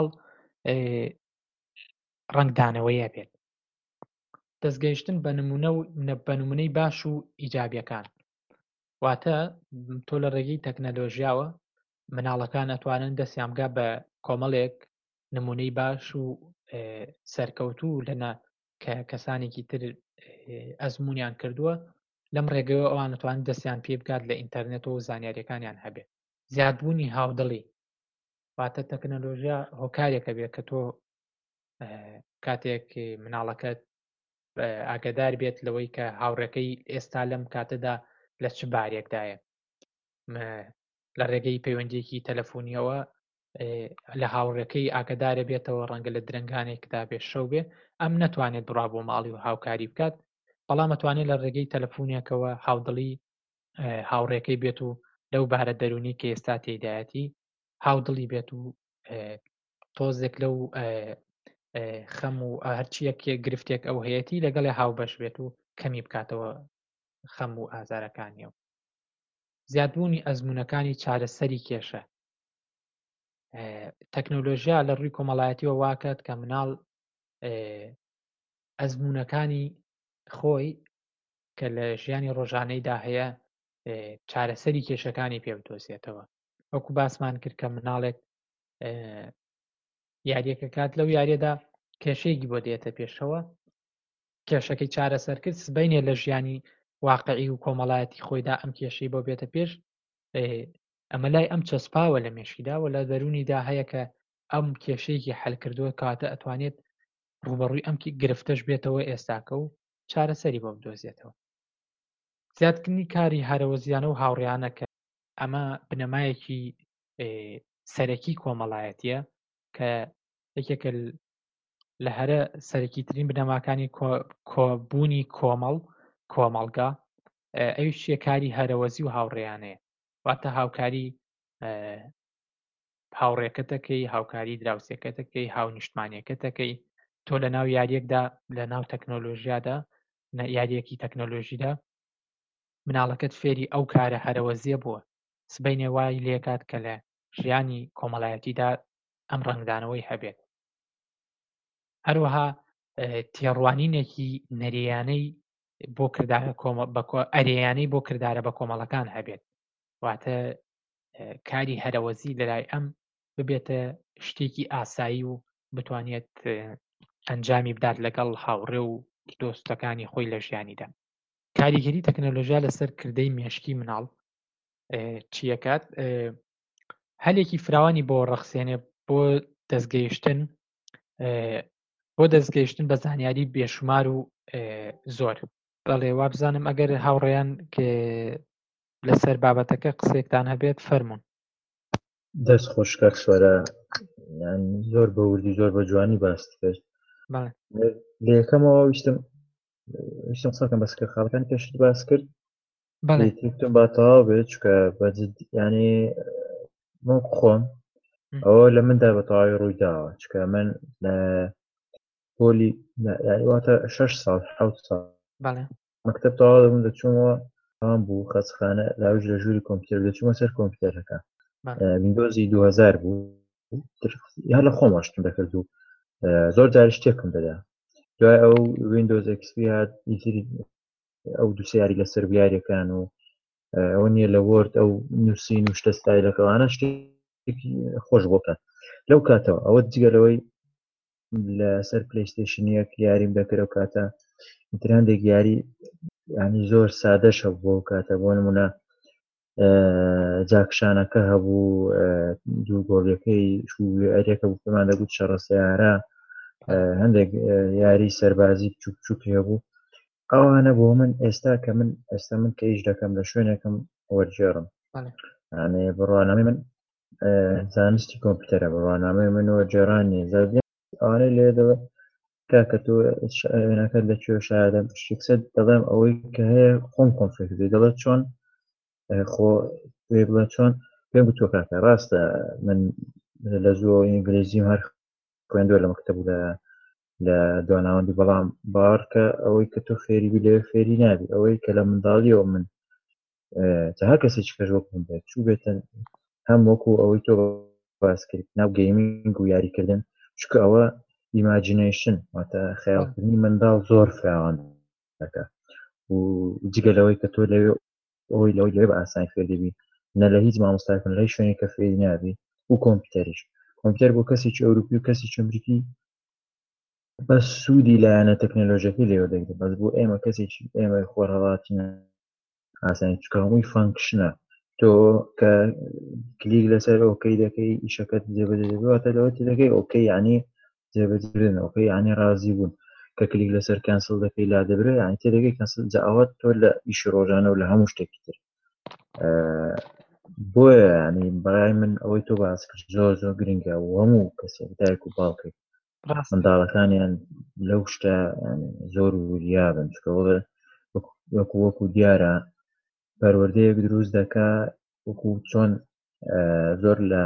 ڕنگدانەوەیە بێت. دەستگەیشتن بە نمونەی باش و ئیجابیەکان واتە تۆ لە ڕێگەی تەکنەلۆژیاوە مناڵەکان ئەتوانن دەستیان بگا بە کۆمەڵێک نمونەی باش و سەرکەوتوو لەنە کە کەسانێکی تر ئەزمونیان کردووە لەم ڕێگەوە ئەوان دەتوانن دەستیان پێ بکات لە ئینتەرنێتەوە و زانیاریەکانیان هەبێت. زیادبوونی هاودڵی واتە تەکنەلۆژیا هۆکارێکە بێت کە تۆ کاتێک مناڵەکەت ئاگادار بێت لەوەی کە هاوڕێکەی ئێستا لەم کاتەدا لە چ بارێکدایە لە ڕێگەی پەیوەندیەکی تەلەفۆنیەوە لە هاوڕێکەی ئاگدارە بێتەوە ڕەنگە لە درنگانێکدا بێ شەو بێ ئەم نەتوانێت بڕا بۆ ماڵی و هاوکاری بکات بەڵام ئەتوانێت لە ڕێگەی تەلەفۆنیەکەوە هاودڵی هاوڕێکەی بێت و لەو بارە دەرونی کە ئێستا تێدایەتی هاودڵی بێت و تۆزێک لەو خەم و هەرچیەک گرفتێک ئەو هەیەی لەگەڵی هاوبەش بێت و کەمی بکاتەوە خەم و ئازارەکانیەوە. زیادبوونی ئەزمونەکانی چارەسەری کێشە تەکنۆلۆژیا لە ڕووی کۆمەڵایەتیەوە واکات کە مناڵ ئەزمونەکانی خۆی کە لە ژیانی ڕۆژانەیدا هەیە چارەسەری کێشەکانی پێ بدۆزێتەوە. وەکو باسمان کرد کە مناڵێک یاریەکە کات لەو یاریەدا کێشەیەکی بۆ دێتە پێشەوە کێشەکەی چارەسەر کرد سبەینێ لە ژیانی واقعی و کۆمەڵایەتی خۆیدا ئەم کێشەی بۆ بێتە پێش ئەمە لای ئەم چەسپاوە لە مێشکیداوە لە دەرونیدا هەیە کە ئەم کێشەیەکی حەلکردووە کاتە ئەتوانێت ڕوبەڕووی ئەم گرفتەش بێتەوە ئێستاکە و چارەسەری بۆ بدۆزێتەوە. زیادکردنی کاری هەرەوەزیانە و هاوڕێیانە کە ئەمە بنەمایەکی سەرەکی کۆمەڵایەتیە کە یەکێکە لە هەرە سەرەکیترین بنەماکانی کۆبوونی کۆمەڵگا ئەویشیە کاری هەرەوەزی و هاوڕێیانەیە واتە هاوکاری هاوڕێکەتەکەی هاوکاری دراوسێکەتەکەی هاونیشتمانیەکەتەکەی تۆ لە ناو یاریەکدا لە ناو تەکنۆلۆژیادا یاریەکی تەکنۆلۆژیدا مناڵەکەت فێری ئەو کارە هەرەوەزیە بووە سبەینێ وای لێکات کە لە ژیانی کۆمەڵایەتیدا ئەم ڕنگدانەوەی هەبێت. هەروەها تێڕوانینێکی نەریانەی بۆ ئەرێیانەی بۆ کردارە بە کۆمەڵەکان هەبێت واتە کاری هەرەوەزی لەلای ئەم ببێتە شتێکی ئاسایی و بتوانێت ئەنجامی بدات لەگەڵ هاوڕێ و دۆستەکانی خۆی لە ژیانیدا. کاریگەری تەکنۆلۆژیا لەسەر کردەی مێشکی مناڵ چیەکات هەلێکی فراوانی بۆ ڕەخسێنێ بۆ دەستگەیشتن بە زانیاری بێشمار و زۆر. بەڵێ وا بزانم ئەگەر هاوڕێیان لەسەر بابەتەکە قسێکتان هەبێت فەرموون. دەست خۆشکە سوەرە زۆر بە وردی زۆر بە جوانی باست کرد. لە یەکەمەوە ویستم قسەکەم بەسکە خاڵەکانی پێشت باس کرد تم با تەواو بێت چکە ینی من خۆم ئەوە لە مندا بە تەواوی ڕوویداوە چکە من لە پۆلی واتە 6 ساڵ 7 ساڵ مەکتەب تەواو دەبووم دەچوومەوە ئەوان بوو خەچخانە لاوژ لە ژووری کۆمپیوتەر دەچوومە سەر کۆمپیوتەرەکە ویندۆزی 2000 بوو یا لە خۆم ئاشتم دەکرد و زۆر جار شتێکم دەدا دوای ئەو ویندۆز XP هات ئەو دووسێ یاری لەسەر بیارەکان و ئەوە نییە لە وۆرد ئەو نووسین و شتە ستایلەکەوانە شتێکی خۆش بۆکات لەو کاتەوە ئەوە جگەرەوەی لەسەر پلەیستێشنیەک یاریم دەکرد و کاتە هەندێک یاری ینی زۆر سادەشە بۆ کاتە بۆ نمونە جاکشانەکە هەبوو دوو گۆڵیەکەی ئەرێکە بوو پێمان دەگوت شەڕە سەیارە هەندێک یاری سەربازی بچووک هەبوو ئەوانە بۆ من ئێستا کە من کە ئیش دەکەم لە شوێنێکم وەرجێڕم بڕوانامەی من زانستی کۆمپیوتەرە بڕوانامەی من وەرجێڕانی ئەوانەی لێدەوە کاکە تۆ وێنەکەت لەکوێ شادە شتێکسەر دەڵێم ئەوەی کە هەیە خۆم کۆنفێکردی دەڵێت چۆن خۆ پێ بڵێ چۆن پێم گوتۆ کاکە ڕاستە من لە زۆر ئینگلیزیم هەر خوێندووە لە مەکتەب لە دواناوەندی بەڵام باوەڕکە ئەوەی کە تۆ فێری بی لەوێ فێری نابی ئەوەی کە لە منداڵیەوە من تا هەر کەسێکی کەش وەکوم بێت چوو بێتن هەم وەکو ئەوەی تۆ باس کرد ناو گەیمینگ و یاریکردن چکە ئەوە ئیماجینەیشن واتە خەیاڵکردنی منداڵ زۆر فراوان دەکە و جگەلەوەی کە تۆ لەوێ ئەوەی لەوەی بە ئاسانی فێر دەبی نە لە هیچ مامۆستاکن لەی شوێنی کە فێری نابی و کۆمپیوتەریش کۆمپیوتەر بۆ کەسێکی ئەوروپی و کەسێکی ئەمریکی بەس سوودی لایەنە تەکنۆلۆژیەکەی لێوە دەگرێت بەس بۆ ئێمە کەسێکی ئێمە خۆرهەڵاتی ئاسانی چکە هەمووی فانکشنە تۆ کە کلیک لەسەر ئۆکەی دەکەی ئیشەکەت جێبەجێبێتە لەوە دەکەی ئۆکەی یعنی جێبەجێبن ئۆکەی یعنی ڕازی بوون کە کلیک لەسەر کەنسڵ دەکەی لا دەبرێت یعنی تێدەکەی کەنسڵ جا ئەوە تۆ لە ئیشی ڕۆژانە و لە هەموو شتێکی تر بۆیە ینی بەڕای من ئەوەی تۆ باس کرد زۆر زۆر گرنگە و هەموو کەسێک دایک و باوکێک منداڵەکانیان لەو شتە زۆر وریابن چکەوەڵە وەکو دیارە پەروەردەیەک دروست دەکا وەکو چۆن زۆر لە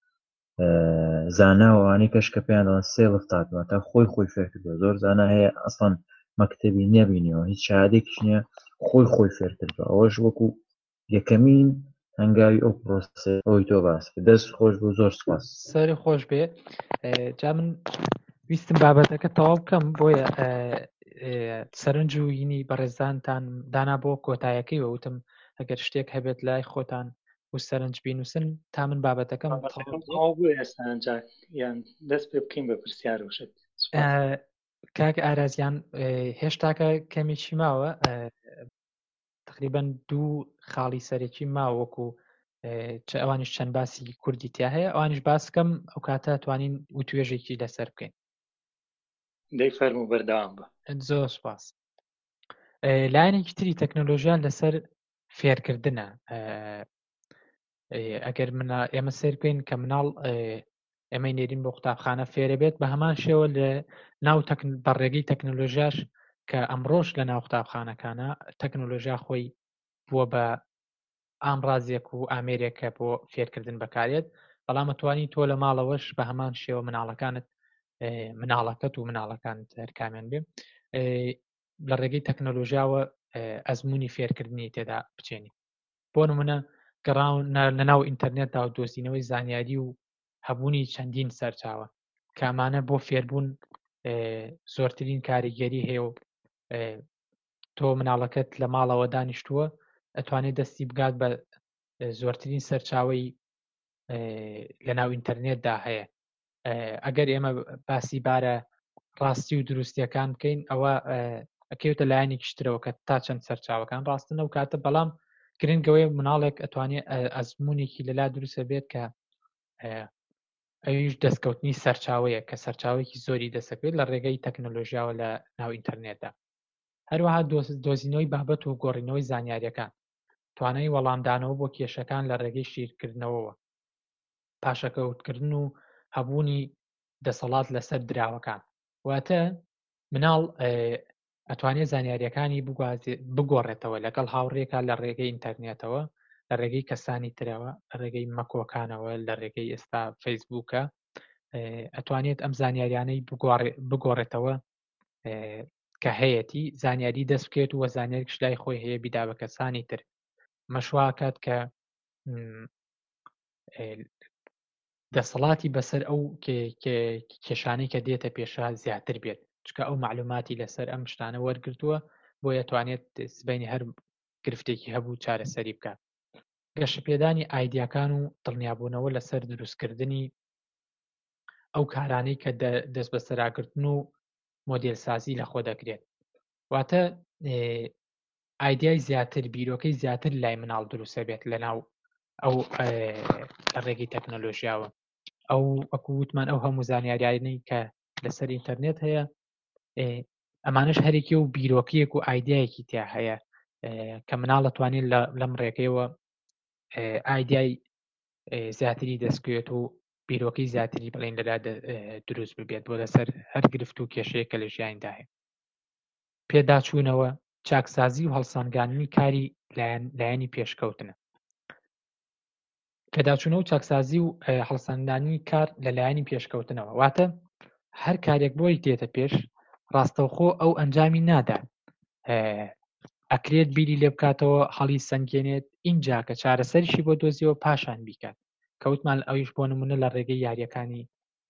زاناوانەی کەش کە پێیان دەڵێن سێڵف تاتەوە تا خۆی فێر کردووە زۆر زانا هەیە ئەسڵەن مەکتەبی نەبینیەوە هیچ شایادێکیش نییە خۆی فێر کردووە ئەوەش وەکو یەکەمین هەنگاوی ئەو پرۆسە ئەوی تۆ باس دەست خۆش بوو زۆر سپاس سەری خۆش بێ جا من ویستم بابەتەکە تەواو بکەم بۆیە سەرنج و یینی بەڕێزانتان دانا بۆ کۆتایەکەی وەوتم ئەگەر شتێک هەبێت لای خۆتان و سەرنج بینوسن تا من بابەتەکەم ئێستاجار یان دەست پێ بکەین بە پرسیار وشت کاک ئارازیان هێشتاکە کەمێکی ماوە تقریبەن 2 خاڵی سەرێکی ماوەکو ئەوانش چەند باسی کوردی تیا هەیە ئەوانش باسکەم ئەو کاتە توانین و توێژێکی لەسەر بکەین دەی فەرموو بەردەوام بە زۆر سپاس لایەنێکی تری تەکنۆلۆژیان لەسەر فێرکردنە ئەگەر ئێمە سێر بکەین کە مناڵ ئێمە نێرین بۆ قوتابخانە فێرە بێت بە هەمان شێوە لە ناو بەڕێگەی تەکنۆلۆژیاش کە ئەمڕۆژ لە ناو قوتابخانەکانە تەکنۆلۆژیا خۆی بووە بە ئامڕازێک و ئامێرێکە بۆ فێرکردن بەکارێت بەڵام توانی تۆ لە ماڵەوەش بە هەمان شێوە مناڵەکەت و مناڵەکانت هەرکامیان بێ لە ڕێگەی تەکنۆلۆژیاوە ئەزمموی فێرکردنی تێدا بچێنی بۆ نمونە گەڕاون لە ناو ئینتەرنێتدا و دۆزینەوەی زانیاری و هەبوونی چەندین سەرچاوە کامانە بۆ فێربوون زۆرترین کاریگەری هەیە و تۆ مناڵەکەت لە ماڵەوە دانیشتووە ئەتوانێت دەستی بگات بە زۆرترین سەرچاوی لە ناو ئینتەرنێتدا هەیە ئەگەر ئێمە باسی بارە ڕاستی و دروستیەکان بکەین ئەوە ئەکەوتە لایەنی کشترەوە کە تا چەند سەرچاوەکان ڕاستن و کاتە بەڵام گرنگەوەی مناڵێک ئەتوانێت ئەزمموونێکی لەلا دروستە بێت کە ئەویش دەستکەوتنی سەرچاوەیە کە سەرچاوێکی زۆری دەسەکرێت لە ڕێگەی تەکنۆلۆژیاوە لە ناو ئینتەرنێتدا هەروەها دۆزینەوەی بابەت و گۆڕینەوەی زانیاریەکان توانای وەڵامدانەوە بۆ کێشەکان لە ڕێگەی شیرکردنەوەوە پاشەکەوتکردن و هەبوونی دەسەڵات لەسەر دراوەکان واتە مناڵ ئەتوانێت زانیاریەکانی بگۆڕێتەوە لەگەڵ هاوڕێکە لە ڕێگەی ئینتەرنێتەوە لە ڕێگەی کەسانی ترەوە لە ڕێگەی مەکۆکانەوە لە ڕێگەی ئێستا فەیسبووکە ئەتوانێت ئەم زانیاریانەی بگۆڕێتەوە کە هەیەی زانیاری دەست بکێت و وە زانیاریش لای خۆی هەیە بیدا بە کەسانی تر مەشواکات کە دەسەڵاتی بەسەر ئەو کێشانەی کە دێتە پێشە زیاتر بێت چکە ئەو معلوماتی لەسەر ئەم شتانە وەرگرتووە بۆیە توانێت سبەینی هەر گرفتێکی هەبوو چارەسەری بکات گەشەپێدانی ئایدیاکان و دڵنیابوونەوە لەسەر دروستکردنی ئەو کارانەی کە دەست بە سەراگرتن و مۆدێلسازی لەخۆ دەکرێت واتە ئایدیای زیاتر بیرۆکەی زیاتر لای مناڵ دروستە بێت لەناو ئەو لە ڕێگەی تەکنۆلۆژیاوە ئەو وەکو وتمان ئەو هەموو زانیاریانەی کە لەسەر ئینتەرنێت هەیە ئەمانش هەرێکی و بیرۆکیەک و ئایدیایەکی تیا هەیە کە مناڵ دەتوانێت لەم ڕێگەیەوە ئایدیای زیاتری دەستکوێت و بیرۆکەی زیاتری بڵێن لەلا دروست ببێت بۆ لەسەر هەر گرفت و کێشەیە کە لە ژیاندا هەیە پێداچوونەوە چاکسازی و هەڵسانگاندنی کاری لایەنی پێشکەوتنە پێداچوونە و چاکسازی و هەڵسەنگاندنی کار لەلایەنی پێشکەوتنەوە. واتە هەر کارێک بۆی تێتە پێش ڕاستەوخۆ ئەو ئەنجامی نادا، ئەکرێت بیری لێ بکاتەوە، هەڵی سەنگێنێت، اینجا کە چارەسەریشی بۆ دۆزیەوە پاشان بیکات. کەوتمان ئەویش بۆ نمونە لە ڕێگەی یاریەکانی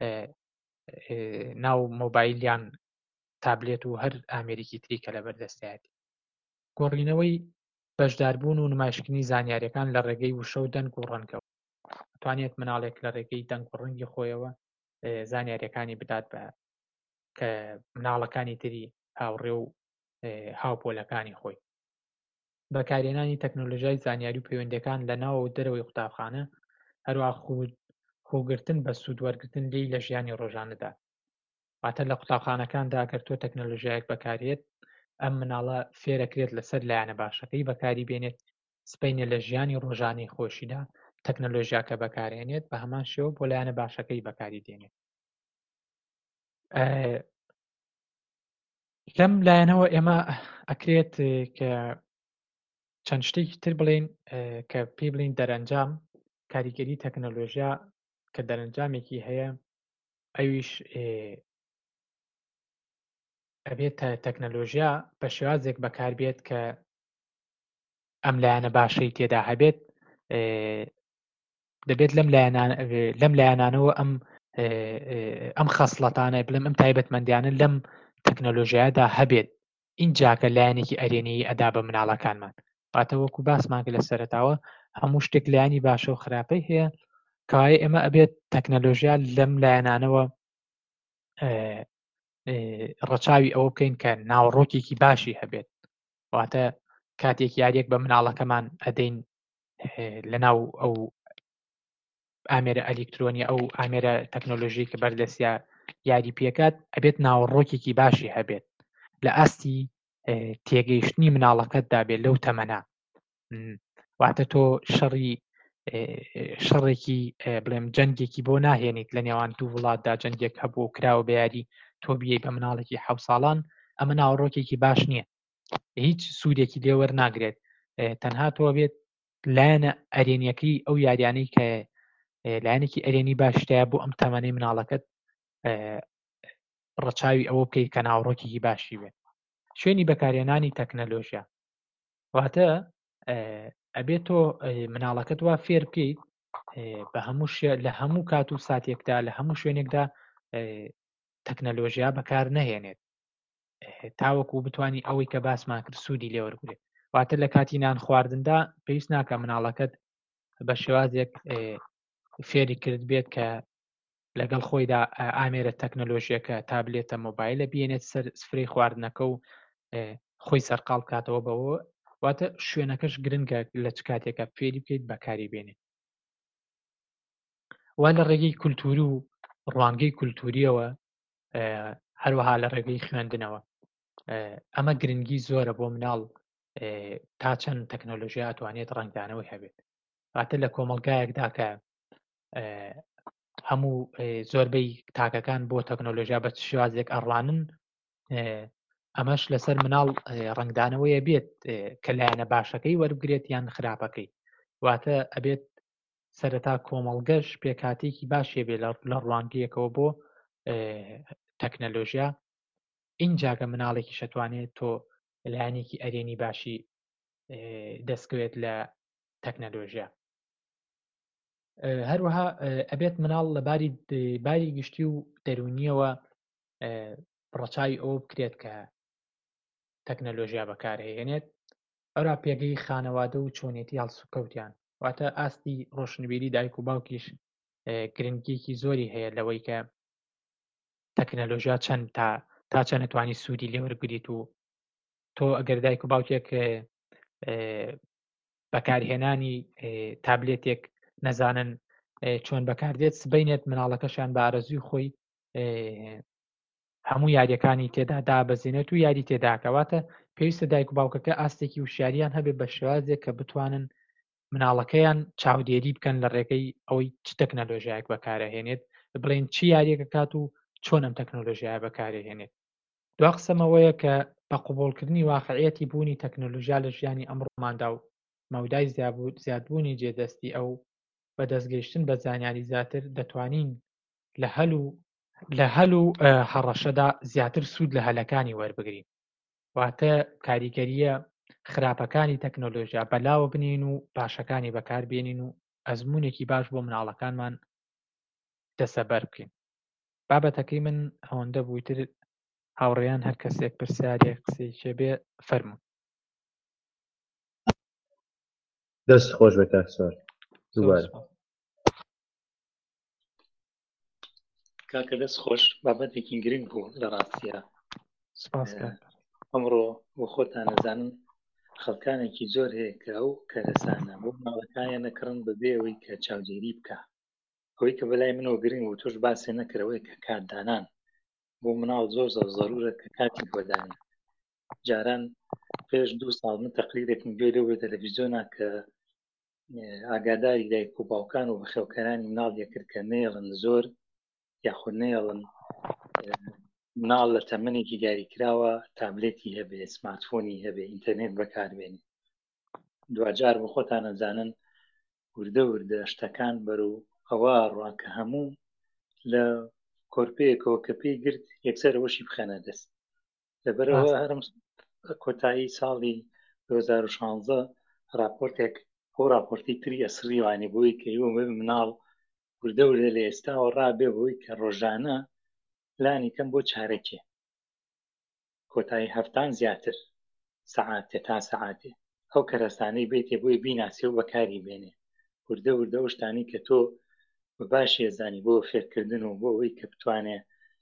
ناو مۆبایلیان تابلێت و هەر ئامێریکی تری کە لە بەردەستایەتی. گۆڕینەوەی بەشداربوون و نمایشکردنی زانیاریەکان لە ڕێگەی وشە و دەنگ و ڕەنگەوە. دەتوانێت مناڵێک لە ڕێگەی دەنگ و ڕەنگی خۆیەوە زانیاریەکانی بدات بە کە مناڵەکانی تری هاوڕێ و هاوپۆلەکانی خۆی. بەکارهێنانی تەکنۆلۆژیای زانیاری و پەیوەندیەکان لە ناو و دەرەوەی قوتابخانە، هەروەها خۆگرتن بە سوودوەرگرتن لێی لە ژیانی ڕۆژانەدا. واتە لە قوتابخانەکاندا ئەگەر تۆ تەکنۆلۆژیایەک بەکارهێت، ئەم مناڵە فێرەکرێت لەسەر لایەنە باشەکەی بەکاری بێنێت، سبەینە لە ژیانی ڕۆژانەی خۆشیدا تەکنۆلۆژیاکە بەکارهێنێت، بە هەمان شێوە بۆ لایەنە باشەکەی بەکاری دێنێت. لەم لایەنەوە ئێمە ئەکرێت کە چەند شتێکی تر بڵێن کە پێی بڵین دەرەنجام کاریگەری تەکنۆلۆژیا کە دەرەنجامێکی هەیە، ئەویش ئەبێت تەکنۆلۆژیا بە شێوازێک بەکاربێت کە ئەم لایەنە باشەی تێدا هەبێت. دەبێت لەم لایەنانەوە ئەم خەسڵەتانە بڵێم ئەم تایبەتمەندیانە لەم تەکنۆلۆژیادا هەبێت، اینجا کە لایەنێکی ئەرێنەیی ئەدا بە مناڵەکانمان. واتە وەکو باسمان کرد لە سەرەتاوە هەموو شتێک لایەنی باشە و خراپەی هەیە، کەوایە ئێمە ئەبێت تەکنۆلۆژیا لەم لایەنانەوە ڕەچاوی ئەوە بکەین کە ناوڕۆکێکی باشی هەبێت. واتە کاتێک یاریەک بە مناڵەکەمان ئەدەین لەناو ئەو ئامێرە ئەلکترۆنی ئەو ئامێرە تەکنۆلۆژی کە بەردەستیا یاری پێکات، ئەبێت ناوڕۆکێکی باشی هەبێت لە ئاستی تێگەیشتنی مناڵەکەتدا بێت لەو تەمەنا. واتە تۆ شەڕێکی بڵێم جەنگێکی بۆ ناهێنیت لە نێوان دوو وڵاتدا، جەنگێک هەبوو کراوە بە یاری، تۆ بیەی بە مناڵێکی 7 ساڵان، ئەمە ناوڕۆکێکی باش نییە، هیچ سوودێکی لێ وەرناگرێت. تەنها تۆ بێت لایەنە ئەرێنیەکەی ئەو یاریانەی کە لایەنێکی ئەرێنی باشتەیە بۆ ئەم تەمەنەی مناڵەکەت ڕەچاوی ئەوە بکەیت کە ناوڕۆکێکی باشی بێت. شوێنی بەکارهێنانی تەکنۆلۆژیا واتە ئەبێت تۆ مناڵەکەت وا فێر بکەیت بە لە هەموو کات و ساتێکدا لە هەموو شوێنێکدا تەکنۆلۆژیا بەکار نەهێنێت، تاوەکو بتوانانی ئەوەی کە باسمان کرد سوودی لێوەرگێت. واتە لە کاتی نان خواردندا پێویست ناکە مناڵەکەت بە شێوازێک فێری کرد بێت کە لەگەڵ خۆیدا ئامێرە تەکنۆلۆژیەکە تابلێتە مۆبایلە بێنێت سەر سفرەی خواردنەکە و خۆی سەرقاڵ بکاتەوە بەوە. واتە شوێنەکەش گرنگە لە چ کاتێکە فێری بکەیت بەکاری بێنێت. وا لە ڕێگەی کولتوری و ڕوانگەی کولتوریەوە، هەروەها لە ڕێگەی خوێندنەوە ئەمە گرنگی زۆرە بۆ مناڵ تا چەند تەکنۆلۆژیا ئەتوانێت ڕنگدانەوەی هەبێت. واتە لە کۆمەلگایەکدا کە هەموو زۆربەی تاکەکان بۆ تەکنۆلۆژیا بە شێوازێک ئەڕوانن، ئەمەش لەسەر مناڵ ڕنگدانەوەیە بێت کە لایەنە باشەکەی وەربگرێت یان خراپەکەی. واتە ئەبێت سەرەتا کۆمەڵگەش پێکاتێکی باشێ بێت لە ڕوانگەیەکەوە بۆ تەکنۆلۆژیا، اینجاکە مناڵێکی شەتوانێت تۆ لایەنێکی ئەرێنی باشی دەستکەوێت لە تەکنۆلۆژیا. هەروەها ئەبێت مناڵ لە باری گشتی و دەرونیەوە ڕەچاوی ئەوە بکرێت کە تەکنۆلۆژیا بەکارهێنێت. ئەورا پێگەی خانەوادە و چۆنێتی هەڵسوکەوتیان، واتە ئاستی ڕۆشنبیری دایک و باوکیش گرنگیەکی زۆری هەیە لەوەی کە تەکنۆلۆژیا چەند تا چەند نتوانی سوودی لێوەرگریت و تۆ ئەگەر دایک و باوکێک بەکارهێنانی تابلێتێک نەزانن چۆن بەکاردێت، سبەینێت مناڵەکەشیان بە ئارەزوی خۆی هەموو یاریەکانی تێدا دابەزێنێت و یاری تێداکەواتە پێویستە دایک و باوکەکە ئاستێکی وشاریان هەبێت بە شێوازێک کە بتوانن مناڵەکەیان چاودێری بکەن لە ڕێگەی ئەوەی چ تەکنۆلۆژیایەک بەکارهێنێت، بڵێن چی یاریەکە کات و چۆن ئەم تەکنۆلۆژیایە بەکارهێنێت. دوا قسەمەوەیە کە بە قوبوڵکردنی واقعیەتی بوونی تەکنۆلۆژیا لە ژیانی ئەمڕۆماندا و مەودای زیادبوونی جێدەستی ئەو بە دەستگەیشتن بە زانیاری زیاتر دەتوانین لە هەل و هەڕەشەدا زیاتر سوود لە هەلەکانی وەربگرین. واتە کاریگەریە خراپەکانی تەکنۆلۆژیا بەلاوە بنین و باشەکانی بەکاربێنین و ئەزمونێکی باش بۆ مناڵەکانمان دەسەبەر بکەین. بابەتەکەی من ئەوەندە بوویتر هاوڕێیان هەر کەسێک پرسیارێک قسەی بێ فەرموون. دەست خۆش بە کاکسوار دووبارە. کاکە دەست خۆش، بابەتێکی گرنگ بوو لە ڕاستیە. سپاس ئەمڕۆ بۆ خۆتان نەزانم خەڵکانێکی زۆر هەیە کە ئەو کەرەسانە بۆ ماڵەکانیان نەکڕن بەبێ ئەوەی کە چاودێری بکە. ئەوەی کە بەلای منەوە گرنگ و تۆش باسێ نەکرەوەی کە کاتدانان بۆ مناڵ زۆر زۆر زەرورە کە کاتی خۆدانە. جاران پێش 2 ساڵ من تەقریرێکم گوێ لەوە تەلەڤیزیۆنا کە ئاگاداری دایک و باوکان و بەخێوکەرانی مناڵ یەکرد کە نێڵن زۆر یاخود نێڵن مناڵ لە تەمەنێکی دیاریکراوە تابلێتی هەبێ، سمارتفۆنی هەبێ، ئینتەرنێت بەکاربێنێ. دوجار بۆ خۆتان نەزانن وردە وردە شتەکان بەرەو ئەوە ڕوا کە هەموو لە کۆرپەیەکەوە کە پێی گرت یەکسەر ئەوەشی بخەنە دەست. لەبەرەوە هەرم کۆتایی ساڵی 2016 راپۆرتێک ئەو راپۆرتی تری ئەسڕی وانێ بۆی کە ئێوە مناڵ وردە وردە لە ئێستاوە ڕابێ بۆی کە ڕۆژانە لانی کەم بۆ چارەکێ کۆتایی هەفتان زیاتر سەعاتێ تا سەعاتێ ئەو کەرەستانەی بێتێ بۆی بیناسی و بەکاری بێنێ. وردە وردە ئەو شتانی کە تۆ بە باشی ێزانی بۆ فێرکردن و بۆ ئەوەی کە بتوانێ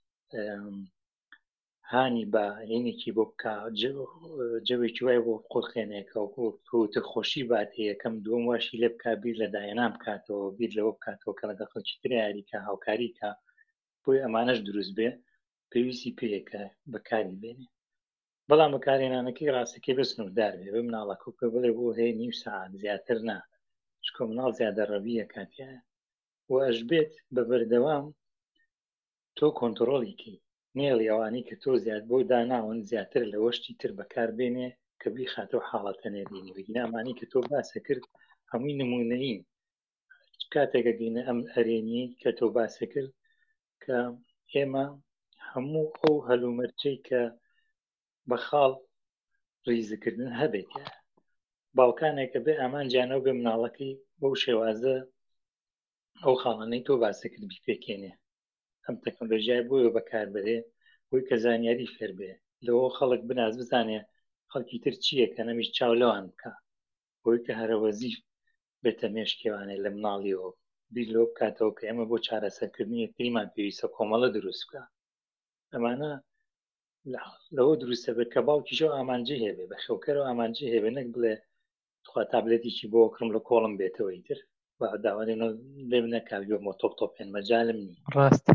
هانی بە هێنێکی بۆ بکە جەوێکی وای بۆ قۆڵخێنێکە وتە خۆشی باتێ یەکەم دووەم واشی لێ بکە بیر لە دایەنام بکاتەوە بیر لەوە بکاتەوە کە لەگەڵ خەڵکی تر یاریکە هاوکاریکە بۆی ئەمانەش دروست بێ پێویستی پێیەکە بەکاری بێنێ. بەڵام بەکارهێنانەکەی ڕاستەکەی بە سنووردار بێ بە مناڵەکە کە بڵێ بۆ هەیە نیم ساعت زیاتر نا چکۆ مناڵ زیادە ڕەویە کاتیایە و ئەش بێت بە بەردەوام تۆ کۆنتڕۆڵیکی نێڵی ئەوانی کە تۆ زیاد بۆ داناون زیاتر لە وەشتی تر بەکاربێنێ کە بیخاتەوە حاڵەتە نێردینی بگینامانی کە تۆ باسە کرد هەمووی نمونەیین کاتێکە گەینە ئەم هەرێنی کە تۆ باسە کرد کە ئێمە هەموو ئەو هەلومەرجەی کە بە خاڵ ڕیزکردن هەبێت باوکانێکە بێ ئامانجیانەوە بێ مناڵەکەی بەو شێوازە ئەو خاڵانەی تۆ باسە کرد بیپێکێنێ. ئەم تەکنۆلۆژیای بۆیە بەکاربرێ بۆی کە زانیاری فێر بێ لەوە خەڵک بناز بزانێ خەڵکی تر چییە کە نەمیش چاو لەوان بکە بۆی کە هەرە وەزیف بێتە مێشکێوانێ لە مناڵیەوە بیر لەوە بکاتەوە کە ئێمە بۆ چارەسەرکردنی یەکتریمان پێویستە کۆمەڵە دروست بکە. ئەمانە لەوە دروستە بێت کە باوکیشەوە ئامانجی هەبێ بە خێوکەرەوە ئامانجی هەبێ نەک بڵێ تخوا تابلێتێکی بۆ کڕم لە کۆڵم بێتەوەی تر بە داوای لێ نەکاویوە مۆ تۆپێن مەجالم نی. ڕاست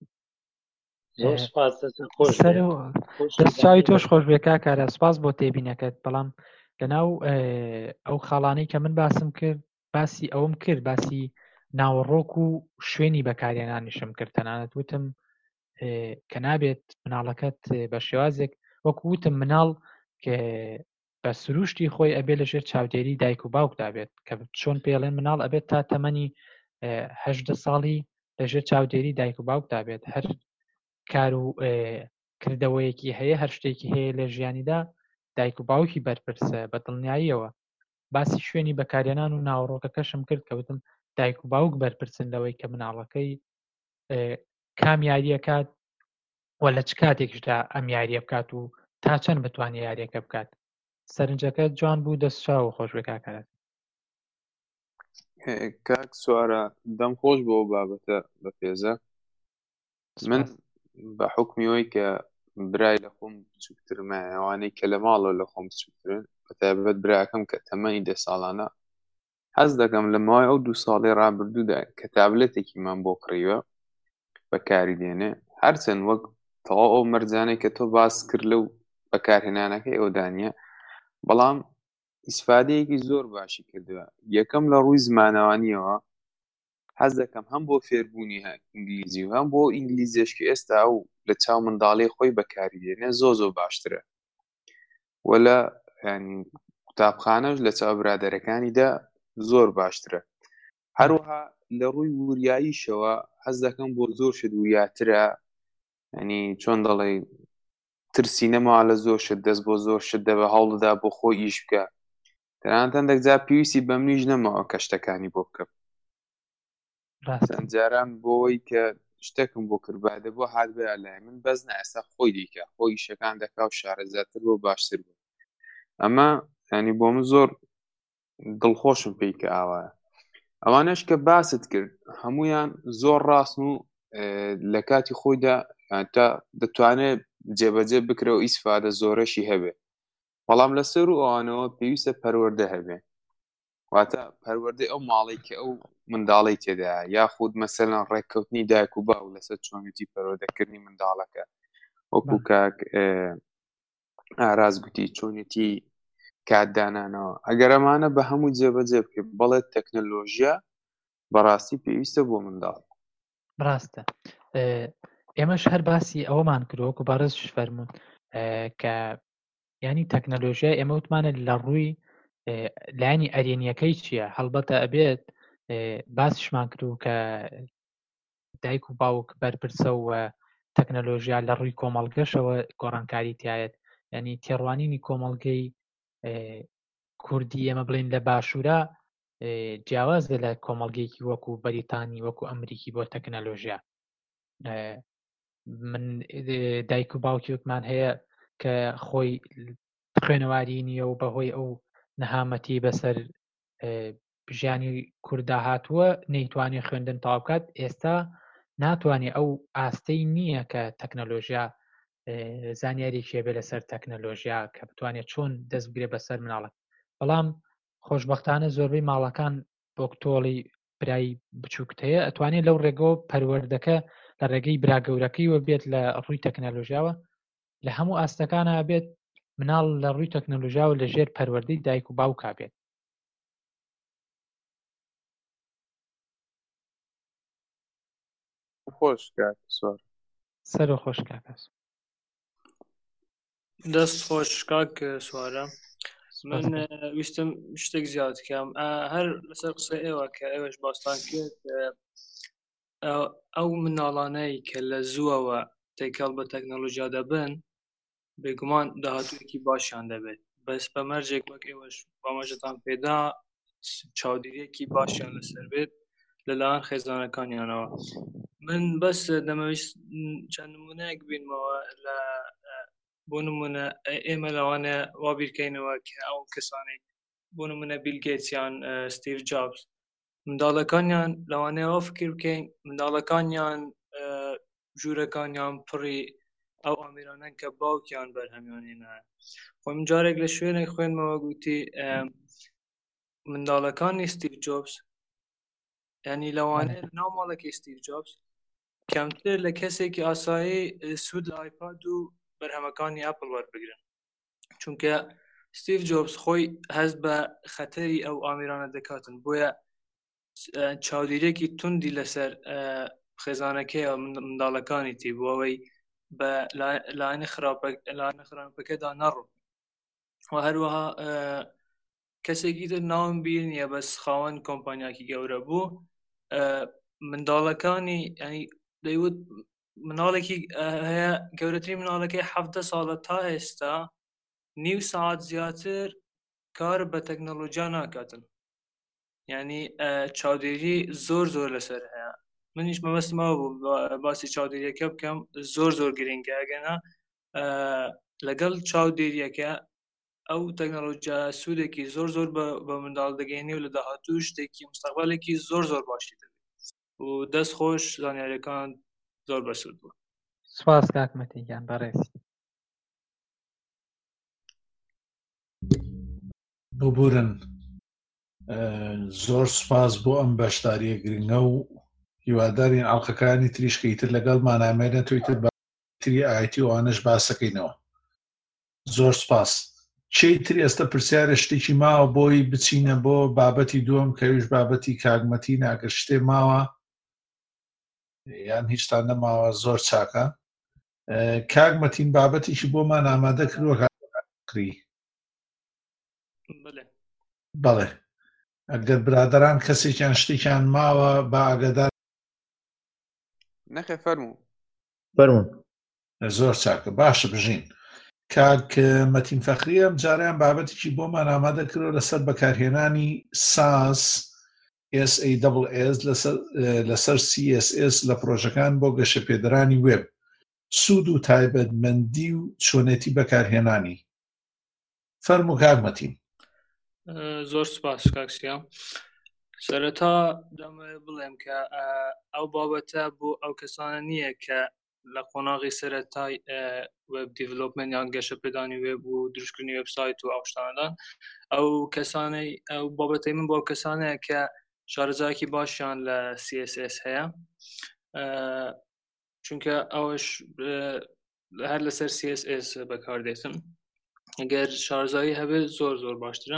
دەستچاوی تۆش خۆش بێ کاکارە سپاس بۆ تێبینەکەت. بەڵام لەناو ئەو خاڵانەی کە من باسم کرد باسی ئەوم کرد باسی ناوەڕۆک و شوێنی بەکارهێنانیشم کرد. تەنانەت وتم کە نابێت مناڵەکەت بە شێوازێک وەکو وتم مناڵ کە بە سروشتی خۆی ئەبێ لەژێر چاودێری دایک و باوکدا بێت کە چۆن پێڵێن مناڵ ئەبێت تا تەمەنی 18 ساڵی لەژێر چاودێری دایک و باوکدا بێت. هەر کار و کردەوەیەکی هەیە هەر شتێکی هەیە لە ژیانیدا دایک و باوکی بەرپرسە بە دڵنیاییەوە. باسی شوێنی بەکارهێنان و ناوەڕۆکەکەشم کرد کە وتم دایک و باوک بەرپرسن لەوەی کە مناڵەکەی کام یاریەکات و لە چ کاتێکشدا ئەم یاریە بکات و تا چەند بتوانێت یاریەکە بکات. سەرنجەکە جوان بوو دەستچاو خۆش بێ کاکارەت. کاک سوارە دەم خۆش بۆ بابەتە بە پێزە. من بە حکمیەوەی کە برای لە خۆم بچووکترمە ئەوانەی کە لە ماڵەوە لە خۆم بچووکترن بەتایبەت براکەم کە تەمەنی 10 ساڵانە حەز دەکەم لە ماوەی ئەو 2 ساڵی ڕابردوودا کە تابلێتێکیمان بۆ کڕیوە بەکاری دێنێ هەرچەند وەک تەواو ئەو مەرجانەی کە تۆ باس کرد لەو بەکارهێنانەکەی ئەو دانیە بەڵام ئیسفادەیەکی زۆر باشی کردووە. یەکەم لە ڕووی زمانەوانیەوە حەز دەکەم هەم بۆ فێربوونی ئینگلیزی و هەم بۆ ئینگلیزیشکی ئێستا ئەو لە چاو منداڵی خۆی بەکاری دێنێ زۆر باشترە و لە قوتابخانەش لە چاو برادەرەکانیدا زۆر باشترە. هەروەها لە ڕووی وریاییشەوە حەز دەکەم بۆ زۆر شت وریاترە، ینی چۆن دەڵێ ترسی نەماوە لە زۆر شت، دەست بۆ زۆر شت دەبە هەوڵدا بۆ خۆی ئیش بکە، تەنانەت هەندێک پێویستی بە منیش نەماوە کە شتەکانی بۆ بکەم. چەند جاران بۆەوەی کە شتێکم بۆ کرد بادە بۆ هات بێ لای من بەس نەئێستا خۆی دیکە خۆی ئیشەکان دەکا و شارەزاتر بۆ باشتر بوو. ئەمە ینی بۆ من زۆر دڵخۆشم پێی کە ئاوایە. ئەوانەش کە باست کرد هەمویان زۆر ڕاستن و لە کاتی خۆیدا تا دەتوانێت جێبەجێ بکرێ و ئیسفادە زۆرەشی هەبێ، بەڵام لەسەر و ئەوانەوە پێویستە پەروەردە هەبێ، واتە پەروەردەی ئەو ماڵی کە ئەو منداڵی تێدایە، یاخود مەسەلەن ڕێککەوتنی دایک و باو لەسەر چۆنیتی پەروەردەکردنی منداڵەکە، وەکو کاک ئاراز گوتی چۆنیتی کاتدانانەوە. ئەگەر ئەمانە بە هەموو جێبەجێ بکرێت بەڵێت تەکنۆلۆژیا بەڕاستی پێویستە بۆ منداڵ. ڕاستە ئێمەش هەر باسی ئەوەمان کردووەکو بەڕێزش فەرموون کە ینی تەکنۆلۆژیا ئێمە وتمانە لە ڕووی لایانی ئەرێنیەکەی چییە، هەڵبەتە ئەبێت باسیشمان کردو کە دایک و باوک بەرپرسە و تەکنۆلۆژیا لە ڕووی کۆمەڵگەشەوە گۆڕانکاری تایەت، ینی تێڕوانینی کۆمەڵگەی کوردی ئێمە بڵین لە باشوورە جیاوازە لە کۆمەڵگەیەکی وەکو بەریتانی وەکو ئەمریکی بۆ تەکنۆلۆژیا. من دایک و باوکی وتمان هەیە کە خۆی خوێنەواری نییە و بەهۆی ئەو نەهامەتی بەسەر ژیانی کووردا هاتووە نەیتوانێت خوێندن تەواو بکات، ئێستا ناتوانێت ئەو ئاستەی نییە کە تەکنۆلۆژیا زانیاریی بێ لەسەر تەکنۆلۆژیا کە بتوانێت چۆن دەست بگرێت بەسەر مناڵک. بەڵام خۆشبەختانە زۆربەی ماڵەکان بۆ کتۆڵی برای بچووکت هەیە ئەتوانێت لەو ڕێگەوە پەروەردەکە لە ڕێگەی براگەورەکەیوە بێت لە ڕووی تەکنۆلۆژیاوە، لە هەموو ئاستەکانە بێت مناڵ لە ڕووی تەکنۆلۆژیاوە لە ژێر پەروەردەی دایک و باوکا بێت. خۆش کاک سوار سەر و خۆش کاکەس دەست خۆش کاک سوارە. من ویستم شتێک زیاد بکەم هەر لەسەر قسە ئێوە کە ئێوەش باستان کرد، ئەو مناڵانەی کە لە زووەوە تێکەڵ بە تەکنۆلۆژیا دەبن بێگومان داهاتوویەکی باشیان دەبێت، بەس بە مەرجێک وەک ئێوەش بامەژەتان پێدا چاودێریەکی باشیان لەسەر بێت لەلایەن خێزانەکانیانەوە. من بەس دەمەویست چەند نمونەیەک بینمەوە لە بۆ نمونە ئێمە لەوانە وا بیرکەینەوە کە ئەو کەسانێک بۆ نمونە بیل گێتسیان ستیڤ جابس منداڵەکانیان لەوانەیە فکر بکەین منداڵەکانیان ژوورەکانیان پڕی ئەو ئامێرانەن کە باوکیان بەرهەمیانێنە. خۆی من جارێک لە شوێنێک خوێنمەوە گوتی منداڵەکانی ستیڤ جابس ینی لەوانەیە ناو ماڵێکی ستیڤ جابس کەمتر لە کەسێکی ئاسایی سوود لە ئایپاد و بەرهەمەکانی ئەپڵ وەربگرن، چونکە ستیڤ جابس خۆی هەست بە خەتەری ئەو ئامێرانە دەکاتن، بۆیە چاودێریەکی توندی لەسەر خێزانەکەی منداڵەکانی تی بۆ ئەوەی بە لایەنە خراپەکەدا نەڕۆ. و هەروەها کەسێکی تر ناوم بیر نییە بەس خاوەن کۆمپانیاکی گەورە بوو منداڵەکانی ینی دەیوت مناڵێکی هەیە گەورەترین مناڵەکەی 17 ساڵە تا ئێستا نیو ساعت زیاتر کار بە تەکنۆلۆژیا ناکاتن، ینی چاودێری زۆر لەسەر هەیە. منیش مەبەستمەوە بوو باسی چاودێریەکە بکەم، زۆر گرنگە ئەگەنا لەگەڵ چاودێریەکە ئەو تەکنۆلۆژیا سوودێکی زۆر بە منداڵ دەگەینی و لە داهاتوو شتێکی مستەقبەلێکی زۆر باشی دەبێت و دەست خۆش زانیاریەکان زۆر بەسوود بوو. سواس کاکمەتیگیان بەڕێزی ببورن. زۆر سپاس بۆ ئەم بەشداریە گرنگە و هیوادارین ئاڵلقەکانی تریشکەیتر لەگەڵ مانامێنە تویتر باتری ئاەتی وانش باسەکەینەوە. زۆر سپاس. چیتر ئێستا پرسیارە شتێکی ماوە بۆی بچینە بۆ بابەتی دووەم کەویش بابەتی کاگمەتی ناگەر شتێ ماوە یان هیچتان نەماوە زۆر چاکە. کاگمەتین بابەتیشی بۆمان ئامادە کردووە کاری. بەڵێ ئەگەر برادران کەسێکیان شتێکیان ماوە با ئاگادار نەخێ فەرموو فەرموون. زۆر چاکە باشە بژین. کاک مەتین فەخری ئەم جاریان بابەتێکی بۆمان ئامادە کردەوە لەسەر بەکارهێنانی SAS لەسەر CSS لە پرۆژەکان بۆ گەشەپێدەرانی وێب، سوود و تایبەتمەندی و چۆنێتی بەکارهێنانی. فەرموو کاک مەتین. زۆر سپاس کاکسیام. سەرەتا دەمەوێت بڵێم کە ئەو بابەتە بۆ ئەو کەسانە نییە کە لە قۆناغی سەرەتای وێب دیڤلۆپمنت یان گەشەپێدانی وێب و دروستکردنی وێبسایت و ئەو شتانەدان. ئەو کەسانەی ئەو بابەتەی من بۆ ئەو کەسانەیە کە شارەزایەکی باشیان لە CSS هەیە، چونکە ئەوش هەر لەسەر CSS بەکاردێتن. ئەگەر شارەزایی هەبێت زۆر زۆر باشترە.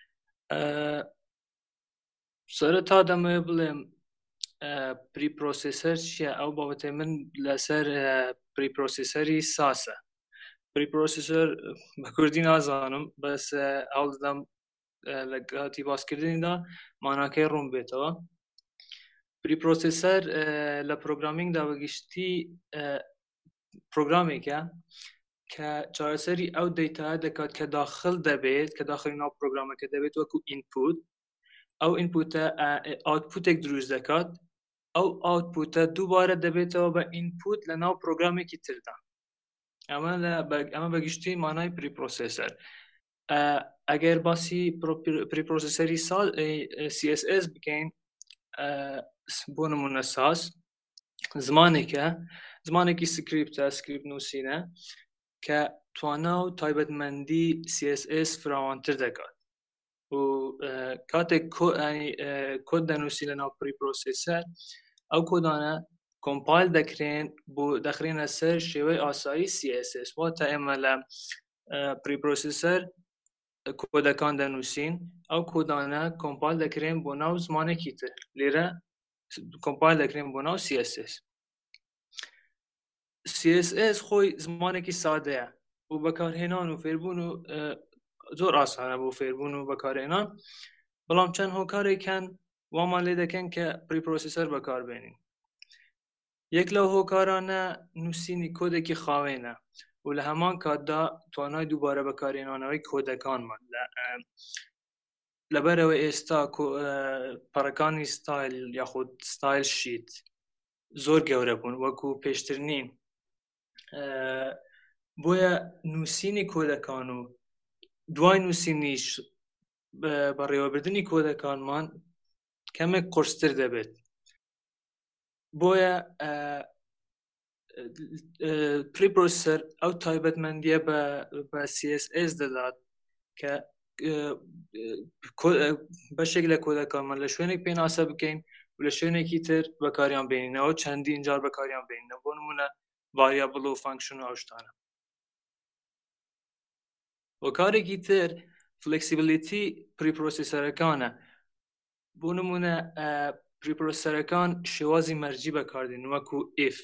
سەرەتا دەمەوێت بڵێم پریپرۆسیسەر چییە؟ ئەو بابەتەی من لەسەر پریپرۆسیسەری ساسە. پریپرۆسیسەر بە کوردی نازانم، بەس هەوڵ دەدەم لە کاتی باسکردنیدا ماناکەی ڕوون بێتەوە. پریپرۆسیسەر لە پرۆگرامینگدا بەگشتی پرۆگرامێکە کە چارەسەری ئەو دەیتاە دەکات کە داخل دەبێت، کە داخلی ناو پرۆگرامەکە دەبێت وەکو ئینپوت. ئەو ئینپوتە ئاوتپوتێک دروست دەکات، ئەو ئاوتپوتە دووبارە دەبێتەوە بە ئینپوت لە ناو پرۆگرامێکی تردا. ئەمە بەگشتی مانای پریپرۆسیسەر. ئەگەر باسی پریپرۆسیسەری CSS بکەین، بۆ نمونە ساس زمانێکی سکریپتە، سکریپت نووسینە کە توانا و تایبەتمەندی CSS فراوانتر دەکات و کاتێک کۆد دەنووسی لە ناو پریپرۆسیسەر، ئەو کۆدانە کۆمپایل دەکرێن بۆ دەخرێنە سەر شێوەی ئاسایی CSS. واتە ئێمە لە پریپرۆسیسەر کۆدەکان دەنووسین، ئەو کۆدانە کۆمپایل دەکرێن بۆ ناو زمانێکی تر، لێرە کۆمپایل دەکرێن بۆ ناو CSS. CSS خۆی زمانێکی سادەیە و بەکارهێنان و فێربوون و زۆر ئاسانە بۆ فێربوون و بەکارهێنان، بەڵام چەند هۆکارێکن وامان لێ دەکەن کە پریپرۆسیسەر بەکاربێنین. یەک لەو هۆکارانە نووسینی کۆدێکی خاوێنە و لە هەمان کاتدا توانای دووبارە بەکارهێنانەوەی کۆدەکانمان لەبەرەوە ئێستا پەڕەکانی ستایل یاخود ستایل شیت زۆر گەورە بوون، وەکو پێشتر نین. بۆیە نووسینی کۆدەکان و دوای نووسینیش بەڕێوەبردننی کۆدەکانمان کەمێک قورستر دەبێت. بۆیە پریپرۆسیسەر ئەو تایبەتمەندیە بە CSS دەدات کە بەشێک لە کۆدەکانمان لە شوێنێک پێناسە بکەین و لە شوێنێکی تر بەکاریان بێنینەوە، چەندین جار بەکاریان بێنینەوە، بۆ نمونە ڤاریابڵ و فانکشن و ئەو شتانە. هۆکارێکی تر فلێکسیبلیتی پریپرۆسیسەرەکانە. بۆ نمونە پریپرۆسیسەرەکان شێوازی مەرجی بەکاردێن، وەکو if.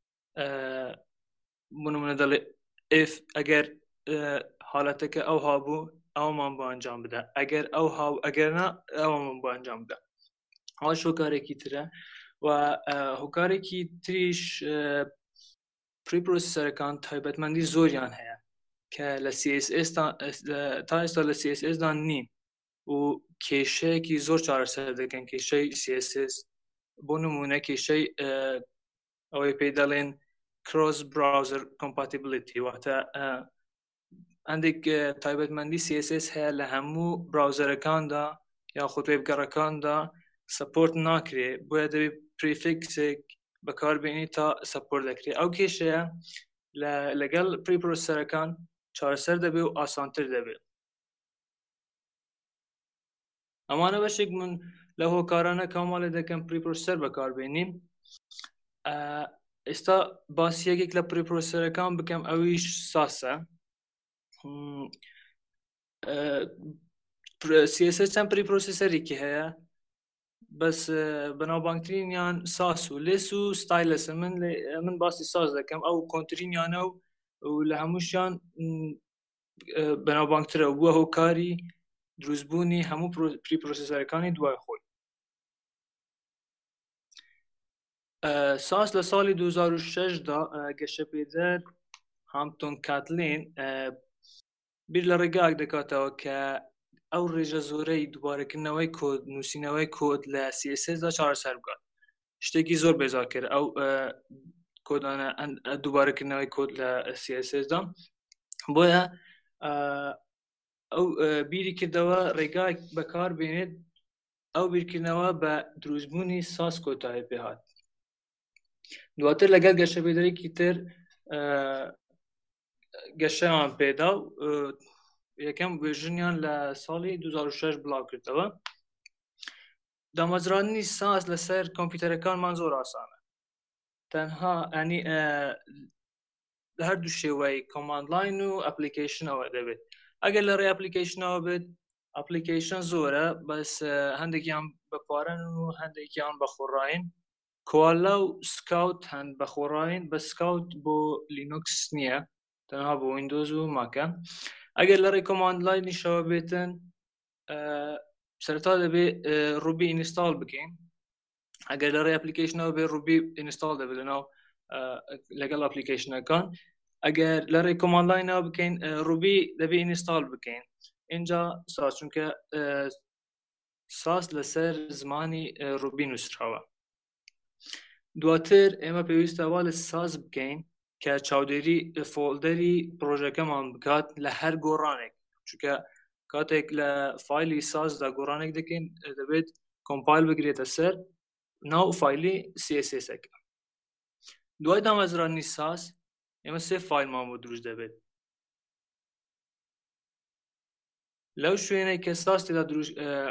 بۆ نمونە دەڵێ if ئەگەر حالەتەکە ئەو هابوو ئەومان بۆ ئەنجام بدە، ئەگەر نا ئەومان بۆ ئەنجام بدە. ئەوەش هۆکارێکی ترە. و هۆکارێکی تریش پریپرۆسیسەرەکان تایبەتمەندی زۆریان هەیە کە لە CSS تا ئێستا لە CSS دان نین و کێشەیەکی زۆر چارەسەر دەکەن، کێشەی CSS. بۆ نمونە کێشەی ئەوەی پێی دەڵێن cross browser compatibility، واتە هەندێک تایبەتمەندی CSS هەیە لە هەموو براوزەرەکاندا یاخود وێبگەڕەکاندا سپۆرت ناکرێ، بۆیە دەبێت پریفیکسێک بەکاربێنی تا سپۆرت دەکرێت. ئەو کێشەیە لەگەڵ پریپرۆسیسەرەکان چارەسەر دەبێت و ئاسانتر دەبێت. ئەمانە بەشێک من لە هۆکارانە کامالێ دەکەم پریپرۆسیسەر بەکاربێنین. ئێستا باسیەکێک لە پریپرۆسیسەرەکان بکەم، ئەویش ساسە. CSS چەند پریپرۆسیسەرێکی هەیە، بەس بەناوبانگترینیان ساس و لێس و ستایلسە. من باسی ساس دەکەم، ئەو کۆنترینیانە و لە هەمووشیان بەناوبانگترە، بووە هۆکاری دروستبوونی هەموو پریپرۆسسەرەکانی دوای خۆی. ساس لە ساڵی 2006دا گەشەپێدەر هامتۆن کاتلین بیر لە ڕێگاک دەکاتەوە کە ئەو ڕێژە زۆرەی دووبارەکردنەوەی کۆد نووسینەوەی کۆد لە CSSدا چارەسەر بکات. شتێکی زۆر بێزار کرد ئەو کۆدانە دووبارەکردنەوەی کۆد لە CSSدا، بۆیە ئەو بیری کردەوە ڕێگاک بەکار بێنێت ئەو بیرکردنەوە بە دروستبوونی ساس کۆتایی پێهات. دواتر لەگەڵ گەشەپێدەرێکی تر گەشەیان پێدا و یەکەم ڤێژنیان لە ساڵی 2006 بڵاو کردەوە. دامەزراندنی ساس لەسەر کۆمپیوتەرەکانمان زۆر ئاسانە، تەنها ئەنی لە هەردوو شێوەی کۆماند لاین و ئەپلیکیشنەوە دەبێت. ئەگەر لە ڕێ ئەپلیکیشنەوە بێت ئەپلیکیشن زۆرە، بەس هەندێکیان بەپارەن و هەندێکیان بەخۆڕاین. کوالا و سکاوت هەند بەخۆڕاین، بە سکاوت بۆ لینوکس نییە، تەنها بۆ ویندۆز و ماکە. ئەگەر لە ڕێ کۆماند لاینیشەوە بێتن سەرەتا دەبێت ڕوبی ئینستاڵ بکەین. ئەگەر لە ڕێ ئەپلیکیشنەوە بێ ڕوبی ئینستاڵ دەبێت لەناو لەگەڵ ئەپلیکیشنەکان. ئەگەر لە ڕێ کۆماند لاینەوە بکەین ڕوبی دەبێت ئینستاڵ بکەین. اینجا ساس چونکە ساس لەسەر زمانی ڕوبی نووسراوە. دواتر ئێمە پێویستە وا لە ساز بکەین کە چاودێری فۆلدەری پرۆژەکەمان بکات لە هەر گۆڕانێک، چونکە کاتێک لە فایلی سازدا گۆڕانێک دەکەین دەبێت کۆمپایل بگرێتە سەر ناو فایلی CSSەکە. دوای دامەزراندنی ساز ئێمە سێ فایلمان بۆ دروست دەبێت. لەو شوێنەی کە ساز تێدا دروست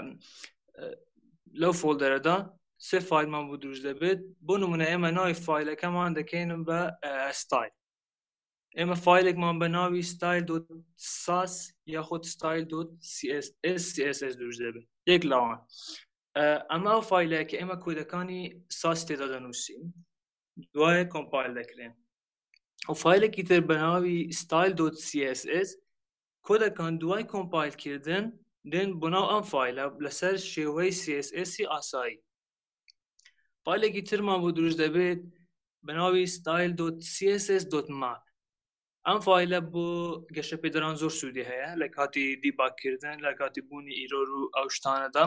لەو فۆلدەرەدا سێ فایلمان بۆ دروست دەبێت. بۆ نمونە ئێمە ناوی فایلەکەمان دەکەینم بە ستایل. ئێمە فایلێکمان بە ناوی style.sas یاخود style.css دروست دەبێت. یەک لاوان ئەمە ئەو فایلەیە کە ئێمە کۆدەکانی ساس تێدا دەنووسین، دوایە کۆمپایل دەکرێن. ئەو فایلێکی تر بە ناوی style.css کۆدەکان دوای کۆمپایلکردن دێن بۆ ناو ئەم فایلە لەسەر شێوەی CSS ئاسایی. فایلێکی ترمان بۆ دروست دەبێت بە ناوی style.css.map. ئەم فایلە بۆ گەشەپێدەران زۆر سوودی هەیە لە کاتی دیباگکردن، لە کاتی بوونی ئیرۆر و ئەو شتانەدا.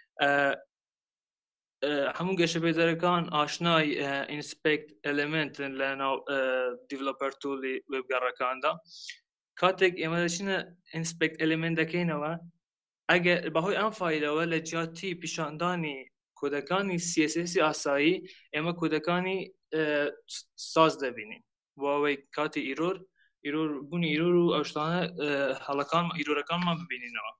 هەموو گەشەپێدەرەکان ئاشنای ئینسپێکت ئەلێمنتن لە ناو دیڤلۆپەر تۆڵی وێبگەڕەکاندا. کاتێک ئێمە دەچینە ئینسپێکت ئەلێمنت دەکەینەوە، ئەگەر بەهۆی ئەم فایلەوە لە جیاتی پیشاندانی کۆدەکانی CSS ئاسایی ئێمە کۆدەکانی ساز دەبینین، بۆەوەی کاتی ئیرۆر بوونی ئیرۆر و ئەو شتانە هەڵەکان ئیرۆرەکانمان ببینینەوە.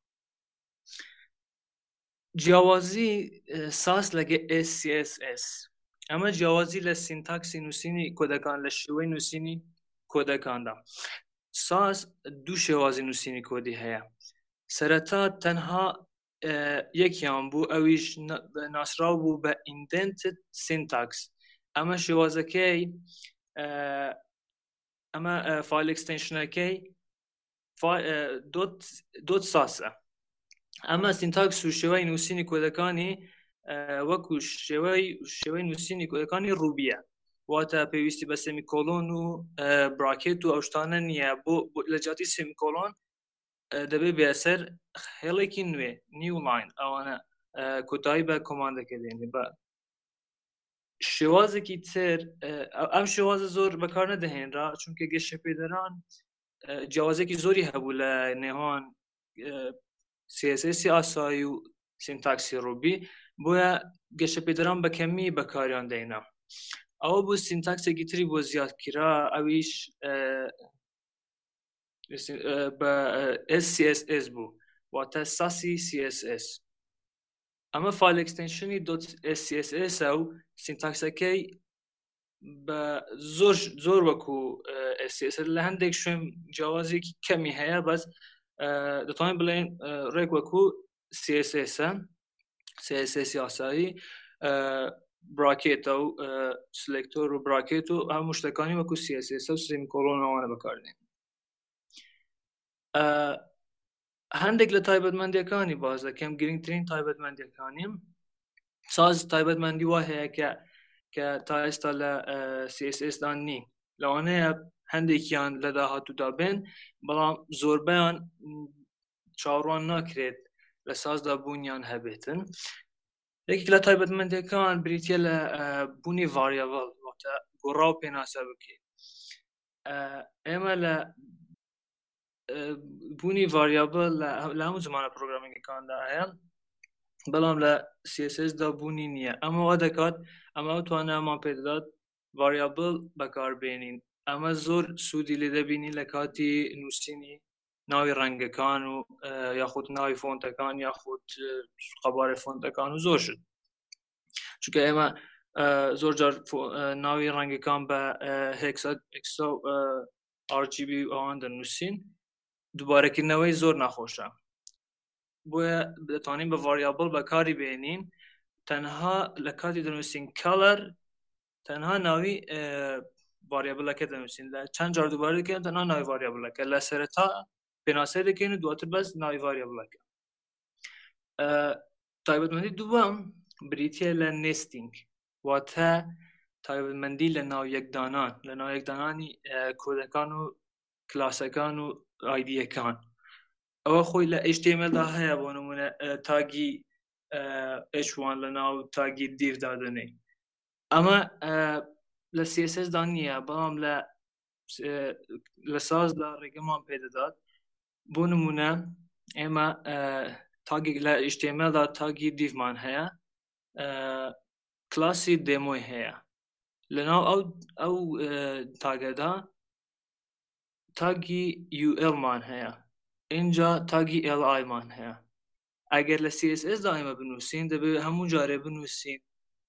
جیاوازی ساس لەگە SCSS ئەمە جیاوازی لە سینتاکسی نووسینی کۆدەکان لە شێوەی نووسینی کۆدەکاندا. ساس دوو شێوازی نووسینی کۆدی هەیە. سەرەتا تەنها یەکیان بوو، ئەویش ناسراو بوو بە indented syntax. ئەمە شێوازەکەی ئەمە فایل ئەکستێنشنەکەی دۆت ساسە. ئەمە سینتاکس و شێوەی نووسینی کۆدەکانی وەکو شێوەی نووسینی کۆدەکانی ڕوبیە، واتە پێویستی بە سێمیکۆلۆن و براکێت و ئەو شتانە نییە. بۆ لە جاتی سێمیکۆلۆن دەبێت بێسەر هێڵێکی نوێ نیو لاین ئەوانە کۆتایی بە کۆماندەکە دێنێ. بە شێوازێکی تر ئەم شێوازە زۆر بەکار نەدەهێنرا چونکە گەشەپێدەران جیاوازێکی زۆری هەبوو لە نێوان CSS ئاسایی و سینتاکسی ڕوبی، بۆیە گەشەپێدەران بە کەمی بەکاریان دێنا. ئەوە بوو سینتاکسێکی تری بۆ زیادکرا، ئەویش بە SCSS بوو، واتە ساسی CSS. ئەمە فایل ئەکستێنشنی .SCSS و سینتاکسەکەی بە زۆر وەکو SCSS لە هەندێک شوێن جیاوازێکی کەمی هەیە، بەس دەتوانین بڵێن ڕێک وەکو CSS یاسایی براکێتە و سلێکتۆر و براکێت و هەموو شتەکانی وەکو CSS و سێمیکۆلۆن ئەوانە بەکاردێن. هەندێک لە تایبەتمەندیەکانی باز دەکەم گرنگترین تایبەتمەندیەکانیم ساز تایبەتمەندی وا هەیە کە تا ئێستا لە CSS دان نین لەوانەیە هەندێکیان لە داهاتوودا بێن بەڵام زۆربەیان چاوەڕوان ناکرێت لە سازدا بوونیان هەبێتن یەکێک لە تایبەتمەندیەکان بریتە لە بوونی ڤاریابڵ واتە گۆڕا و پێناسە بکەیت ئێمە لە بوونی ڤاریابڵ لە هەموو زمانە پرۆگرامینگەکاندا هەیە بەڵام لە CSS دا بوونی نییە ئەمە وا دەکات ئەمە توانەمان پێدەدات ڤاریابڵ بەکاربێنین ئەمە زۆر سوودی لێ دەبینی لە کاتی نووسینی ناوی ڕەنگەکان و یاخود ناوی فۆنتەکان یاخود قەبارە فۆنتەکان و زۆر شت چونکە ئێمە زۆر جار ناوی ڕەنگەکان بە هێکسا RGB ئەوان دەنووسین دووبارەکردنەوەی زۆر ناخۆشە بۆیە دەتوانین بە ڤاریابڵ بەکاری بێنین تەنها لە کاتی دەنووسین کەلەر تەنها ناوی ڤاریابڵەکە دەنووسین لە چەند جار دووبارە دەکەین تەنها ناوی ڤاریابڵەکە لە سەرەتا پێناسەی دەکەین و دواتر بەس ناوی ڤاریابڵەکە تایبەتمەندی دووەم بریتیە لە نێستینگ واتە تایبەتمەندی لە ناو یەکدانان لە ناو یەکدانانی کۆدەکان و کلاسەکان و ئایدیەکان ئەوە خۆی لە HTML دا هەیە بۆ نمونە تاگی H1 لە ناو تاگی دیڤ دادنەی ئەمە لە CSS دا نییە بەڵام لە سازدا ڕێگەمان پێدەدات بۆ نمونە ئێمە تاگێک لە HTML دا تاگی دیڤمان هەیە کلاسی دێمۆی هەیە لەناو ئەو تاگەدا تاگی UL مان هەیە اینجا تاگی LI مان هەیە ئەگەر لە CSS دا ئێمە بنووسین دەبێت هەموو جارێ بنووسین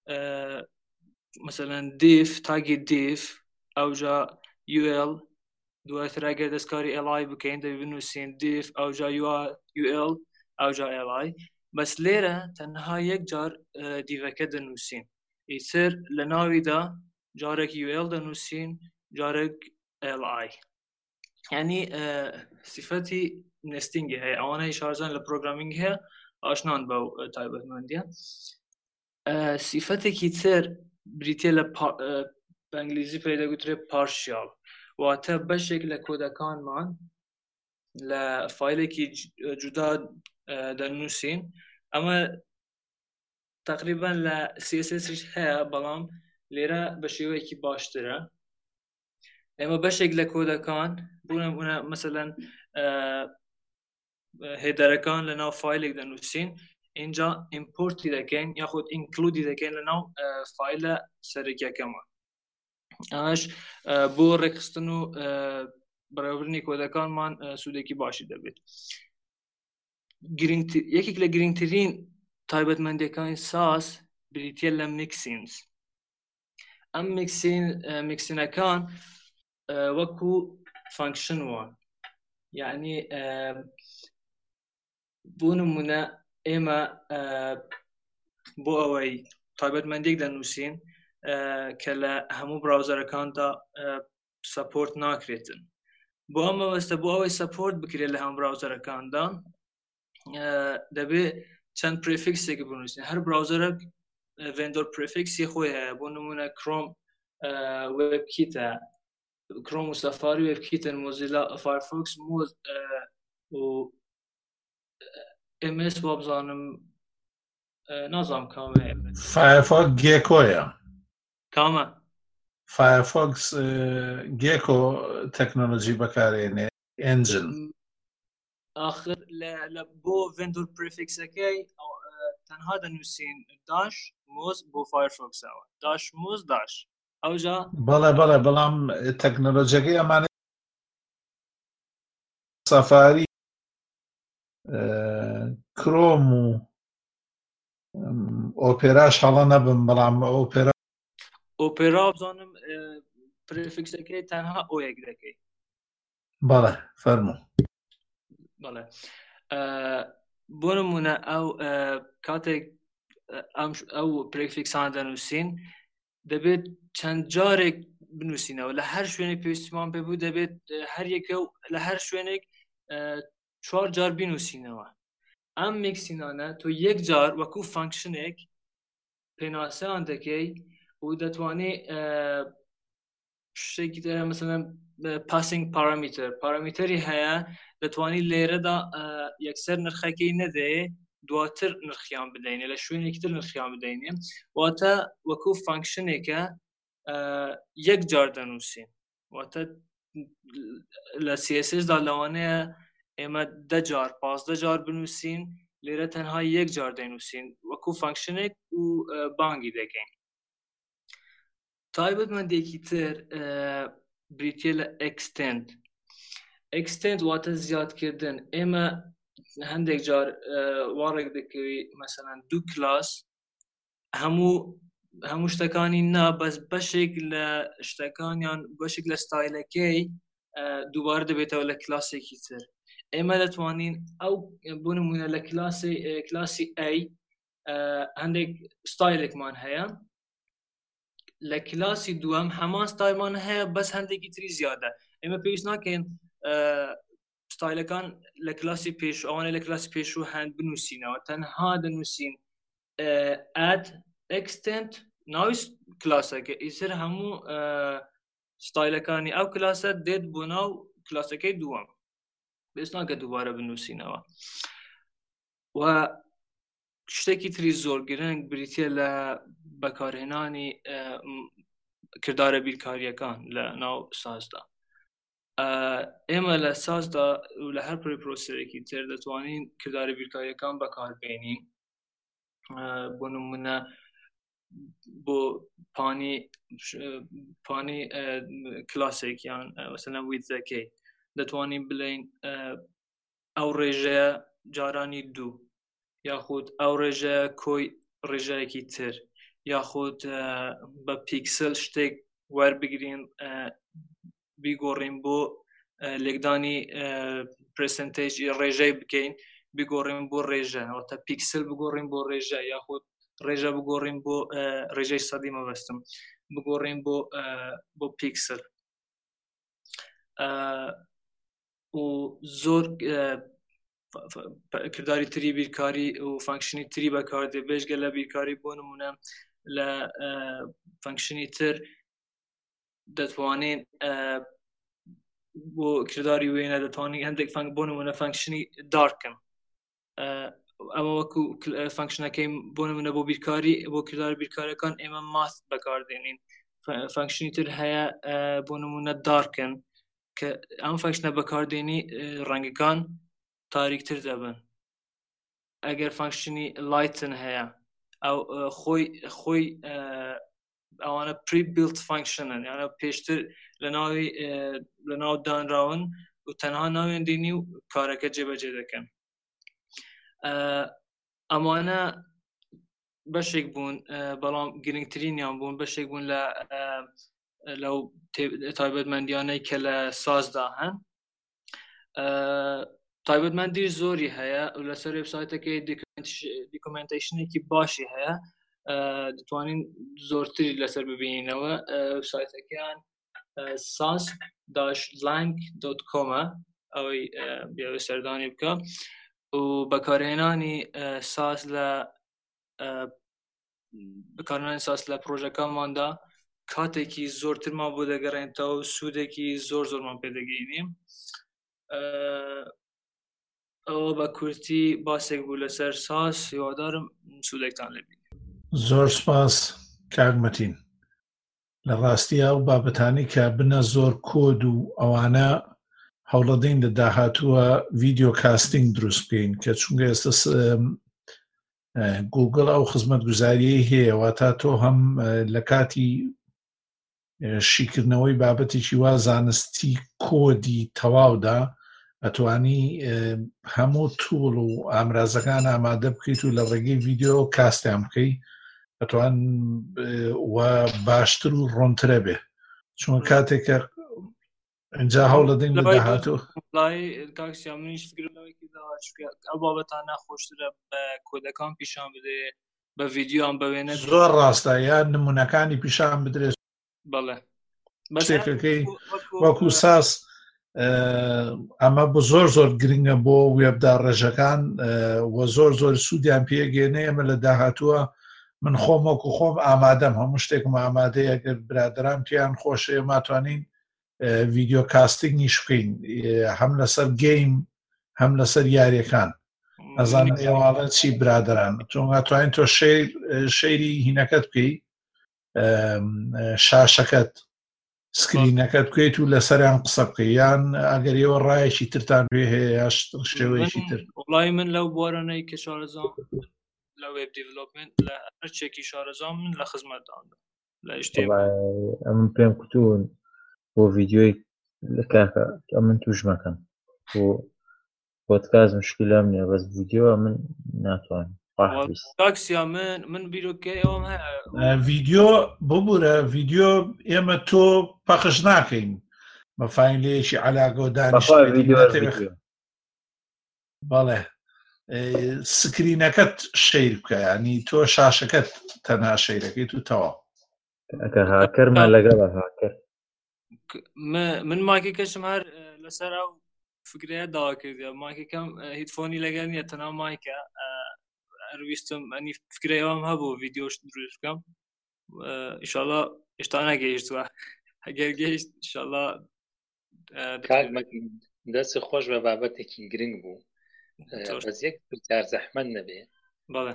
مثلا div تاگی div ئەوجا UL دواتر ئەگەر دەستکاری LI بکەین دەبێت بنووسین div ئەوجا UL ئەوجا LI بەس لێرە تەنها یەک جار دیڤەکە دەنووسین ئیتر لە ناویدا جارێک UL دەنووسین جارێک LI یعنی صفەتی نستینگی هەیە ئەوانەی شارزان لە پرۆگرامینگ هەیە ئاشنان بەو تایبەتمەندیە صفەتێکی تر بریتیە لە بە ئەنگلیزی پێدەگوترێت پارشیال واتە بەشێک لە کۆدەکانمان لە فایلێکی جودا دەنووسین ئەمە تقریبا لە CSS هەیە بەڵام لێرە بە شێوەیەکی باشترە ئێمە بەشێک لە کۆدەکان بوونە مثلەن هێدەرەکان لە ناو فایلێک دەنووسین اینجا ئیمپۆرتی دەکەین یاخود ئینکلودی دەکەین لە ناو فایلە سەرەکیەکەمان ئەمەش بۆ ڕێکخستن و بەڕێوەبردنی کۆدەکانمان سوودێکی باشی دەبێت یەکێک لە گرنگترین تایبەتمەندیەکانی ساز بریتیە لە میکسینز ئەم میکسینەکان وەکو فانکشن وان یعنی بۆ نمونە ئێمە بۆ ئەوەی تایبەتمەندێک دەنووسین کە لە هەموو براوزەرەکاندا سەپۆرت ناکرێتن بۆ ئەمە وەستە بۆ ئەوەی سەپۆرت بکرێت لە هەموو براوزەرەکاندا دەبێت چەند پرێفیکسێک بنووسین هەر براوزەرێک ڤێندۆر پرێفیکسی خۆی هەیە بۆ نمونە کڕۆم وێبکیتە کڕۆم و سەفاری وێبکیتن مۆزیلا فایرفۆکس مۆز و MS بۆ بزانم نازام کامە فایرفۆکس گێکۆیە کامە فایرفۆکس گێکۆ تەکنۆلۆژی بەکارێنێ ئەنجن آخر بۆ ڤێندۆر پرێفیکسەکەی تەنها دەنووسین داش مۆز بۆ فایرفۆکسەوە داش مۆز داش ئەوجا بەڵێ بەڵام تەکنۆلۆژیەکەی ئەمانە سەفاری کرۆم و ئۆپێراش هەڵە نەبم بەڵام ئۆپێرا بزانم پرێفیکسەکەی تەنها ئۆیەک دەکەی بەڵێ فەرموو بەڵێ بۆ نمونە ئەو کاتێک ئەو پرێفیکسان دەنووسین دەبێت چەند جارێک بنووسینەوە لە هەر شوێنێک پێویستیمان پێ بوو دەبێت هەر یەکە لە هەر شوێنێک 4 جار بنووسینەوە ئەم میکسینانە تۆ یەک جار وەکو فانکشنێک پێناسەیان دەکەی و دەتوانێت شتێکی تر مثلا پاسینگ پارامتری هەیە دەتوانی لێرەدا یەکسەر نرخەکەی نەدەیێ دواتر نرخیان بدەینێ لە شوێنێکی تر نرخیان بدەینێ واتە وەکو فانکشنێکە یەک جار دەنووسین واتە لە CSS دا لەوانەیە ئێمە 10 جار 15 جار بنووسین لێرە تەنها یەک جار دەنووسین وەکو فانکشنێک و بانگی دەکەین. تایبەتمەندێکی تر بریتیە لە extend واتە زیادکردن. ئێمە هەندێک جار وارێک دەکەوی مثلا دوو کلاس هەموو شتەکانی نا بەس بەشێک لە شتەکانیان بەشێک لە ستایلەکەی دووبارە دەبێتەوە لە کلاسێکی تر. ئێمە دەتوانین ئەو بۆ نمونە لە کلاسی A هەندێک ستایلێکمان هەیە لە کلاسی دووەم هەمان ستایلمان هەیە بەس هەندێکی تری زیادە. ئێمە پێویست ناکەین ستایلەکان لە کلاسی پێش ئەوانە لە کلاسی پێشوو هەند بنووسینەوە تەنها دەنووسین add extend ناوی کلاسەکە ئیسر هەموو ستایلەکانی ئەو کلاسە دێت بۆ ناو کلاسەکەی دووەم پێویست ناکە دووبارە بنووسینەوە. و شتێکی تری زۆر گرنگ بریتیە لە بەکارهێنانی کردارە بیرکاریەکان لە ناو سازدا. ئێمە لە سازدا و لە هەر پرۆسەرێکی تر دەتوانین کردارە بیرکاریەکان بەکاربێنین. بۆ نمونە بۆ پانی کلاسێکیان مثلا ویدزەکەی دەتوانین بڵێین ئەو ڕێژەیە جارانی دوو یاخود ئەو ڕێژەیە کۆی ڕێژەیەکی تر یاخود بە پیکسل شتێک وەربگرین بیگۆڕین بۆ لێکدانی پرسنتێجی ڕێژەی بکەین بگۆڕین بۆ ڕێژە ئەوتە پیکسل بگۆڕین بۆ ڕێژە یاخود ڕێژە بگۆڕین بۆ ڕێژەی سەدی مەبەستم بگۆڕین بۆ پیکسل. و زۆر کردداری تری بیرکاری و فانکشنی تری بەکاردێ بێژگە لە بیرکاری بۆ نمونە لە فانکشنی تر دەتوانین بۆ کردداری وێنە دەتوانین هەندێک بۆ نمونە فانکشنی دارکن ئەمە وەکو فانکشنەکەی بۆ نمونە بۆ بیرکاری بۆ کرددار بیرکاریەکان ئێمە ماث بەکاردێنین. فانکشنی تر هەیە بۆ نمونە دارکن کە ئەم فانکشنە بەکاردێنی ڕەنگەکان تاریکتر دەبن. ئەگەر فانکشنی لایتن هەیە ئەو خۆی ئەوانە پری بیلت فانکشنن یانە پێشتر لە ناو دانراون و تەنها ناوێن دێنی و کارەکە جێبەجێ دەکەن. ئەمانە بەشێک بوون بەڵام گرنگترینیان بوون بەشێک بوون لەو تایبەتمەندیانەی کە لە سازدا هەن. تایبەتمەندی زۆری هەیە و لەسەر وێبسایتەکەی دیکۆمنتیشنێکی باشی هەیە دەتوانین زۆرتری لەسەر ببینینەوە. وێبسایتەکەیان sas-lang.com ئەوەی بیاوێ سەردانی بکە و بەکارهێنانی ساس لە پرۆژەکانماندا کاتێکی زۆرترمان بۆ دەگەڕێنەوە و سوودێکی زۆرمان پێدەگەینیم. ئەوە بە کورتی باسێک بوو لەسەر ساس هیوادارم سوودێکتان لێبێت. زۆر سپاس کاگمەتین. لە ڕاستی ئەو بابەتانی کە بنە زۆر کۆد و ئەوانە هەوڵەدەین لە داهاتووە ڤیدیۆ کاستینگ دروست بکەین کە چونکە ئێستا گوگڵ ئەو خزمەتگوزاریەی هەیە واتە تۆ هەم لە کاتی شیکردنەوەی بابەتێکی وا زانستی کۆدی تەواودا ئەتوانی هەموو توڵ و ئامرازەکان ئامادە بکەیت و لە ڕێگەی ڤیدیۆ کاستیان بکەیت ئەتوان وە باشتر و ڕۆنترە بێ چون کاتێکە ئەجا هەوڵەدەین لە داهاتوو کاکسیان منیش فکرەوەیکی داوە ئەو بابەتان ناخۆشترە بە کۆدەکان پیشان بدێ بە ڤیدیۆیان بەوێنە زۆر ڕاستە یان نمونونەکانی پیشان بدرێت بەڵێ شتێکەکەی وەکو ساس ئەمە بۆ زۆر گرنگە بۆ وێبدا ڕێژەکان و زۆر سوودیان پێگەێنێ. ئەمە لە داهاتووە من خۆم وەکو خۆم ئامادەم، هەموو شتێکم ئامادەیە. ئەگەر برادران پێیان خۆشەیە ماتوانین ڤیدیۆ کاستینگیش بکەین، هەم لەسەر گەیم هەم لەسەر یاریەکان. ئەزانم ئێواڵە چی برادران توانین تۆ شەیری هینەکەت بکەی، شاشەکەت سکرینەکەت بکەیت و لەسەریان قسە بکەی، یان ئەگەر ئێوە ڕایەکی ترتان پێ هەیە یا شێوەیەکی تر. وڵی من لەو بوارانەی کە شارەزام لە وێب دیڤلۆپمنت لە هەرچێکی شارەزام من لە خزمەتداندا لە ئەمن پێم کوتون بۆ ڤیدیۆی لە کاکە ئەمن توش مەکەم بۆ پۆدکاست مشکلام نییە، بەس ڤیدیۆ من ناتوانم. تاکسیا من بیرۆکەی ئەوم هەیە ڤیدیۆ ببوورە ڤیدیۆ ئێمە تۆ پەخش ناکەین بە فایلەیەکی عەلاقە و دانیشتێک. بەڵێ سکرینەکەت شەیر بکە، ینی تۆ شاشەکەت تەنها شەیرەکەیت و تەواو. هاکەرمان لەگەڵە هاکەر من مایکێکەشم هەر لەسەر ئەو فکرەیە داوا کردی، مایکێکەم هیدفۆنی لەگەڵ نییە، تەنها مایکە. هەرویستم ئەنی فکرەی ئەوم هەبوو ڤیدیۆش دروست بکەم، ئینشاڵڵا هێشتا نەگەیشتووە، ئەگەر گەیشت ئینشاڵڵا دەست خۆش بە بابەتێکی گرنگ بوو، بەس یەک پرسیار زەحمەت نەبێ. بەڵێ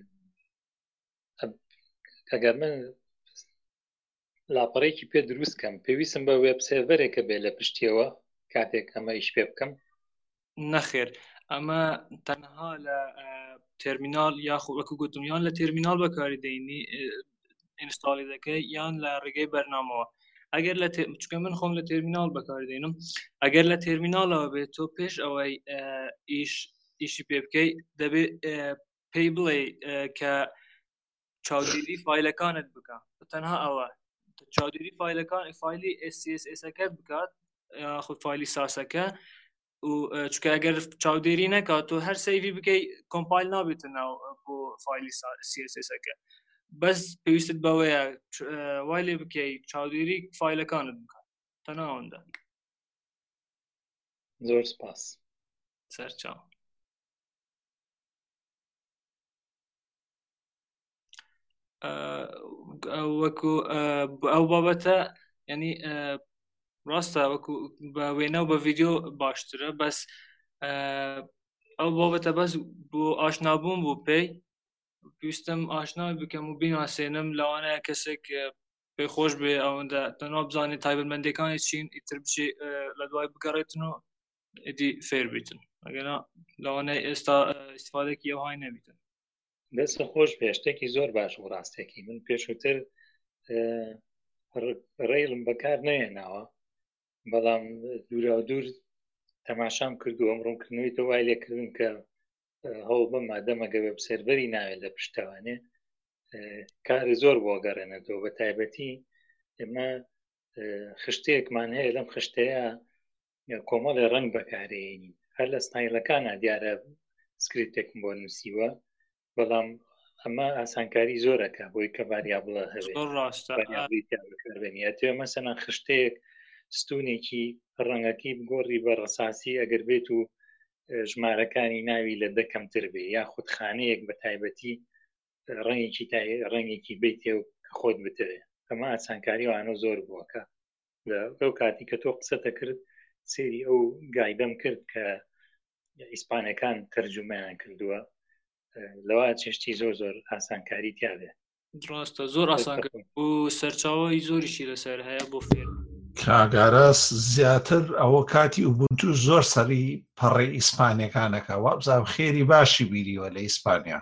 ئەگەر من لاپەڕێکی پێ دروستکەم پێویستم بە وێب سێڤەرێکە بێ لە پشتیەوە کاتێک ئەمە ئیش پێ بکەم؟ نەخێر، ئەمە تەنها لە تێرمینال یاخود وەکو گوتم یان لە تێرمینال بەکاری دەینی ئینستاڵی دەکەی یان لە ڕێگەی بەرنامەوە. ئەگەر لە چکە من خۆم لە تێرمینال بەکاری دێنم، ئەگەر لە تێرمینالەوە بێت تۆ پێش ئەوەی ئیشی پێ بکەی دەبێت پێی بڵێ کە چاودێری فایلەکانت بکە، تەنها ئەوە چاودێری فایلەکان فایلی SCSS-ەکەت بکات یاخود فایلی ساسەکە، و چکە ئەگەر چاودێری نەکات تۆ هەر سەیڤی بکەی کۆمپایل نابێتە ناو بۆ فایلی CSS-ەکە، بەس پێویستت بەوەیە وای لێ بکەی چاودێری فایلەکانت بکات، تەنها ئەوەندە. زۆر سپاس. سەرچاو. وەکو ئەو بابەتە ینی ڕاستە وەکو بە وێنە و بە ڤیدیۆ باشترە، بەس ئەو بابەتە بەس بۆ ئاشنابوون بوو پێی پێویستم ئاشنا بکەم و بیناسێنم، لەوانەیە کەسێک پێی خۆش بێ ئەوەندە تەنها بزانێت تایبەتمەندیەکانی چین ئیتر بچێ لە دوای بگەڕێتن و ئیدی فێر بیتن، ئەگەنا لەوانەیە ئێستا ئیستیفادەیەکی ئەوهای نەبیتن. دەست خۆش پێشتێکی زۆر باش و ڕاستێکی من پێشووتر ڕێڵم بەکار نەهێناوە، بەڵام دوورا دوور تەماشام کردو ئەمڕۆکردنەوەی تۆ وای لێکردن کە هەوڵ بم مادەمەگە وێب سێرڤەری ناوێت لە پشتەوانێ کاری زۆر بۆ گەڕێنێتەوە. بە تایبەتی ئێمە خشتەیەکمان هەیە، لەم خشتەیە کۆمەڵی ڕەنگ بەکارێنین، هەر لە ستایلەکانە دیارە سکریپتێکم بۆ نووسیوە، بەڵام ئەمە ئاسانکاری زۆرەکە بۆی کە ڤاریابڵە هەبێت بەکاربێنێتێ. مەسەڵەن خشتەیەک ستونێکی ڕەنگەکەی بگۆڕی بە ڕەساسی ئەگەر بێت و ژمارەکانی ناوی لە دەکەمتر بێ، یاخود خانەیەک بە تایبەتی ڕەنگێکی بیتێ و خۆت بترێ، ئەمە ئاسانکاری وانە زۆر بووەکە. لە ئەو کاتی کە تۆ قسەتە کرد سێری ئەو گایدەم کرد کە ئیسپانەکان تەرجومەیان کردووە، لەوە چێشتی زۆر ئاسانکاری تیاابێ. ڕاستە زۆر ئاسان و سەرچاوی زۆریشی لەسەر هەیە بۆ فێر. کاگاراس زیاتر ئەوە کاتی ئوبونتو زۆر سەری پەڕی ئیسپانیەکانەکە، وابزانام خێری باشی بیریوە لە ئیسپانیا،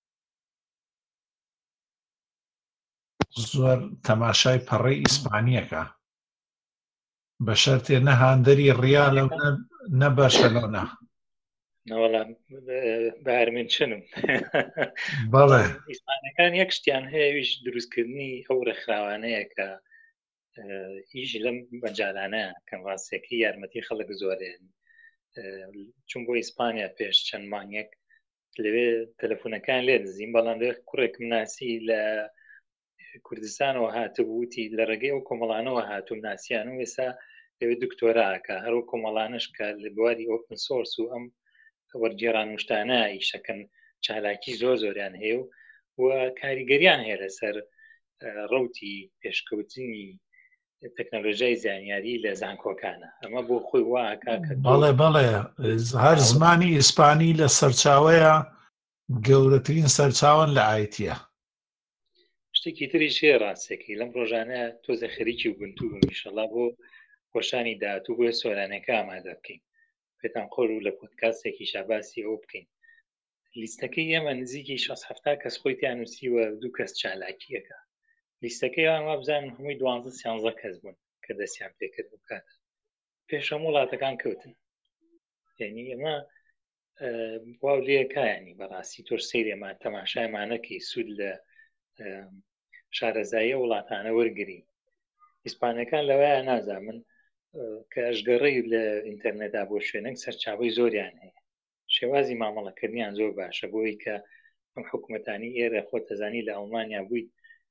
زۆر تەماشای پەڕی ئیسپانیەکە بە شەرتێ نەهاندەری ڕیالە و نە بەرشەلۆنە. نەوەڵام بارمین چنم بەڵێ ئیسپانەکان یەک شتیان هەیەویش دروستکردنی ئەو ڕێکخراوانەیە کە ئیش لەم بەجارانەیە کەم ڕاستێکی یارمەتی خەڵک زۆرێن. چون بۆ ئیسپانیا پێش چەند مانگێک لەوێ تەلەفۆنەکان لێ دزیم، بەڵام لێ کوڕێک مناسی لە کوردستانەوە هاتبووتی لە ڕێگەی ئەو کۆمەڵانەوە هاتوو ناسییان و ئێستا دەوێت دکتۆراکە هەرو کۆمەڵانش کە لە بواری ئۆپن سۆرس و ئەم وەرگێڕان وشتانە ئیشەکەن چالاکی زۆریان هەیە و کاریگەریان هەیە لەسەر ڕەوتی پێشکەوتنی تەکنۆلۆژیای زانیاری لە زانکۆکانە ئەمە بۆ خۆی واکە بەڵێ هەر زمانی ئیسپانی لە سەرچاوەیە گەورەترین سەرچاوان لە ئایتیە. شتێکی تری شێ ڕاستێکی لەم ڕۆژانە تۆزە خەریکی وبنتوو بووم ئینشەڵا بۆ خۆشانی داهاتوو بۆ سۆرانەکە ئامادە بکەین پێتان خۆر و لە پۆدکاستێکی شاباسی ئەو بکەین. لیستەکەی ئێمە نزیکی 670 کەس خۆی تیانوسیوە 2 کەس چالاکیەکە. لیستەکەی ئەوان وا بزانن هەمووی 12-13 کەس بوون کە دەستیان پێکرد بکات پێش هەموو وڵاتەکان کەوتن. یعنی ئەمە واو لێکایانی بەڕاستی تۆش سەیرێمان تەماشایمانەکەی سوود لە شارەزاییە وڵاتانە وەرگری. ئیسپانەکان لەوەیە نازانن کە ئەشگەڕەی لە ئینتەرنێتدا بۆ شوێنێک سەرچاوەی زۆریان هەیە. شێوازی مامەڵەکردنیان زۆر باشە بۆی کە ئەم حکوومەتانی ئێرە خۆتەزانی لە ئەڵمانیا بوویت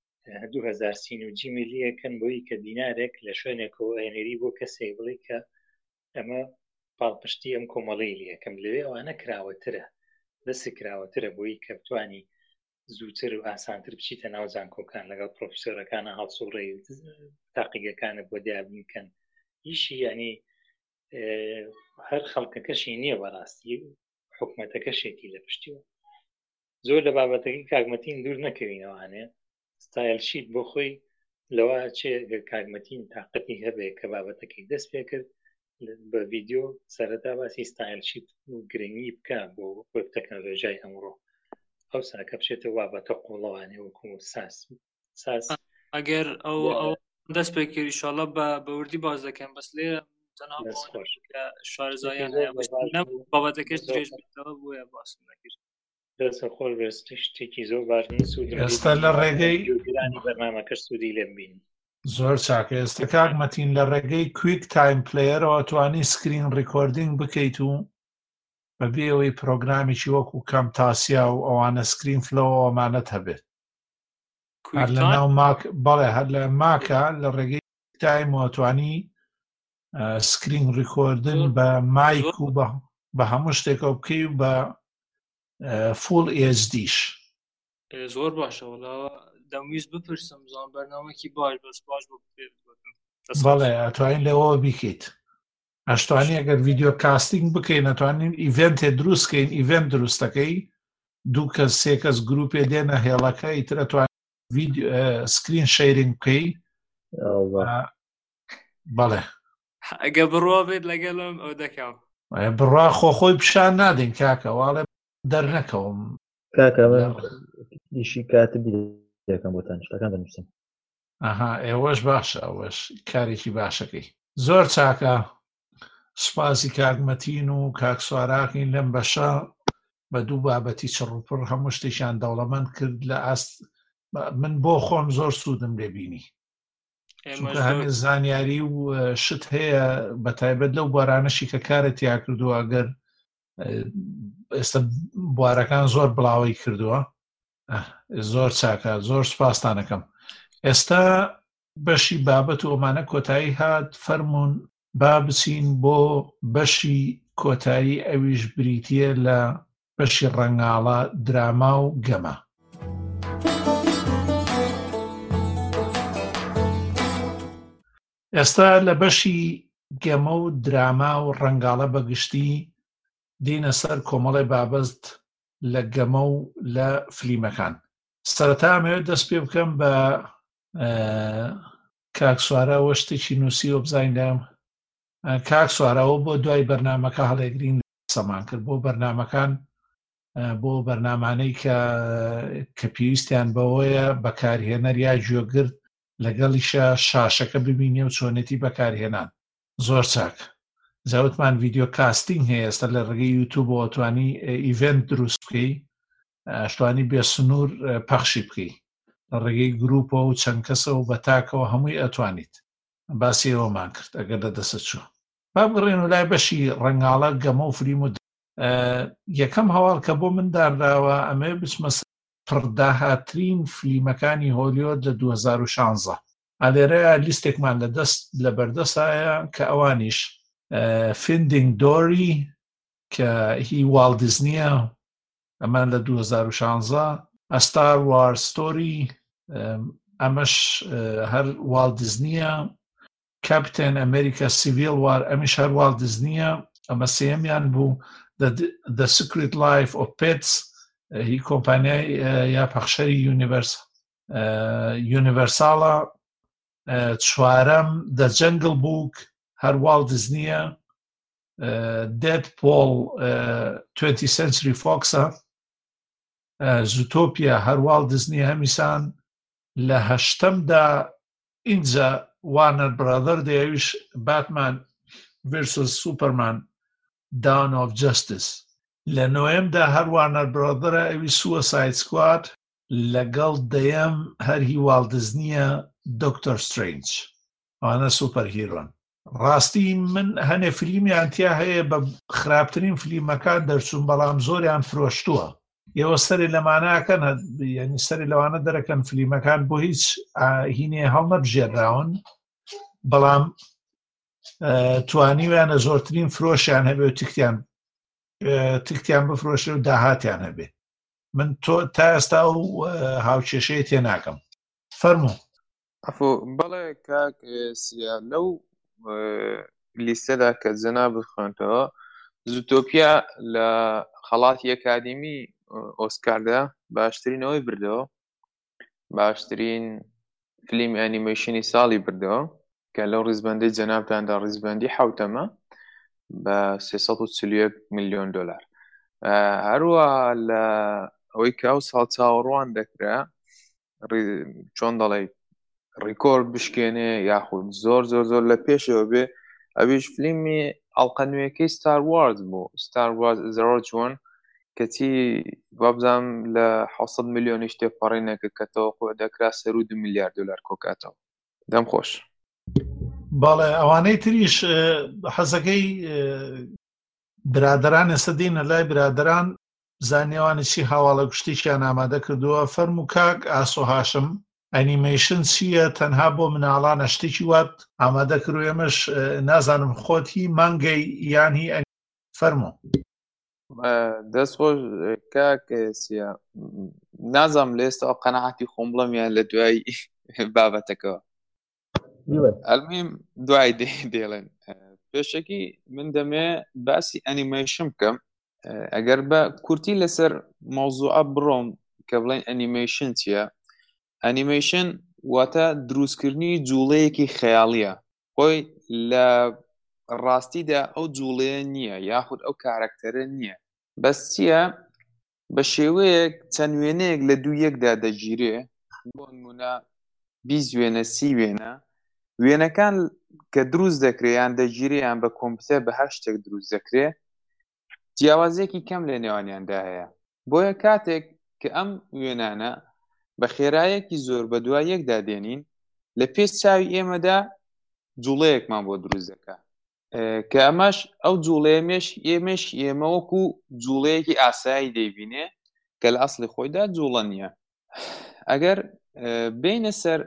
2030 میلیەکەن بۆی کە دینارێک لە شوێنێکەوە ئەێنێری بۆ کەسێک بڵێ کە ئەمە پاڵپشتی ئەم کۆمەڵەی لەکەم لەوێ ئەوانە کراوەترە دەستی کراوەترە بۆی کە بتوانی زووتر و ئاسانتر بچیتە ناو زانکۆکان لەگەڵ پرۆفیسۆرەکانە هەڵسوڕێی تاقیگەکانە بۆ دیابنکەن ئیشی ینی هەر خەڵکەکەشی نییە بەڕاستی حکومەتەکەشێتی لە پشتیوە. زۆر لە بابەتەکەی کاگمەتین دوور نەکەوینەوانێ ستایل شیت بۆ خۆی لەوە چێ کاگمەتین تااقەتی هەبێ کە بابەتەکەی دەست پێ کرد بە ڤیددیۆ سەرەتا باسی ستایل شیت و گرنگی بکە بۆ وەب تەکنۆلۆژیای ئەمڕۆ ئەو ساکە بچێتە وابەتە قوڵەوانێ وەکو ساس ئەگەر ئەو دەست پێ کرد ئینشاڵڵا بە وردی باز دەکەم بەس لێرە تەنها شارەزاییان هەیە بابەتەکەش درێژ بێتەوە بۆیە باسم نەکرد. دەستە خۆر شتێکی زۆر باش ئێستا لە ڕێگەی بەرنامەکەش سوودی لێم بین. زۆر چاکە. ئێستا کاگمەتین لە ڕێگەی کویک تایم پلەیەرەوە توانی سکرین ڕیکۆردینگ بکەیت و بەبێ ئەوەی پرۆگرامێکی وەکو کەم تاسیا و ئەوانە سکرین فلەوە ئەمانەت هەبێت هەر لە ناو ماک بەڵێ هەر لە ماکە لە ڕێگەی تایمەوە توانی سکرین ڕیکۆردن بە مایک و بە هەموو شتێکەوە بکەی و بە فول ئێچدیش. زۆر باشە وڵا دەمویست بپرسم زان بەرنامەکی باش بەس باش بۆ بەڵێ ئەتوانین لەوە بیکەیت. ئەشتوانی ئەگەر ڤیددیۆ کاستینگ بکەین نەتوانین ئیڤنتێ دروستکەین ئیڤنت دروستەکەی 2 کەس 3 کەس گروپێ دێنە هێڵەکە ئیتر ئەتوانین سکرین شەیرینگ بکەی. بەڵێ ئەگە بڕوا بێت لەگەڵم ئەو دەکەم بڕوا خۆخۆی پیشان نادەین کاکە واڵێ دەرنەکەوم کاکە ئیشی کاتبی دەکەم بۆتان شتەکان دەنووسم. ئەها ئێوەش باشە ئەوەش کارێکی باشەکەی. زۆر چاکە. سوپاسی کاگمەتین و کاکسواراکین لەم بەشە بە دوو بابەتی چڕوپڕ هەموو شتێکیان دەوڵەمەند کرد لە ئاست من بۆ خۆم زۆر سوودم لێبینی چونکە هەمێ زانیاری و شت هەیە بەتایبەت لەو بوارانەشی کە کارێت یا کردووە ئەگەر ئێستا بوارەکان زۆر بڵاوی کردووە. زۆر چاکە زۆر سوپاستانەکەم. ئێستا بەشی بابەت و ئەمانە کۆتایی هات فەرمونون با بچین بۆ بەشی کۆتایی ئەویش بریتیە لە بەشی ڕەنگاڵە دراما و گەمە. ئێستا لە بەشی گەمە و دراما و ڕەنگاڵە بەگشتی دینە سەر کۆمەڵی بابەت لە گەمە و لە فلیمەکان. سەرەتا ئەمەوێت دەست پێ بکەم بە کاکسوارەوە شتێکی نووسیوە بزانیدام. کاکسوارەوە بۆ دوای بەرنامەکە هەڵێگرین سەمان کرد بۆ بەرنامەکان بۆ بەرنامانەی کە پێویستیان بەوەیە بەکارهێنەر یا گوێگرت لەگەڵیشە شاشەکە ببینێ و چۆنێتی بەکارهێنان. زۆر چاک. زەوتمان ڤیددیۆ کاستینگ هەیە ئێستا لە ڕێگەی یوتیوب بۆ توانی ئیڤنت دروست بکەی ئەشتوانی بێ سنوور پەخشی بکەی لە ڕێگەی گروپەوە و چەند کەسەوە بە تاکەوە هەمووی ئەتوانیت. باسی ئەوەمان کرد ئەگەر لەدەستە چوو. با بڕێن و لای بەشی ڕەنگاڵە گەمە و فلیم و یەکەم هەواڵ کە بۆ من دانراوە ئەمێ بچمە پڕداهاترین فلیمەکانی هۆلیۆد لە 2016 ئالێرەیە لیستێکمان لە بەردەسایە کە ئەوانیش فیندینگ دۆری کە هی واڵت دیزنیە ئەمان لە 2016 ئەستار وار ستۆری ئەمەش هەر واڵت دیزنیە کاپتن ئەمریکا سیڤیل وار ئەمیش هەر واڵت دیزنیە ئەمە سێمیان بوو The Secret Life of Pets هی کۆمپانیای یا پەخشەری یونیڤەرساڵە چوارەم The Jungle Book هەر واڵت دیزنیە Deadpool 20th Century Foxە زوتۆپیا هەر واڵت دیزنیە هەمیسان لە هەشتەمدا ئینجا وارنەر برادەر دەیەویش باتمان versus سوپەرمان Dawn of Justice لە نۆیەمدا هەر وارنەر برادەرە ئەوی سووساید سکواد لەگەڵ دەیەم هەر هی واڵت دیزنیە دکتۆر سترێنج ئەوانە سوپەر هیرۆن ڕاستی من هەنێ فیلمیان تیا هەیە بە خراپترین فیلمەکان دەرچوون بەڵام زۆریان فرۆشتووە ئێوە سەری لەمانەکەن یعنی سەری لەوانە دەرەکەن فیلمەکان بۆ هیچ هینێ هەڵ نەبژێراون بەڵام توانیویانە زۆرترین فرۆشیان هەبێ و تکتیان بفرۆشێ و داهاتیان هەبێ من تا ئێستا و هاوکێشەیە تێ ناکەم فەرموو بەڵێ کاک سیا لەو لیستەدا کە جەناب بخوێنتەوە زوتۆپیا لە خەڵاتی ئەکادمی ئۆسکاردا باشترینەوەی بردەوە باشترین فیلمی ئەنیمەیشنی ساڵی بردەوە کە لەو ڕیزبەندەی جەنابتاندا ڕیزبەندی حوتەمە بە 341 ملیۆن دۆلار هەروەها لە ئەوەی کە ئەو ساڵ چاوەڕوان دەکرا چۆن دەڵێ ڕیکۆرد بشکێنێ یاخود زۆر لە پێشەوە بێ ئەویش فیلمی ئەڵقە نوێیەکەی ستار وارز بوو ستار وارز زەرۆ چۆن کەچی وابزانم لە 600 ملیۆنی شتێپەڕینەکە کە تەوەقوع دەکرا سەر و 2 میلیارد دلار کۆکاتەوە دەم خۆش بەڵێ ئەوانەی تریش حەزەکەی برادران ئێستا دێنە لای برادران زانیوانی چی هاواڵە گشتیشیان ئامادە کردووە فەرموو کاک ئاسۆ هاشم ئەنیمەیشن چییە تەنها بۆ مناڵانە شتێکی وات ئامادە کردو ئێمەش نازانم خۆت هی مانگەی یان هی فەرموو دەستخۆش کاک سیا نازانم لە ئێستا قەنەعەتی خۆم بڵەم یان لە دوای بابەتەکەوە ئەلمیم دوای دێڵێن پێشەکی من دەمێ باسی ئەنیمەیشن بکەم ئەگەر بە کورتی لەسەر مەوزوعە بڕۆم کە بڵێن ئەنیمەیشن چییە ئەنیمەیشن واتە دروستکردنی جوڵەیەکی خەیاڵیە خۆی لە ڕاستیدا ئەو جوڵەیە نییە یاخود ئەو کارەکتەرە نییە بەس چییە بە شێوەیەک چەند وێنەیەک لە دوو یەکدا دەگیرێ بۆ نمونە 20 وێنە 30 وێنە وێنەکان کە دروست دەکرێیان دەگیریان بە کۆمپیوتەر بە هەر شتێک دروست دەکرێ جیاوازێکی کەم لە نێوانیاندا هەیە بۆیە کاتێک کە ئەم وێنانە بە خێرایەکی زۆر بە دوای یەکدا دێنین لە پێش چاوی ئێمەدا جوڵەیەکمان بۆ دروست دەکات کە ئەمەش ئەو جوڵەیەمێش ئێمە وەکو جوڵەیەکی ئاسایی دەیبینێ کە لە ئەسڵی خۆیدا جوڵە نییە ئەگەر بینە سەر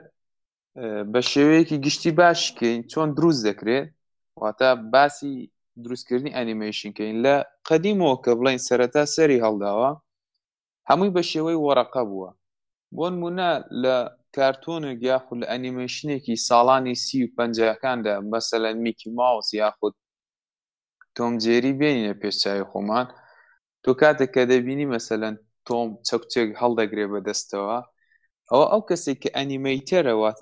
بە شێوەیەکی گشتی باشکەین چۆن دروست دەکرێت واتە باسی دروستکردنی ئەنیمەیشنکەین لە قەدیمەوە کە بڵین سەرەتا سەری هەڵداوە هەمووی بە شێوەی وەرەقە بووە بۆ نمونە لە کارتۆنێک یاخود لە ئەنیمەیشنێکی ساڵانی 30 و 50کاندا مەسەلەن میکی ماوس یاخود تۆم جێری بێنینە پێشچاوی خۆمان تۆ کاتێک کە دەبینی مەسەلەن تۆم چەکچێک هەڵدەگرێ بەدەستەوە ئەو کەسێک کە ئەنیمەیتەرە واتە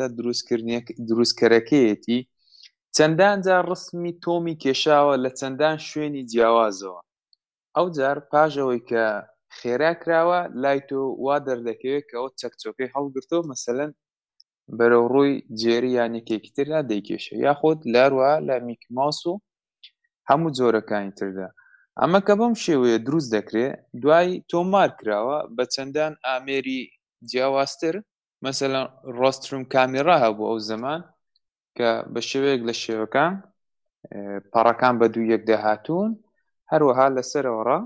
دروستکەرەکەیەتی چەندان جار ڕسمی تۆمی کێشاوە لە چەندان شوێنی جیاوازەوە ئەو جار پاژەوەی کە خێرا کراوە لای تۆ وا دەردەکەوێت کە ئەو چەکچۆکەی هەڵگرتەوە مەسەلەن بەرەو ڕووی جێری یانێکێکی تردا دەیکێشە یاخود لاروە لە میکی ماوس و هەموو جۆرەکانی تردا ئەمە کە بەم شێوەیە دروست دەکرێت دوای تۆمار کراوە بە چەندان ئامێری جیاوازتر مەسەلەن ڕۆستروم کامێرا هەبوو ئەو زەمان کە بە شێوەیەک لە شێوەکان پەڕەکان بە دوو یەکدا هاتوون هەروەها لەسەرەوەڕە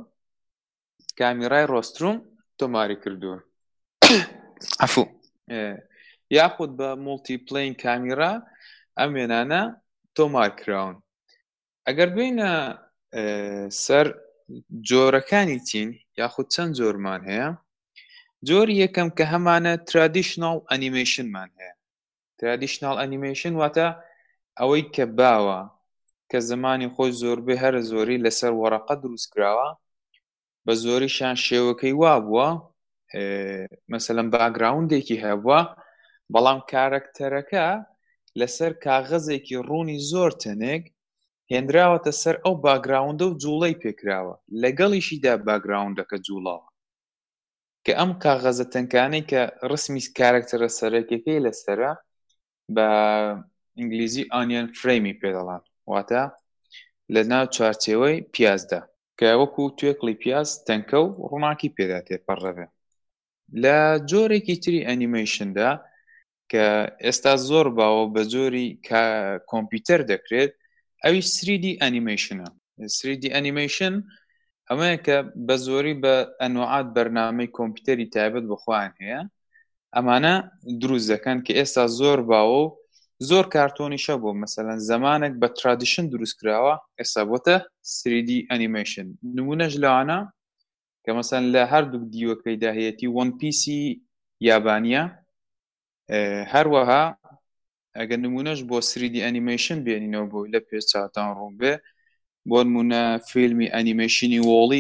کامیرای ڕۆستروم تۆماری کردووە عەفو یاخود بە مولتی پلین کامیرا ئەم وێنانە تۆمار کراون. ئەگەر بینە سەر جۆرەکانی چین یاخود چەند جۆرمان هەیە، جۆری یەکەم کە هەمانە ترادیشنال ئەنیمێشنمان هەیە. ترادیشنال ئەنیمێشن واتە ئەوەی کە باوە کە زمانی خۆی زۆربەی هەرە زۆری لەسەر وەرەقە دروست کراوە، بە زۆریشان شێوەکەی وا بووە مەسەلەن باگراوندێکی هەبووە، بەڵام کارەکتەرەکە لەسەر کاغەزێکی ڕوونی زۆر تەنێک هێنراوەتە سەر ئەو باگراوندە و جوڵەی پێکراوە، لەگەڵیشیدا باگراوندەکە جوڵاوە، کە ئەم کاغەزە تەنکانەی کە ڕسمی کارەکتەرە سەرەکیەکەی لەسەرە بە ئینگلیزی ئانیەن فرەیمی پێدەڵان، واتە لە ناو چوارچێوەی پیازدا کە وەکو توێکڵی پیاز تەنکە و ڕووناکی پێدا تێپەڕەبێ. لە جۆرێکی تری ئەنیمەیشندا کە ئێستا زۆر باوە بە جۆری کۆمپیوتەر دەکرێت، ئەوی 3D ئەنیمەیشنە. 3D ئەنیمەیشن ئەمەیە کە بە زۆری بە ئەنواعات بەرنامەی کۆمپیوتەری تایبەت بخواان هەیە، ئەمانە دروست دەکەن کە ئێستا زۆر باوە و زۆر کارتۆنیشە بۆ مەسەلەن زەمانێک بە ترادیشن دروست کراوە، ئێستا بۆتە 3D ئەنیمەیشن. نمونەش لەوانە کە مەسەلەن لە هەردوو دیوەکەیدا هەیەتی وەن پیسی یابانیە، هەروەها ئەگەر نمونەش بۆ 3D ئەنیمەیشن بێنینەوە بۆ لە پێش چاوتان ڕوون بێ، بۆ نمونە فیلمی ئەنیمەیشنی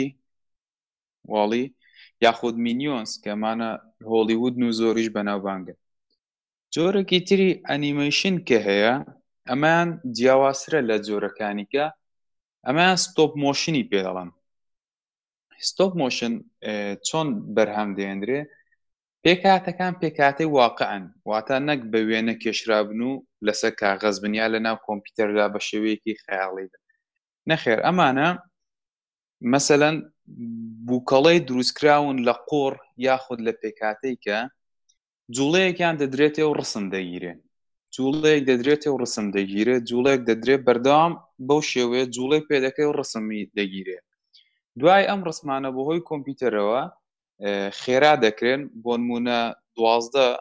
واڵی یاخود مینیۆنز کە مانە هۆلیوود و زۆریش بەناوبانگە. جۆرێکی تری ئەنیمەیشن کە هەیە ئەمان جیاوازترە لە جۆرەکانیکە، ئەمان ستۆپ مۆشنی پێدەڵن. ستۆپ مۆشن چۆن بەرهەم دێنرێ؟ پێکاتەکان پێکاتەی واقعن، واتە نەک بە وێنە کێشرابن و لەسەر کاغەز بنیا لە ناو کۆمپیوتەردا بە شێوەیەکی خەیاڵیدا. نەخێر، ئەمانە مەسەلەن بووکەڵەی دروستکراون لە قۆڕ یاخود لە پێکاتەی کە جوڵەیەکیان دەدرێتێ و ڕسم دەگیرێ، جوڵەیەک دەدرێتێ و ڕسم دەگیرێ، جوڵەیەک دەدرێت بەردەوام بەو شێوەیە جوڵەی پێدەکەی و ڕسمی دەگیرێ. دوای ئەم ڕسمانە بەهۆی کۆمپیوتەرەوە خێرا دەکرێن، بۆ نمونە 12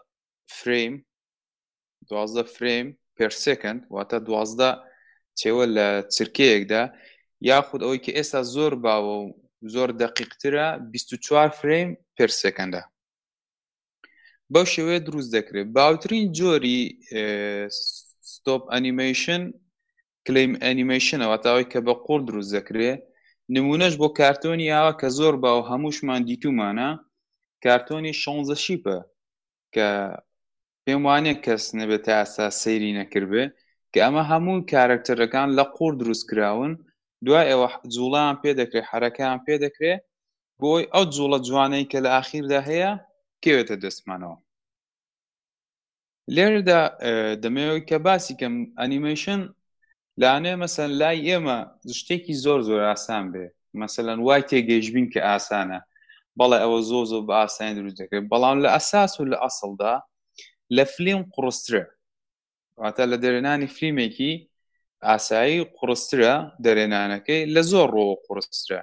فریم پێر سێکەند، واتە 12 چێوە لە چرکەیەکدا، یاخود ئەوەی کە ئێستا زۆر باوە و زۆر دەقیقترە 24 فریم پێر سێکەندە. بەو شێوەیە دروست دەکرێت. باوترین جۆری ستۆپ ئەنیمەیشن کلیم ئەنیمەیشنە، واتە ئەوەی کە بە قوڵ دروست دەکرێت. نمونەش بۆ کارتۆنی ئاوا کە زۆر باو هەمووشمان دیتومانە، کارتۆنی 16 شیپە کە پێم وانێ کەس نەبێت تا ئاسا سەیری نەکردبێ، کە ئەمە هەموو کارکتەرەکان لە قوڵ دروست کراون، دوای ئەوە جوڵەیان پێ دەکرێت، حرەکەیان پێ دەکرێت بۆی ئەو جوڵە جوانەی کە لە ئاخیردا هەیە کێوێتە دەستمانەوە. لێرەدا دەمەوێت کە باسی کەم ئەنیمەیشن لانێ مەسەن لای ئێمە شتێکی زۆر ئاسان بێ، مەسەلەن وای تێگەیشتبین کە ئاسانە، بەڵێ ئەوە زۆر بە ئاسانی دروست دەکرێت، بەڵام لە ئەساس و لە ئەسڵدا لە فلیم قوڕسترە، واتە لە دەرێنانی فلیمێکی ئاسایی قوڕسترە، دەرێنانەکەی لە زۆر ڕۆوە قوڕسترە.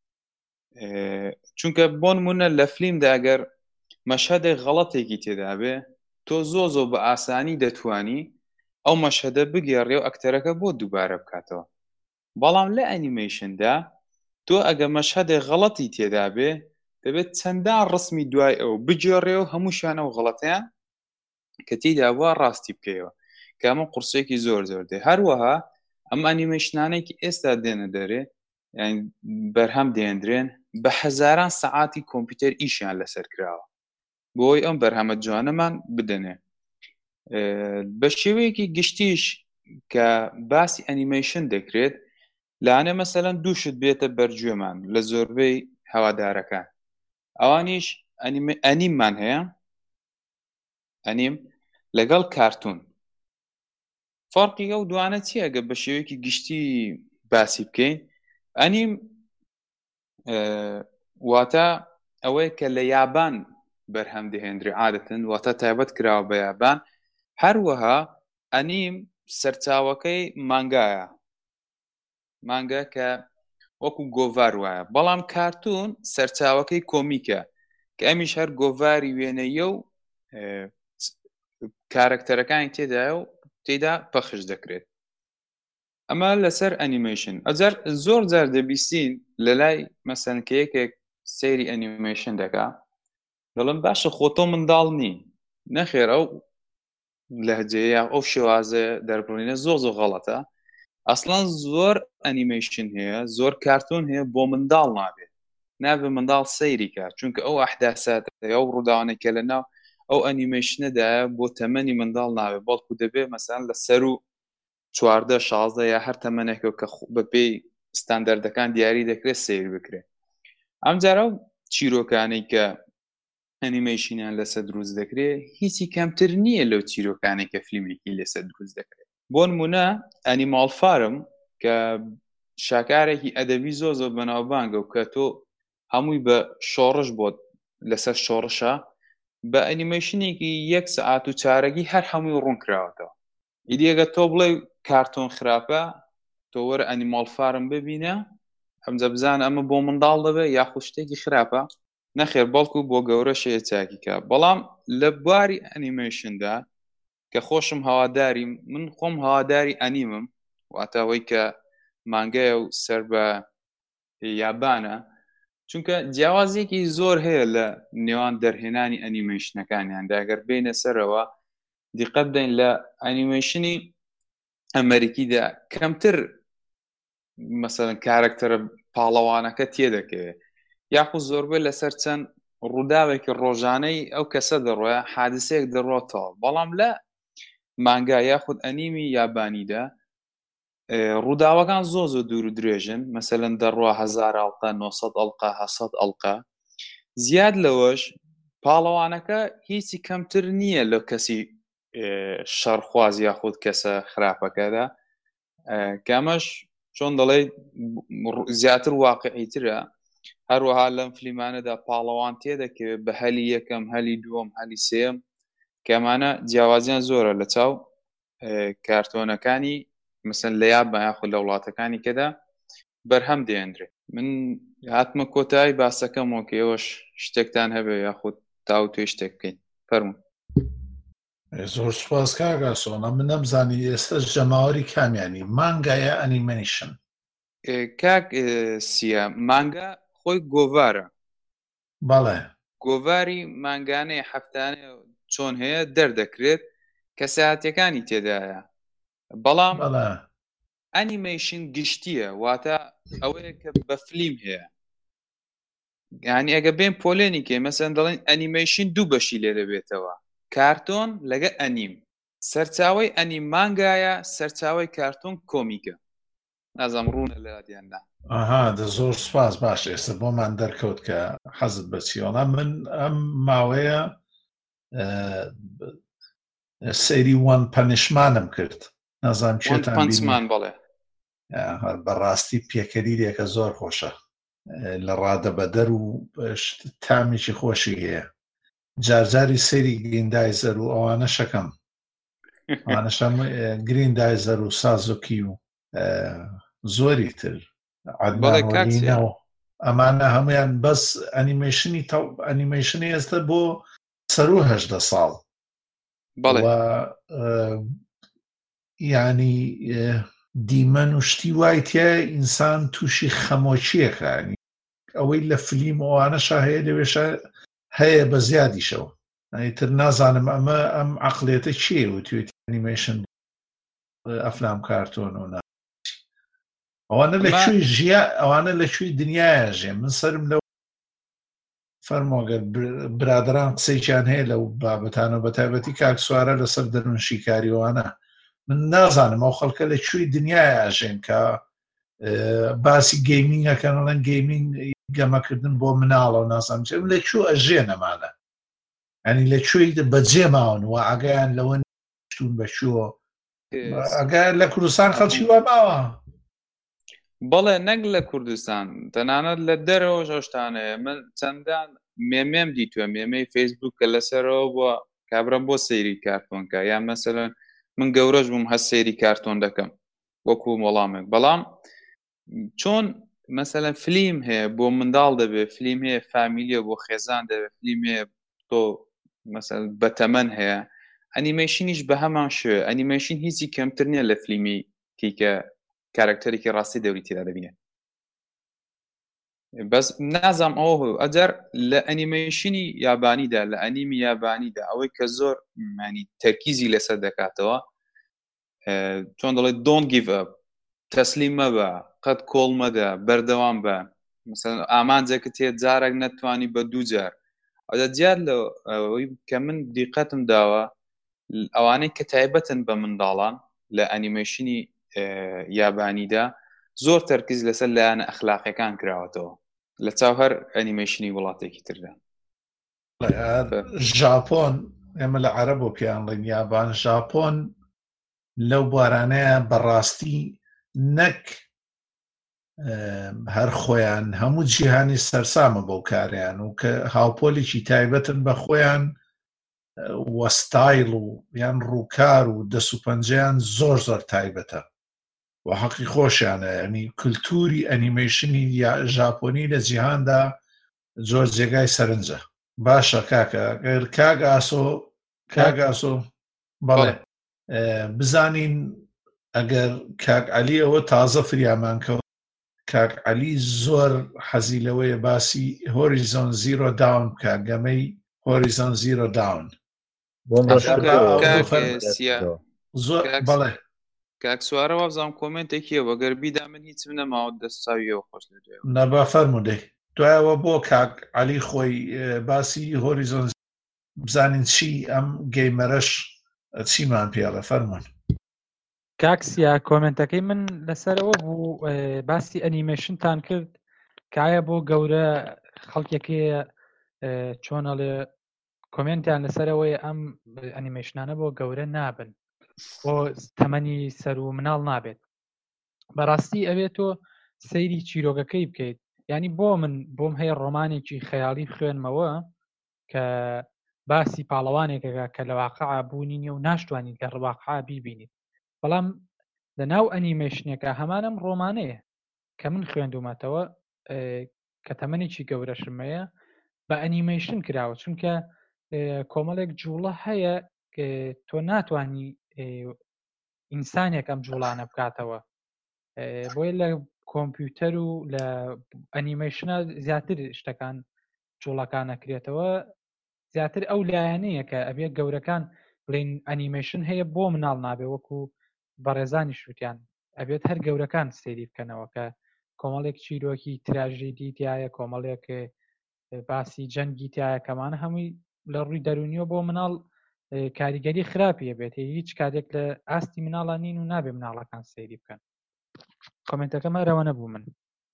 چونکە بۆ نمونە لە فلیمدا ئەگەر مەشهەدێک غەڵەتێکی تێدا بێ، تۆ زۆر بە ئاسانی دەتوانی ئەو مەشهەدە بگێڕێ و ئەکتەرەکە بۆ دووبارە بکاتەوە. بەڵام لە ئەنیمەیشندا تۆ ئەگە مەشهەدێک غەڵەتی تێدا بێ، دەبێت چەندان ڕسمی دوای ئەو بگێڕێ و هەمووشیان ئەو غەڵەتیان کە تێدا بووە ڕاستی بکەیەوە، کە ئەمە قورسێکی زۆر دێ. هەروەها ئەم ئەنیمەیشنانێکی ئێستا دێنە دەرێ، یعنی بەرهەم دێنرێن، بە هەزاران سەعاتی کۆمپیوتەر ئیشیان لەسەر کراوە بۆی ئەم بەرهەمە جوانەمان بدەنێ. بە شێوەیەکی گشتیش کە باسی ئەنیمەیشن دەکرێت، لانێ مەسەلەن دووشت بێتە بەرگوێمان لە زۆربەی هەوادارەکان. ئەوانیش ئەنیممان هەیە، ئەنیم لەگەڵ کارتون. فەرقی ئەو دوانە چیە؟ گە بە شێوەیەکی گشتی باسی بکەین. ئەنیم واتە ئەوەیە کە لە یابان بەرهەم دەهێنرێ عادەتەن، واتە تایبەت کراوە بە یابان. هەروەها ئەنیم سەرچاوەکەی مانگایە، مانگا کە وەکو گۆڤار وایە، بەڵام کارتون سەرچاوەکەی کۆمیکە کە ئەمیش هەر گۆڤاری وێنەیە و کارکتەرەکانی تێدایە و تێدا پەخش دەکرێت. ئەمە لەسەر ئەنیمەیشن. ئەجار زۆر جار دەبیستین لە لای مەسەن کە یەکێک سەیری ئەنیمەیشن دەکا دەڵم باشە خۆتۆ منداڵ نی نەخێر ئەو لەهجەیە ئەو شێوازە دەربڕینە زۆر غەڵەتە. ئەسڵان زۆر ئەنیمەیشن هەیە زۆر کارتۆن هەیە بۆ منداڵ نابێ منداڵ سەیری کات چونکە ئەو ئەحداسات ئەو ڕووداوانێکە لەناو ئەو ئەنیمەیشنەدایە بۆ تەمەنی منداڵ نابێت بەڵکو دەبێت مەسەن لە سەر و 14-16 یا هەر تەمەنێکە کە بەپێی ستاندەردەکان دیاری دەکرێت سیر بکرێت. ئەمجارە چیرۆکانەی کە ئەنیمەیشنیان لەسەر دروست دەکرێت هیچی کەمتر نییە لەو چیرۆکانێک کە فیلمێکی لەسەر دروست دەکرێت. بۆ نمونە ئەنیمال فارم کە شاکارێکی ئەدەبی زۆر بەناوبانگە و کە تۆ هەمووی بە شۆڕش بۆت لەسەر شۆڕشە بە ئەنیمەیشنێکی 1 سەعات و چارەگی هەر هەمووی ڕوون کراوەتەوە. ئیدیەگە تۆ بڵێ کارتۆن خراپە تۆ وەرە ئەنیمال فارم ببینە ئەمجە بزانە ئەمە بۆ منداڵ دەبێت یاخود شتێکی خراپە نەخێر بەڵکو بۆ گەورە شەیە چاکیکە. بەڵام لە بواری ئەنیمەیشندا کە خۆشم هەواداری من خۆم هەواداری ئەنیمم واتەوەی کە مانگایە و سەر بە یابانە چونکە جیاوازێکی زۆر هەیە لە نێوان دەرهێنانی ئەنیمەیشنەکانیاندا ئەگەر بینە سەرەوە دیقەت بدەین لە ئەنیمەیشنی ئەمریکیدا کەمتر مەسەڵەن کارکتەرە پاڵەوانەکە تێدەکەوێت یاخود زۆربەی لەسەر چەند ڕووداوێکی ڕۆژانەی ئەو کەسە دەڕۆیە حادسەیەک دەڕۆتەوە. بەڵام لە مانگا یاخود ئەنیمی یابانیدا ڕووداوەکان زۆر دوور و درێژن مەسەلەن دەڕوا 1000 ئەڵقە 900 ئەڵقە 700 ئەڵقە زیاد لەوەش پاڵەوانەکە هیچی کەمتر نییە لە کەسی شەڕخواز یاخود کەسە خراپەکەدا کامەش چۆن دەڵێ زیاتر واقعیترە. هەروەها لەم فلیمانەدا پاڵەوان تێدەکەوێت بە هەلی یەکەم هەلی دووەم هەلی سێم کەمانە جیاوازیان زۆرە لە چاو کارتۆنەکانی مثل لە یابان یاخود لە وڵاتەکانی کەدا بەرهەم دێنرێت. من هاتمە کۆتایی باسەکەمەوە کە ئێوەش شتێکتان هەبێ یاخود تاو توێ شتێک بکەین فەرموو. زۆر سوپاس کاکە سۆڵە من نەمزانی ئێستا ژەماوەری کامیانی مانگایە ئەنیمەیشن کاک سیە مانگا خۆی گۆڤارە بەڵێ گۆڤاری مانگانەی هەفتانێ چۆن هەیە دەردەکرێت کە ساعتەکانی تێدایە. بەڵام ئەنیمەیشن گشتیە واتە ئەوەیە کە بە فلیم هەیە یعنی ئەگە بێن پۆلێنی کێ مەسەن دەڵێن ئەنیمەیشن دوو بەشی لێ دەبێتەوە کارتۆن لەگە ئەنیم سەرچاوی ئەنیم مانگایە سەرچاوی کارتۆن کۆمیکە نازام ڕوونە لە یادیاندا. دە زۆر سوپاس باش ئێستا بۆمان دەرکەوت کە حەزت بە چیۆڵە من ئەم ماوەیە سەیری وان پەنیشمانم کرد نازانم چێتان بڵێ بەڕاستی پێکەریرێکە زۆر خۆشە لە ڕادە بەدەر و تامیکی خۆشی هەیە جارجاری سەیری گریندایزەر و ئەوانە شەکەم ئەوانەشەم گریندایزەر و سازۆکی و زۆری تر عەدنانەوە ئەمانە هەمویان بەس ئەنیمەیشنی ئێستا بۆ سەر و 18 ساڵ یعنی دیمەن و شتی وای تایە ئینسان تووشی خەمۆچیەکە ئەوەی لە فلیم ئەوانەشە هەیە لەوێشە هەیە بە زیادیشەوە تر نازانم ئەمە ئەم عەقڵێتە چیە و توێتی ئەنیمەیشن ئەفلام کارتۆن و ئەوانە لەکوێی دنیاە ژێ من سرم لەو فەرمۆگەر برادران قسەیان هەیە لەو بابەتانە بە تایبەتی کاک سوارە لەسەر دەروون شیکاریەوانە من نازانم ئەو خەڵکە لەکوێی دنیاە ئاژێن کە باسی گەیمینگەکەن ئەڵەن گەیمینگ گەمەکردن بۆ مناڵە و نازانم چێم لەکوێ ئەژێنەمانە ینی لەکوێی بەجێ ماون و ئاگایان لەوە شتون بەشووە ئەگەر لە کوردستان خەڵکی وا ماوە بەڵێ نەک لە کوردستان تەنانەت لە دەرەوە شتانەیە من چەندان مێمێم دیتووە مێمەی فەیسبووکە لەسەرەوە بۆ کابرا بۆ سەیری کارتۆنکە یان مەسەلەن من گەورەش بووم هەست سەیری کارتۆن دەکەم وەکو وەڵامێک بەڵام چۆن مەسەلەن فلیم هەیە بۆ منداڵ دەبێت فلیم هەیە فامیلیە بۆ خێزان دەبێت فلیم هەیە تۆ مەسەلەن بەتەمەن هەیە ئەنیمەیشنیش بە هەمان شێوە ئەنیمەیشن هیچی کەمتر نییە لە فلیمی کە کارکتەرێکی ڕاستی دەوری تێدا دەبینێت بەس نازام ئەوە ئەجار لە ئەنیمەیشنی یابانیدا لە ئەنیمی یابانیدا ئەوەی کە زۆر مانی تەرکیزی لەسەر دەکاتەوە چۆن دەڵێت don't give up تەسلیم مەبە قەت کۆڵ مەدە بەردەوام بە مثلا ئامانجێکت هەیە جارێک نەتوانی بە دوو جار ئەوە دیار لەوەی کە من دیقەتم داوە ئەوانەی کە تایبەتن بە منداڵان لە ئەنیمەیشنی یابانیدا زۆر تەرکیز لەسەر لایەنە ئەخلاقیەکان کراوەتەوە لە چاو هەر ئەنیمەیشنی وڵاتێکی تردا ژاپۆن ئێمە لە عەرەبۆ پێیانڵێن یابان ژاپۆن لەو بوارانەیە بەڕاستی نەک هەر خۆیان هەموو جیهانی سەرسامە بەو کاریان و کە هاوپۆلێکی تایبەتن بە خۆیان وەستایل و یان ڕووکار و دەسوپەنجیان زۆر زۆر تایبەتە و حەقی خۆشیانە ینی کولتوری ئەنیمەیشنی ژاپۆنی لە جیهاندا زۆر جێگای سەرنجە باشە کاکە کاک ئاسۆ بەڵێ بزانین ئەگەر کاک عەلی ئەوە تازە فریامان کەوت کاک عەلی زۆر حەزی لەوەیە باسی هۆریزۆن زیرۆ داون بکە گەمەی هۆریزۆن زیرۆ داون زۆر بەڵێ کاک سوارەوە بزانم کۆمنتێکیە وەگەر بیدا من هیچ نەماوە دەستاویەوە خۆش لەجێ نەبا فەرموودەی دوایەوە بۆ کاک عەلی خۆی باسی هۆریزۆن بزانین چی ئەم گەیمەرەش چیمان پێڵە فەرموون کاکسیا کۆمنتەکەی من لەسەرەوە بوو باسی ئەنیمێشنتان کرد کایە بۆ گەورە خەڵکێکەیە چۆنەڵێ کۆمنتیان لەسەرەوەی ئەم ئەنیمێشنانە بۆ گەورە نابن بۆ تەمەنی سەر و مناڵ نابێت بەڕاستی ئەوێت تۆ سەیری چیرۆگەکەی بکەیت ینی بۆم هەیە ڕۆمانێکی خەیاڵی خوێنمەوە کە باسی پاڵەوانێکەکە کە لە واقعا بوونینە و ناشتوانین کە ڕواقعا بیبینیت بەڵام لە ناو ئەنیمێشنێکە هەمانم ڕۆمانەیە کە من خوێندومەتەوە کە تەمەنێکی گەورەشمەیە بە ئەنیمێشن کراوە چونکە کۆمەڵێک جوڵە هەیە تۆ ناتوانی ئینسانێک ئەم جوڵانە بکاتەوە بۆیە لە کۆمپیوتەر و لە ئەنیمێشنە زیاتر شتەکان جوڵەکان نەکرێتەوە زیاتر ئەو لایەنەیە کە ئەبێت گەورەکان بڵین ئەنیمێشن هەیە بۆ مناڵ نابێ وەکو بەڕێزانی شووتیان ئەبێت هەر گەورەکان سەیری بکەنەوە کە کۆمەڵێک چیرۆکی تراژیدی تایە کۆمەڵێک باسی جەنگی تایە کەمانە هەمووی لە ڕووی دەرونیەوە بۆ مناڵ کاریگەری خراپیە بێت هیچ کاتێک لە ئاستی مناڵان نین و نابێ مناڵەکان سەیری بکەن کۆمنتەکە مەرەوە نەبوو من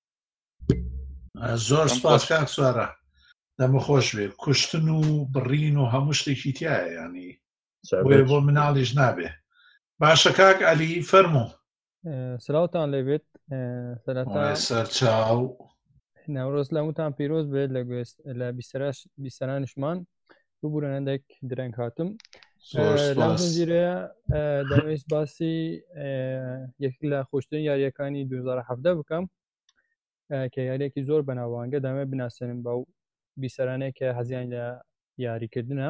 زۆر سپاس کاک سوارە دەمە خۆش بێ کوشتن و بڕین و هەموو شتێکی تایە ینی بۆ مناڵیش نابێ باشە کاک عەلی فەرموو سلااوتان لەبێت سەرچاو ناوڕۆز لە هەمووتان پیرۆز بێت لە بیستەرانشمان ببوورەنەندێک درەنگ هاتم لەم زنجیرەیە دەمەویست باسی یەک لە خۆشترین یاریەکانی 2017 بکەم کە یاریەکی زۆر بەناوبانگە دەمە بناسێنم بەو بیسەرانەیە کە هەزیان لە یاریکردنە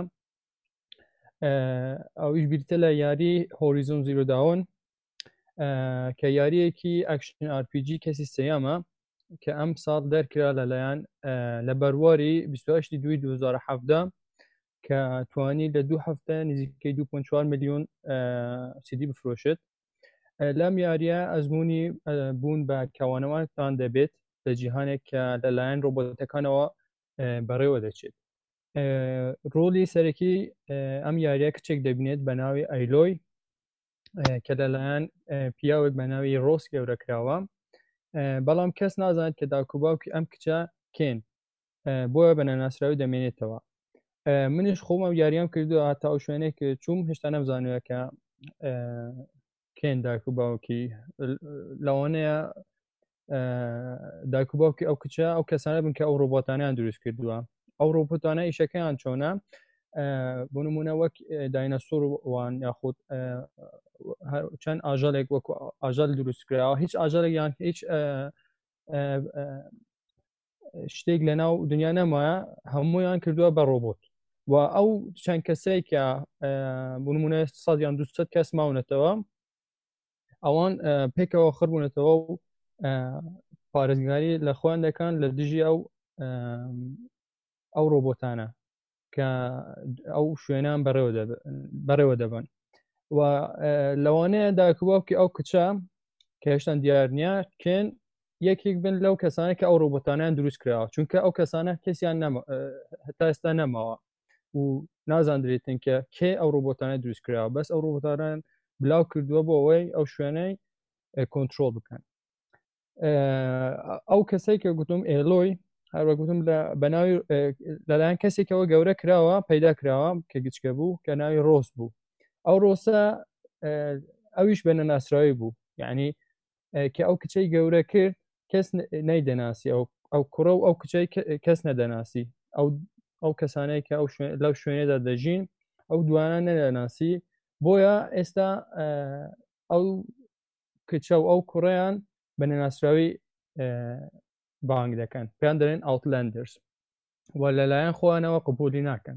ئەویش بیرتە لە یاری هۆریزۆن زیرۆ داون کە یاریەکی ئەکشن RPG کەسی سەیامە کە ئەم ساڵ دەرکرا لەلایەن لە بەرواری 28 دوای 2017 کە توانی لە 2 هەفتە نزیکەی 2.4 میلیۆن CD بفرۆشێت لەم یاریە ئەزمموی بوون بە کەوانەوانتان دەبێت لە جیهانێک کە لەلایەن ڕۆبۆتەکانەوە بەڕێوە دەچێت ڕۆلی سەرەکی ئەم یاریە کچێک دەبینێت بە ناوی ئەیلۆی کە لەلایەن پیاوێک بە ناوی ڕۆس گەورەکراوە بەڵام کەس نازانێت کە داکوباوکی ئەم کچە کێن بۆیە بە نەناسراوی دەمێنێتەوە منیش خۆمە یاریام کردووە هەتا ئەو شوێنێک چوم هێشتا نەمزانووە کە کێن داکوباوکی لەوانەیە داکوباوکی ئەو کچە ئەو کەسانە بن کە ئەو ڕۆبۆتانیان دروست کردووە ئەو ڕۆبۆتانە ئیشەکەیان چۆنە بۆ نمونە وەک داینەسۆر وان یاخود چەند ئاژەڵێک وەکو ئاژەڵ دروستکراوە هیچ ئاژەڵێک یان هیچ شتێک لە ناو دنیا نەمایە هەموویان کردووە بە ڕۆبۆت و ئەو چەند کەسەی کە بنمونە 100 یان 200 کەس ماونەتەوە ئەوان پێکەوە خڕبوونەتەوە و پارێزگاری لە خۆیان دەکەن لە دژی ئەو ڕۆبۆتانە کە ئەو شوێنان بەڕێوە دەبن و لەوانەیە داکوواوکی ئەو کچە کە هێشتا دیار نییە کێن یەکێک بن لەو کەسانە کە ئەو ڕۆبۆتانیان دروست کراوە چونکە ئەو کەسانە کەسیان هەتا ئێستا نەماوە و نازانرێتن کە کێ ئەو ڕۆبۆتانە دروست کراوە بەس ئەو ڕۆبۆتانیان بلاو کردووە بۆ ئەوەی ئەو شوێنەی کۆنتترۆل بکەن ئەو کەسەی کە گوتم ئێلۆی هەروە گوتم بەناوی لەلایەن کەسێکەوە گەورە کراوە پەیدا کراوە کە گچکە بوو کە ناوی ڕۆس بوو ئەو ڕۆسە ئەویش بە نەناسراوی بوو یعنی کە ئەو کچەی گەورە کرد کەس نەیدەناسی ئەو کوڕە و ئەو کچەی کەس نەدەناسی ئەو کەسانەی کە لەو شوێنێدا دەژین ئەو دوانە نەدەناسی بۆیە ئێستا ئەو کچە و ئەو کوڕیان بە نەناسراوی بانگ دەکەن پێیان دەڵێن ئاوتلەندرز و لەلایەن خۆیانەوە قبولی ناکەن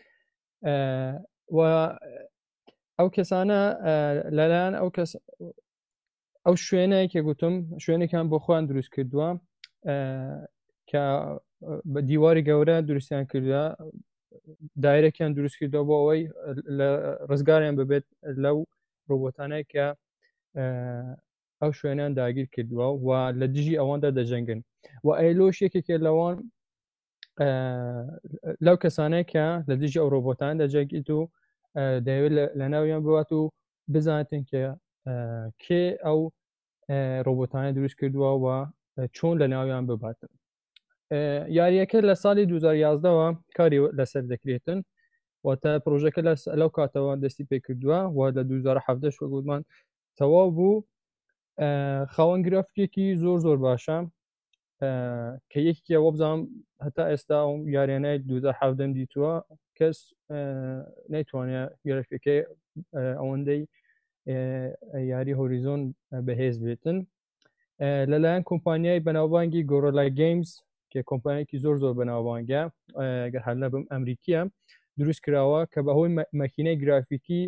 و ئەو کەسانە لەلایەن ئەو شوێنەیە کە گوتم شوێنێکیان بۆ خۆیان دروست کردووە کە بە دیواری گەورە دروستیان کردووە دایرەکیان دروست کردووە بۆ ئەوەی لە ڕزگاریان ببێت لەو ڕۆبۆتانەی کە ئەو شوێنیان داگیر کردووە و لە دژی ئەواندا دەجەنگن و ئەیلۆش یەکێکێ لەوان لەو کەسانەی کە لە دژی ئەو ڕۆبۆتان دەجەنگیت و دەیەوێت لە ناویان بوات و بزانێتن کە کێ ئەو ڕۆبۆتانە دروست کردووە و چۆن لە ناویان بباتن یاریەکە لە ساڵی 2011ەوە کاری لەسەر دەکرێتن واتە پرۆژەکە لەو کاتەوە دەستی پێ کردووە و لە 2017 گوتمان تەواو بوو خاوەن گرافیکێکی زۆر باشە کە یەکێکە وە بزانم هەتا ئێستا یاریانەی 2017 دیتووە کەس نەیتوانێت گرافیکەکەی ئەوەندەی یاری هۆریزۆن بەهێز بێتن لەلایەن کۆمپانیای بەناوبانگی گۆرەلا گەیمز کە کۆمپانیایەکی زۆر بەناوبانگە گەر هەر نەبم ئەمریکیە دروست کراوە کە بەهۆی مەکینەی گرافیکی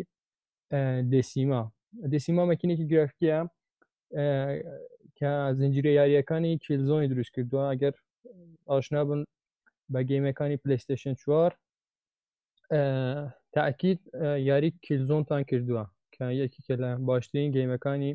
دێسیما مەکینێکی گرافیکیە کە زنجیرە یاریەکانی کیلزۆنی دروست کردووە ئەگەر ئاشنا بن بە گەیمەکانی پلەیستێشن 4 تاکید یاری کیلزۆنتان کردووە کە یەکێکە لە باشترین گەیمەکانی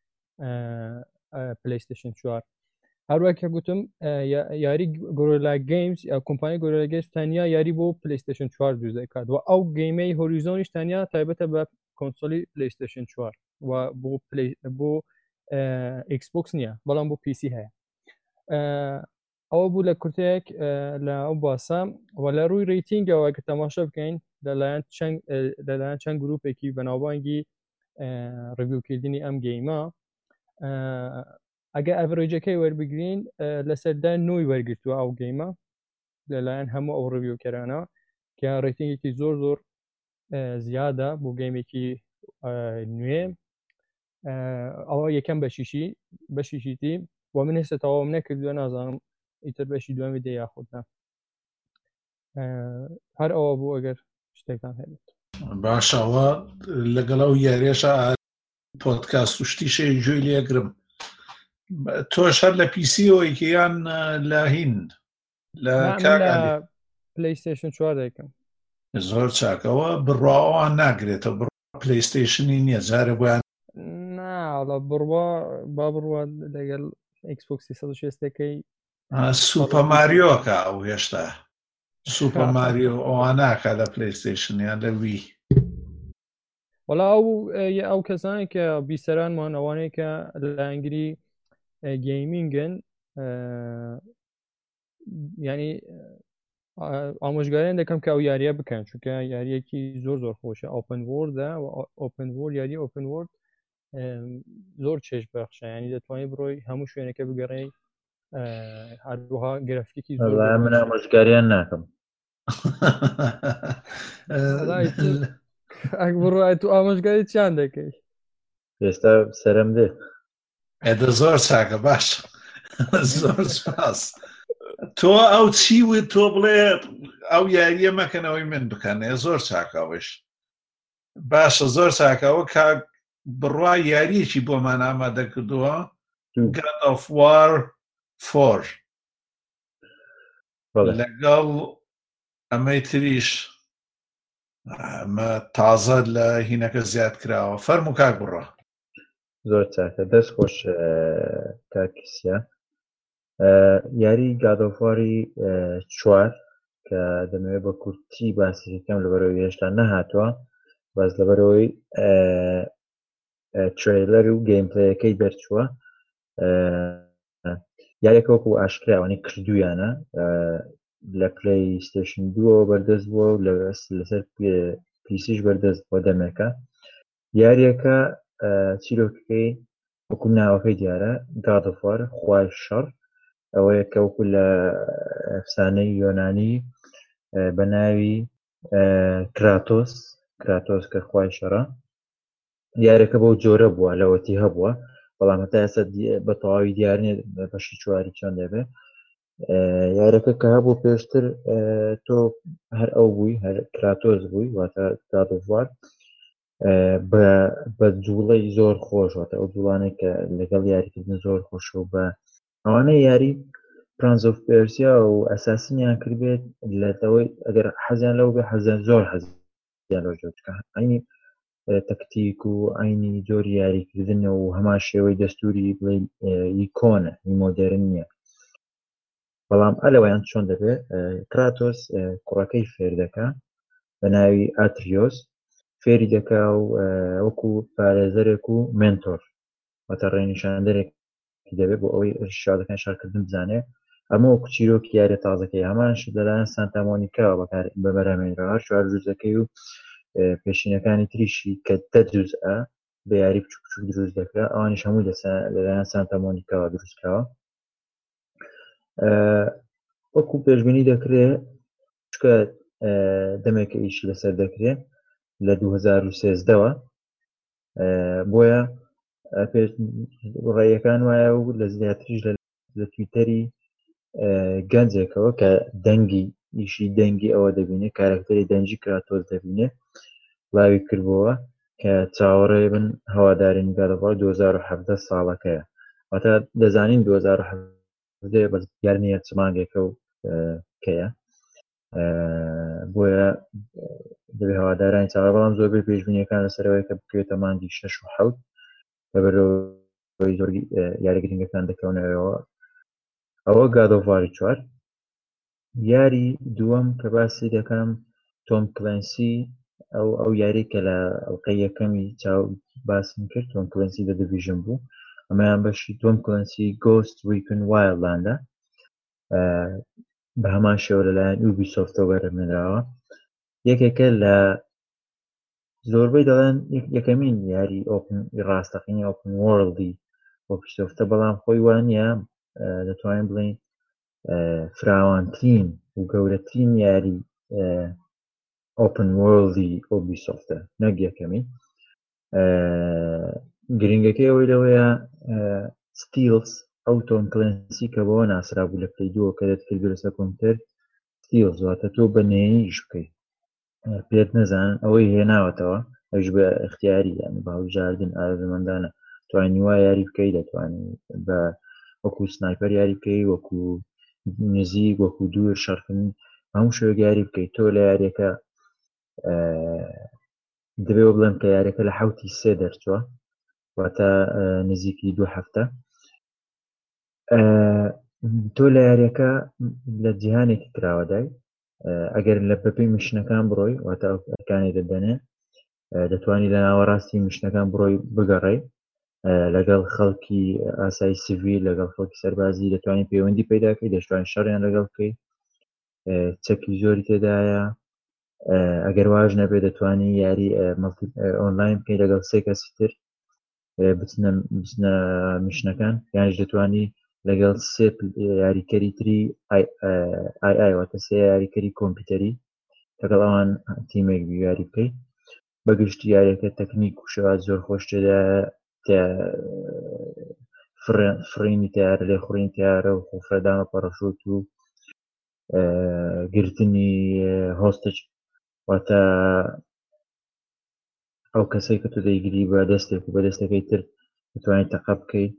پلەیستێشن 4 هەروە کە گوتم یاری گۆرەلا گەیمز یا کۆمپانی گۆرەلا گەیمز تەنیا یاری بۆ پلەیستێشن 4 دروست دەکات و ئەو گەیمەی هۆریزۆنیش تەنیا تایبەتە بە کۆنسۆلی پلەیستێشن 4 و بۆ ئێکسبۆکس نییە بەڵام بۆ پیسی هەیە ئەوە بوو لە کورتێک لە ئەو باسە و لە ڕووی ڕیتینگەوە کە تەماشا بکەین لەلایەن چەند گروپێکی بەناوبانگی ڕڤیوکردنی ئەم گەیمە ئەگە ئەڤرێجەکەی وەربگرین لەسەردا 9 وەرگرتووە ئەو گەیمە لەلایەن هەموو ئەو ڕڤیوکەرانە کە ڕیتینگێکی زۆر زیادە بۆ گەیمێکی نوێ ئەوە یەکەم بەشیشیتی و من هێستا تەواوم نەکردووە نازانم ئیتر بەشی دومی دێ یاخودنا هەر ئەوە بوو ئەگەر شتێکتان هەبێت باشەوە لەگەڵ ئەو یاریێشە پۆدکاست و شتیشێ گوێی لێگرم تۆش هەر لە پیسیەوەیکە یان لە هین لە پلەیستێشن 4 دەکەم زۆر چاکەوە بڕواوان ناگرێتەوە پلەیستێشنی نییە جارە بۆیان ناڵە با بڕوە لەگەڵ ئەکسبۆکس 360ەکەی سوپە ماریۆکە ئەو هێشتا سوپە ماریۆ ئەواناکە لە پلەیستێشنیان لە وی وەڵا ئەو کەسانی کە بیسەرانمان ئەوانەیە کە لە ئەنگری گەیمینگن ینی ئامۆژگاریان دەکەم کە ئەو یاریە بکەن چونکە یاریەکی زۆر خۆشە ئۆپن وۆردە و ئۆپن وۆرد یاری ئۆپن وۆرد زۆر چێژ بەخشە ینی دەتوانێت بڕۆی هەموو شوێنەکە بگەڕێی هەروەها گرافیکی زۆر من ئامۆژگاریان ناکەم بڕای تو ئامۆژگاری چیان دەکەی ئێستا سەرم دێ ئێدە زۆر چاکە باش زۆر سپاس تۆ ئەو چیوت تۆ بڵێ ئەو یاریە مەکەنەوەی من بکەنێ زۆر چاکەوەش باشە زۆر چاکەوە کاک بڕوا یاریەکی بۆمان ئامادە کردووە God of War 4 لەگەڵ ئەمەی تریش تازە لە هینەکە زیاد کراوە فەرموو کاک بڕە زۆر چاکە دەست خۆش کاکیسیە یاری گادۆفواری 4 کە دەمەوێت بە کورتی باسیەکەم لەبەرەوەی هێشتا نەهاتووە باز لەبەرەوەی ترێلەر و گەیمپلەیەکەی دەرچووە یاریەکە وەکو ئاشکراوانەی کردویانە لە پلەی ستیشن 2 بەردەست بووە و لەسەر پیسیش بەردەست بۆ دەمێکە یاریەکە چیرۆکەکەی وەکو ناوەکەی دیارە گادۆفوار خوای شەڕ ئەوەیە کە وەکو لە ئەفسانەی یۆنانی بە ناوی کراتۆس کە خوای شەڕە یاریەکە بەو جۆرە بووە لەوەتی هەبووە بەڵام هەتا ئێستا بە تەواوی دیار نیە بەشی چواری چۆن دەبێت یاریەکە کە هەبوو پێشتر تۆ هەر ئەو بووی هەر کراتۆس بووی واتە گادۆفوار بە جوڵەی زۆر خۆش واتە ئەو جوڵانەی کە لەگەڵ یاریکردن زۆر خۆش و بە ئەوانەی یاری پرانس ئۆف پێرسیا و ئەساسینیان کردبێت لەتەوەی ئەگەر حەزیان لەو بێ حەزیان زۆر حەزیان لەو جۆرەکە عینی تەکتیک و عینی جۆری یاریکردن و هەمان شێوەی دەستوری بڵێ ئیکۆنە مۆدێرن نییە بەڵام ئەلەوەیان چۆن دەبێت کراتۆس کوڕەکەی فێر دەکا بە ناوی ئاتریۆس فێری دەکا و وەکو پارێزەرێک و مێنتۆر واتە ڕێنیشاندەرێکی دەبێت بۆ ئەوەی شادەکان شارکردن بزانێ ئەمە وەکو چیرۆکی یاریە تازەکەی هەمانش لەلایەن سانتا مۆنیکاوە بەبەرهەمێنرەوە چوار جوزەکەی و پێشینەکانی تریشی کە 10 جوزئە بە یاری بچووک بچووک دروست دەکرا ئەوانیش هەمووی لەلایەن سانتا مۆنیکاوە دروستکراوە وەکو پێشبینی دەکرێت چکە دەمێکە ئیشی لەسەر دەکرێت لە 2013ەوە بۆیە ڕێیەکان وایە و لە زیاتریش لە تویتەری گەنجێکەوە کە دەنگی ئیشی دەنگی ئەوە دەبینێ کارکتەری دەنجی کراتۆس دەبینێ لاوی کردبووە کە چاوەڕێ بن هەوادارین گادۆفوار 2017 ساڵەکەیە واتە دەزانین 2017 بەس دیار نییە چ مانگێکە و کەیە بۆیە دەبێ هەوادارانی چاوەڕێ بەڵام زۆربەی پێشبینیەکان لەسەرەوەی کە بکرێتە مانگی 6 و 7 لەبەرەوەی زۆر یاری گرنگەکان دەکەونەوەەوە ئەوە گادۆفواری 4 یاری دووەم کە باسی دەکەم تۆم کلەنسی ئەو یاری کە لە ئەڵقەی یەکەمی چاو باسم کرد تۆم کلەنسی لە دیڤیژن بوو ئەمەیان بەشی تۆم کلەنسی گۆست ریکن وایلدلاندە بە هەمان شێوە لەلایەن یوبیسۆفتەوە بەرهەمهێنراوە یەکێکە لە زۆربەی دەڵێن یەکەمین یاری ڕاستەقینی ئۆپن وۆرڵدی یوبیسۆفتە بەڵام خۆی وانە دەتوانین بڵێن فراوانترین و گەورەترین یاری ئۆپن وۆرڵدی یوبیسۆفتە نەک یەکەمین گرنگەکەی ئەوەی لەوەیە ستیلز ئەو تۆم کلەنسی کە بەوە ناسرا بوو لە پلەی دووە کە دەتکرد لەسەر کۆمپیوتەر ستیلز واتە تۆ بە نهێنیش بکەیت پێت نەزانن ئەوەی هێناوەتەوە ئەوش بە اختیاری یانی بە هەڵبژاردن ئارەزومەندانە توانی وا یاری بکەیت دەتوانین بە وەکو سنایپەر یاری بکەیت وەکو نزیک وەکو دوور شەڕکردن هەموو شوێک یاری بکەیت تۆ لە یاریەکە دەبێ بڵێم کە یاریەکە لە 7 دەرچووە واتە نزیکی 2 هەفتە تۆ لە یاریەکە لە جیهانێکی کراوەدای ئەگەر لە بەپێی میشنەکان بڕۆی واتە ئەوکانی دەدەنێ دەتوانی لە ناوەڕاستی میشنەکان بڕۆی بگەڕێ لەگەڵ خەڵکی ئاسایی سیڤیل لەگەڵ خەڵکی سەربازی دەتوانین پەیوەندی پەیداکەی دەشتوانین شەڕیان لەگەڵ بکەیت چەکی زۆری تێدایە ئەگەر واژ نەبێ دەتوانی یاری ئۆنلاین بکەیت لەگەڵ 3 کەسی تر بچنە میشنەکان یانش دەتوانی لەگەڵ 3 یاریکەری تری ئای واتە 3 یاریکەری کۆمپیوتەری لەگەڵ ئەوان تیمێک یاری بکەیت بەگشتی یاریەکە تەکنیک و شێوات زۆر خۆش تێدایە فرینی تیارە لێ خوڕین تیارە و خۆفرەدامە پەڕەشوت و گرتنی هۆستج واتە ئەو کەسەی کە تۆ دەیگیری بە دەستێک و بە دەستەکەی تر بتوانیت تەقە بکەیت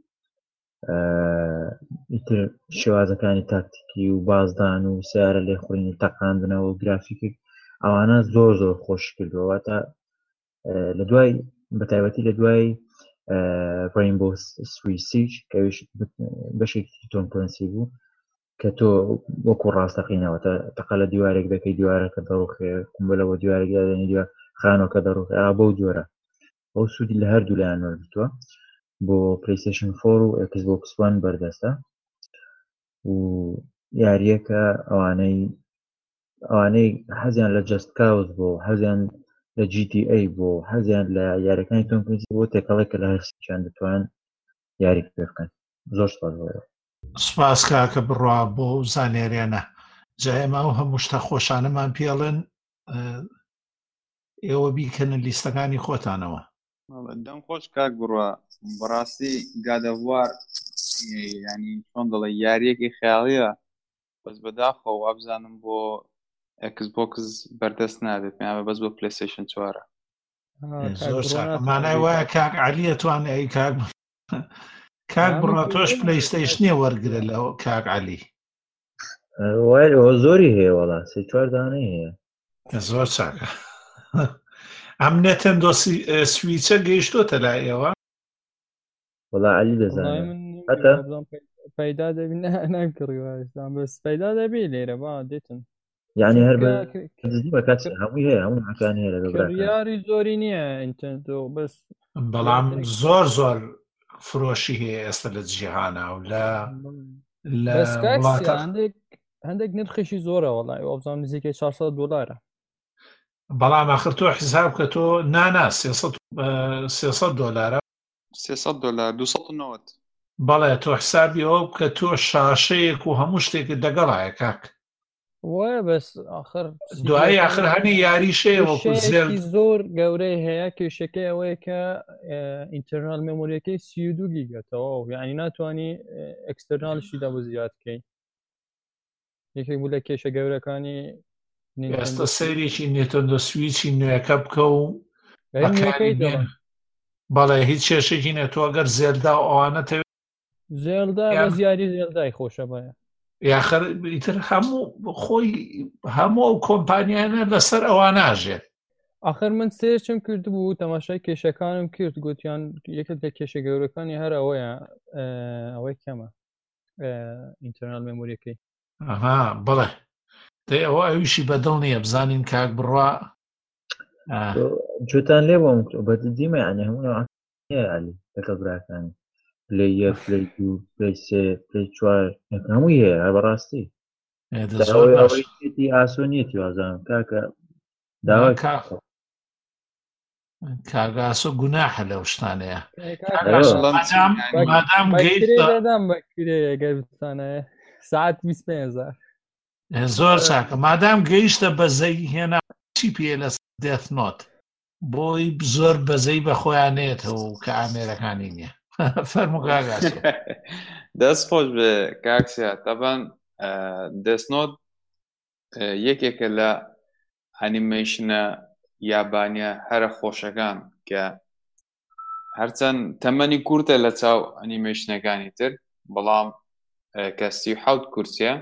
ئیتر شێوازەکانی تاکتیکی و بازدان و سیارە لێخوڕینی تەقاندنەوە و گرافیکی ئەوانە زۆر زۆر خۆش کردووە واتە لە دوای بەتایبەتی لە دوای ڕێینبۆ سویسیج کەویش بەشێکی تۆم کلەنسی بوو کە تۆ وەکو ڕاستەقینەوە تەقە لە دیوارێک دەکەی دیوارەکە دەڕوخێ کومبلەوە دیوارێک دادێنی دیوار خانۆکە دەڕوخێ بەو جۆرە ئەو سوودی لە هەردوو لایەن وەرگرتووە بۆ پلەیستێشن 4 و ئەکسبۆکس 1 بەردەستە و یاریەکە ئەوانەی حەزیان لە جەست کاوز بۆ حەزیان لە GTA بۆ حەزیان لە یاریەکانی تۆم کلەنسی بۆ تێکەڵێک کە لە هەرسیان دەتوان یاری پێ بکەن زۆر سپاس بۆ سپاس کاکە بڕوا بۆ زانێریانە جا ئێمە ئەو هەموو شتە خۆشانەمان پێڵێن ئێوە بیکەنە لیستەکانی خۆتانەوە دەم خۆش کاک بڕوا بەڕاستی گادەڤوار ینی چۆن دەڵێ یاریەکی خەیاڵیە بەس بەداخەوە وابزانم بۆ ئەکسبۆکس بەردەست نادێت پێیان بەس بۆ پلەیستێشن 4 زۆر مانای وایە کاک عەلیە توانێ ئەی کاک بڕوا تۆش پلەیستێشنیە وەرگرە لە کاک عەلی وای ئەوە زۆری هەیە وەڵا 3-4 دانەی هەیە زۆر چاکە ئەم نێتەندۆ سویچە گەیشتۆتە لای ئێوە وەڵا عەلی دەزانێت حتى پەیدا دەبی نەکڕیوەستان بەس پەیدا دەبی لێرە با دێتن یعنی هەر بە کات هەمووی هەیە هەموو حکانی هەیە لەگەڵ یاری زۆری نییە ئینتەرنێتۆ بەس بەڵام زۆر زۆر فرۆشی هەیە ئێستا لە جیهانە و لە هەندێک نرخێکی زۆرە وەڵای ئەوزان نزیکەی $400 بەڵام ئاخر تۆ حیساب کە تۆ نانا $300 $300 290 بەڵێ تۆ حسابی ئەوە کە تۆ شاشەیەک و هەموو شتێکت دەگەڵایە کاک وایە بەس آخر دوایی آخر هەنی یاریشەیە وەکو زۆر گەورەی هەیە کێشەکەی ئەوەیە کە ئینتەرنال مێمۆریەکەی 32 گیگەتەوە یعنی ناتوانانی ئەکستەرناڵشی دا بۆ زیادکەی یەکێک بوو لە کێشە گەورەکانی ئێستا سەیرێکی نێتەندۆ سویچی نوێەکە بکە و بەڵێ هیچ کێشێکی نێت تۆ ئەگەر زێلدا و ئەوانە زێلدا بە زیاری زێلدای خۆشە بایە یاخر ئیتر هەموو کۆمپانیانە لەسەر ئەوان ناژێت آخر من سێرچم کرد بوو تەماشای کێشەکانم کرد گوتیان یەکێک لە کێشە گەورەکانی هەر ئەوەیە ئەوەی کەمە ئینتەرنال مێمۆریەکەی بڵێ ئەوە ئەویشی بەدڵ نییە بزانین کاک بڕوا جوتان لێ بۆم بە دیمە ینی هەموو علی لەگەڵ براکانی پلەی 1 پلەی 2 پلەی 3 پلەی 4 هەمووی هەیە بەڕاستی ئاسۆنیەتی وازانم کاکە داوا کاگاسۆ گوناحە لەو شتانەیە دەدام بەکرێ ئەگەر بتانەیە ساعت 25,000 زۆر چاکە مادام گەیشتە بەزەی هێنا چی پێ لە دێت نۆت بۆی زۆر بەزەی بە خۆیانێتەوە و کە ئامێرەکانی نییە فەرموو کاگاسۆ دەست خۆش بێ کاکسیا تەبەن دەستنۆت یەکێکە لە ئەنیمەیشنە یابانیە هەرە خۆشەکان کە هەرچەند تەمەنی کورتە لە چاو ئەنیمەیشنەکانی تر بەڵام کە 37 کورسیە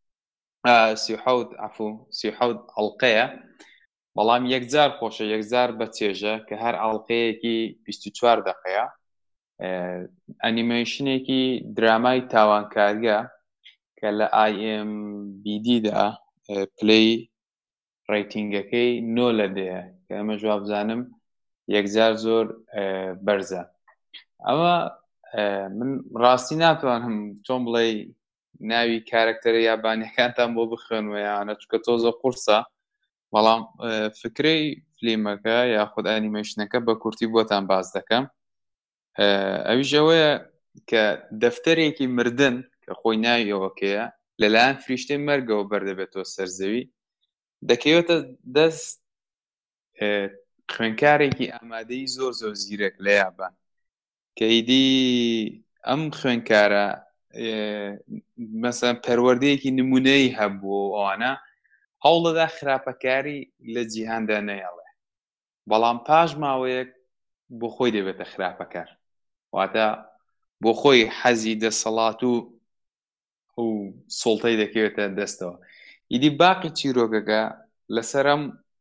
37 ئەڵقەیە بەڵام یەکجار خۆشە یەکجار بە چێژە کە هەر ئەڵقەیەکی 24 دقەیە ئەنیمەیشنێکی درامای تاوانکاریە کە لە IMDbدا پلەی ڕیتینگەکەی 9 لە دەیە کە ئەمە جواب بزانم یەکجار زۆر بەرزە ئەمە من ڕاستی ناتوانم چۆن بڵێ ناوی کارکتەرە یابانیەکانتان بۆ بخوێنوە یانە چونکە تۆزە قورسە بەڵام فکرەی فلیمەکە یاخود ئەنیمەیشنەکە بە کورتی بۆتان باز دەکەم ئەویش ئەوەیە کە دەفتەرێکی مردن کە خۆی ناوی ئەوەکەیە لەلایەن فریشتەی مەرگەوە بەردەبێتەوە سەرزەوی دەکەوێتە دەست خوێنکارێکی ئامادەی زۆر زۆر زیرەک لە یابان کە ئیدی ئەم خوێنکارە مەسەن پەروەردەیەکی نمونەی هەبوو ئەوانە هەوڵەدا خراپەکاری لە جیهاندا نەیەڵێ، بەڵام پاش ماوەیەک بۆ خۆی دەبێتە خراپەکار، واتە بۆ خۆی حەزی دەسەڵات و سوڵتەی دەکەوێتە دەستەوە. ئیدی باقی چیرۆکەکە لەسەرم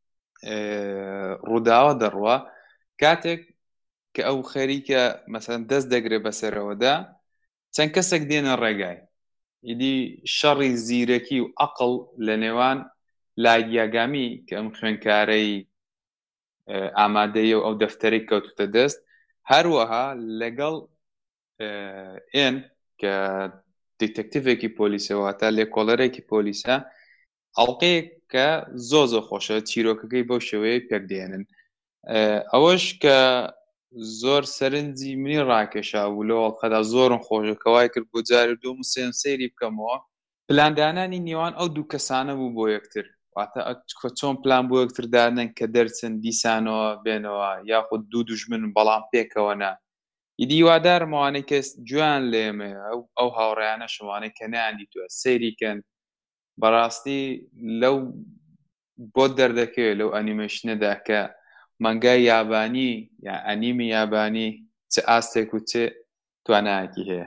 ڕووداوە دەڕوە کاتێک کە ئەو خەریکە مەسەن دەست دەگرێت بەسەرەوەدا چەند کەسێک دێنە ڕێگای، ئیدی شەڕی زیرەکی و عەقڵ لە نێوان لای یاگامی کە ئەم خوێنکارەی ئامادەیە و ئەو دەفتەرەی کەوتوتە دەست، هەروەها لەگەڵ ئێن کە دیتەکتیڤێکی پۆلیسەوە تا لێکۆڵەرێکی پۆلیسە، ئەڵقەیەک کە زۆ خۆشە چیرۆکەکەی بەو شێوەیە پێکدێنن. ئەوەش کە زۆر سەرنجی منی ڕاکێشا بوو لە ئەڵقەدا زۆرم خۆشە کەوای کرد بۆ جاری دووم و سێم سەیری بکەمەوە. پلاندانانی نێوان ئەو دوو کەسانە بوو بۆ یەکتر، واتە چۆن پلان بۆ یەکتر دادنن کە دەرچن دیسانەوە بێنەوە یاخود دوو دوژمن بەڵام پێکەوە نا. ئیدی وادارمەوانەی کەس جوان لێمە ئەو هاوڕێیانە شەوانەی کە ناندیتووە سەیریکەن، بەڕاستی لەو بۆ دەردەکەوێت لەو ئەنیمەیشنەدا کە مانگای یابانی یا ئەنیمی یابانی چه ئاستێک و چه توانایەکی هەیە.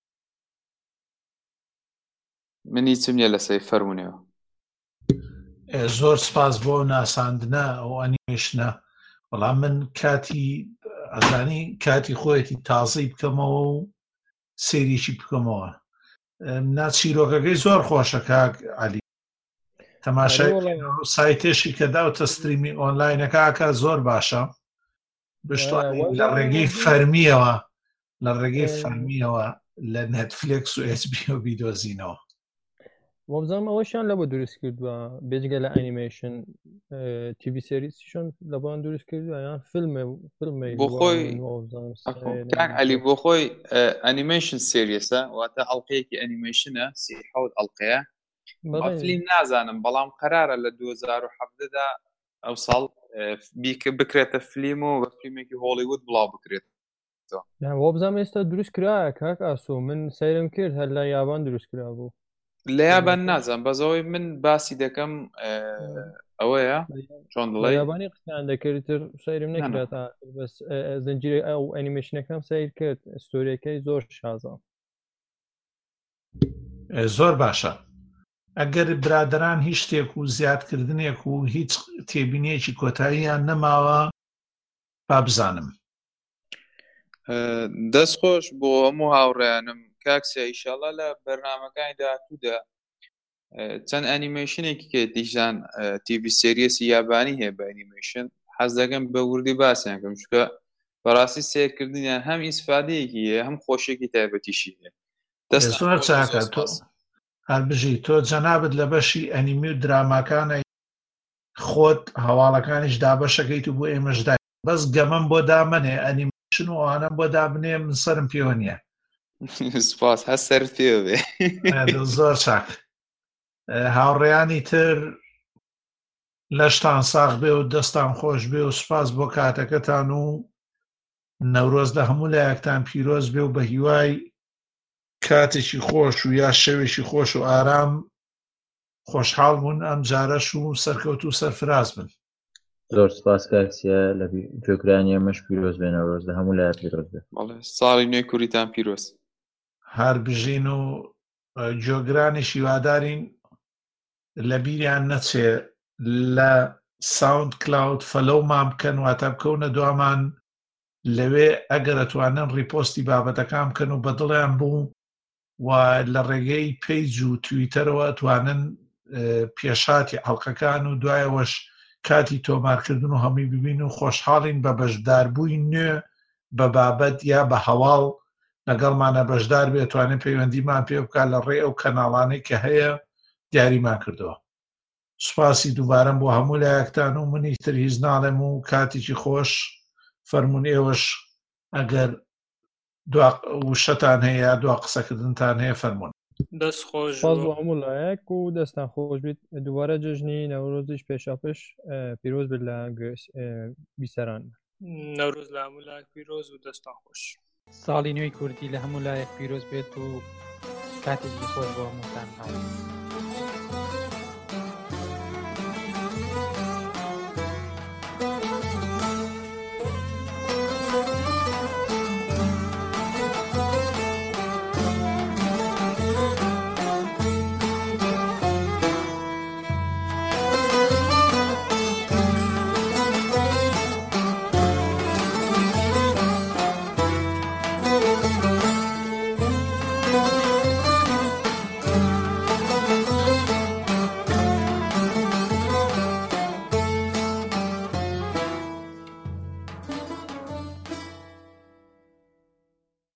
منی چم نیە لەسەی فەرمونەوە. زۆر سپاس بۆ ناساندنە ئەو ئەنیمێشنە. بەڵام من کاتی ئەزانی کاتی خۆیەتی تازەی بکەمەوە و سێریکی بکەمەوە. ناچیرۆکەکەی زۆر خۆشە کاک عەلی، تەماشای سایتێشی کە داوتە ستریمی ئۆنلاینەکەکە زۆر باشە، بشتوانین لە ڕێگەی فەرمیەوە لە نێتفلیکس و HBO بیدۆزینەوە. وەبزانم ئەوەشیان لە بۆ دروست کردووە بێجگە لە ئەنیمێشن TV سێریسیشون لە بۆیان دروست کردووە یان فیلمی بۆ خۆی کاک عەلی بۆ خۆی ئەنیمێشن سێریسە، واتە ئەڵقەیەکی ئەنیمێشنە 37 ئەڵقەیە. فیلم نازانم بەڵام قەرارە لە 2017دا ئەو ساڵ بکرێتە فیلم و بە فیلمێکی هۆلیوود بڵاو بکرێت. وەبزانم ئێستا دروست کرایە کاک ئاسۆ، من سەیرم کرد هەر لە یابان دروست کرا بوو. لە یابان نازانم، بەزەوەی من باسی دەکەم ئەوەیە چۆن دڵێ یابانی قسەیان دەکردتر سەیرم نەکرێت، بەس زنجیرە ئەو ئەنیمێشنەکەم سەیر کرد، ستۆریەکەی زۆر شازە، زۆر باشە. ئەگەر برادران هیچ شتێک و زیادکردنێک و هیچ تێبینیەکی کۆتاییان نەماوە با بزانم. دەستخۆش بۆ هەموو هاوڕێیانم کاکسە، ئیشەڵا لە بەرنامەکانی داهاتوودا چەند ئەنیمێشنێکی کە دیژان TV سێریسی یابانی هەیە بە ئەنیمێشن، حەز دەکەم بە وردی باسییان کەم، چونکە بەڕاستی سیرکردنیان هەم ئیسفادەیەکی هەیە هەم خۆشێکی تایبەتیشی هەیە. زۆر چاکە تۆ هەر بژی تۆ جەنابەت لە بەشی ئەنیمی و دراماکانە خۆت هەواڵەکانیش دابەشەکەیت و بۆ ئێمەشدای، بەس گەمەم بۆ دامنێ ئەنیمێشن و ئەوانە بۆ دابنێ من سەرم پێوە نییە. سپاس هەست سەر پێ بێ. زۆر چاک. هاوڕێیانی تر لەشتان ساغ بێ و دەستان خۆش بێ و سپاس بۆ کاتەکەتان و نەورۆز لە هەموو لایەکتان پیرۆز بێ و بە هیوای کاتێکی خۆش و یا شەوێکی خۆش و ئارام خۆشحاڵ بوون ئەم جارەش و سەرکەوت و سەرفراز بن. زۆر سپاس کاکسیە لە گوێگرانی ئەمەش پیرۆز بێنە ڕۆژ لە هەموو لایە پیرۆز بێت. ساڵی نوێی کوریتان پیرۆز. هەر بژین و جۆگرانی وادارین لە بیریان نەچێ لە ساوند کلاود فەلۆمان بکەن واتە بکەونە دوامان لەوێ ئەگەر ئەتوانن ریپۆستی بابەتەکان بکەن و بەدڵیان بوو و لە ڕێگەی پیج و تویتەرەوە ئەتوانن پێشاتی حەڵقەکان و دوایەوەش کاتی تۆمارکردن و هەمووی ببین و خۆشحاڵین بە بەشداربووی نوێ بە بابەت یا بە هەواڵ لەگەڵمانە بەشدار بێ، توانێت پەیوەندیمان پێ بکات لە ڕێ ئەو کەناڵانەی کە هەیە دیاریمان کردەوە. سوپاسی دووبارەم بۆ هەموو لایەکتان و منی تر هیچ ناڵێم و کاتێکی خۆش فەرمون ئێوەش ئەگەر وشەتان هەیە دوا قسەکردنتان هەیە فەرمون. دەست خۆش بۆ هەموو لایەک و دەستان خۆش بیت. دووبارە جژنی نەورۆزیش پێشاپش پیرۆز بێت لە بیسەران. نەورۆز لە هەموو لایەک پیرۆز و دەستان خۆش. ساڵی نوێی کوردی لە هەموو لایەک پیرۆز بێت و کاتێکی خۆش بۆ هەمووتان هاو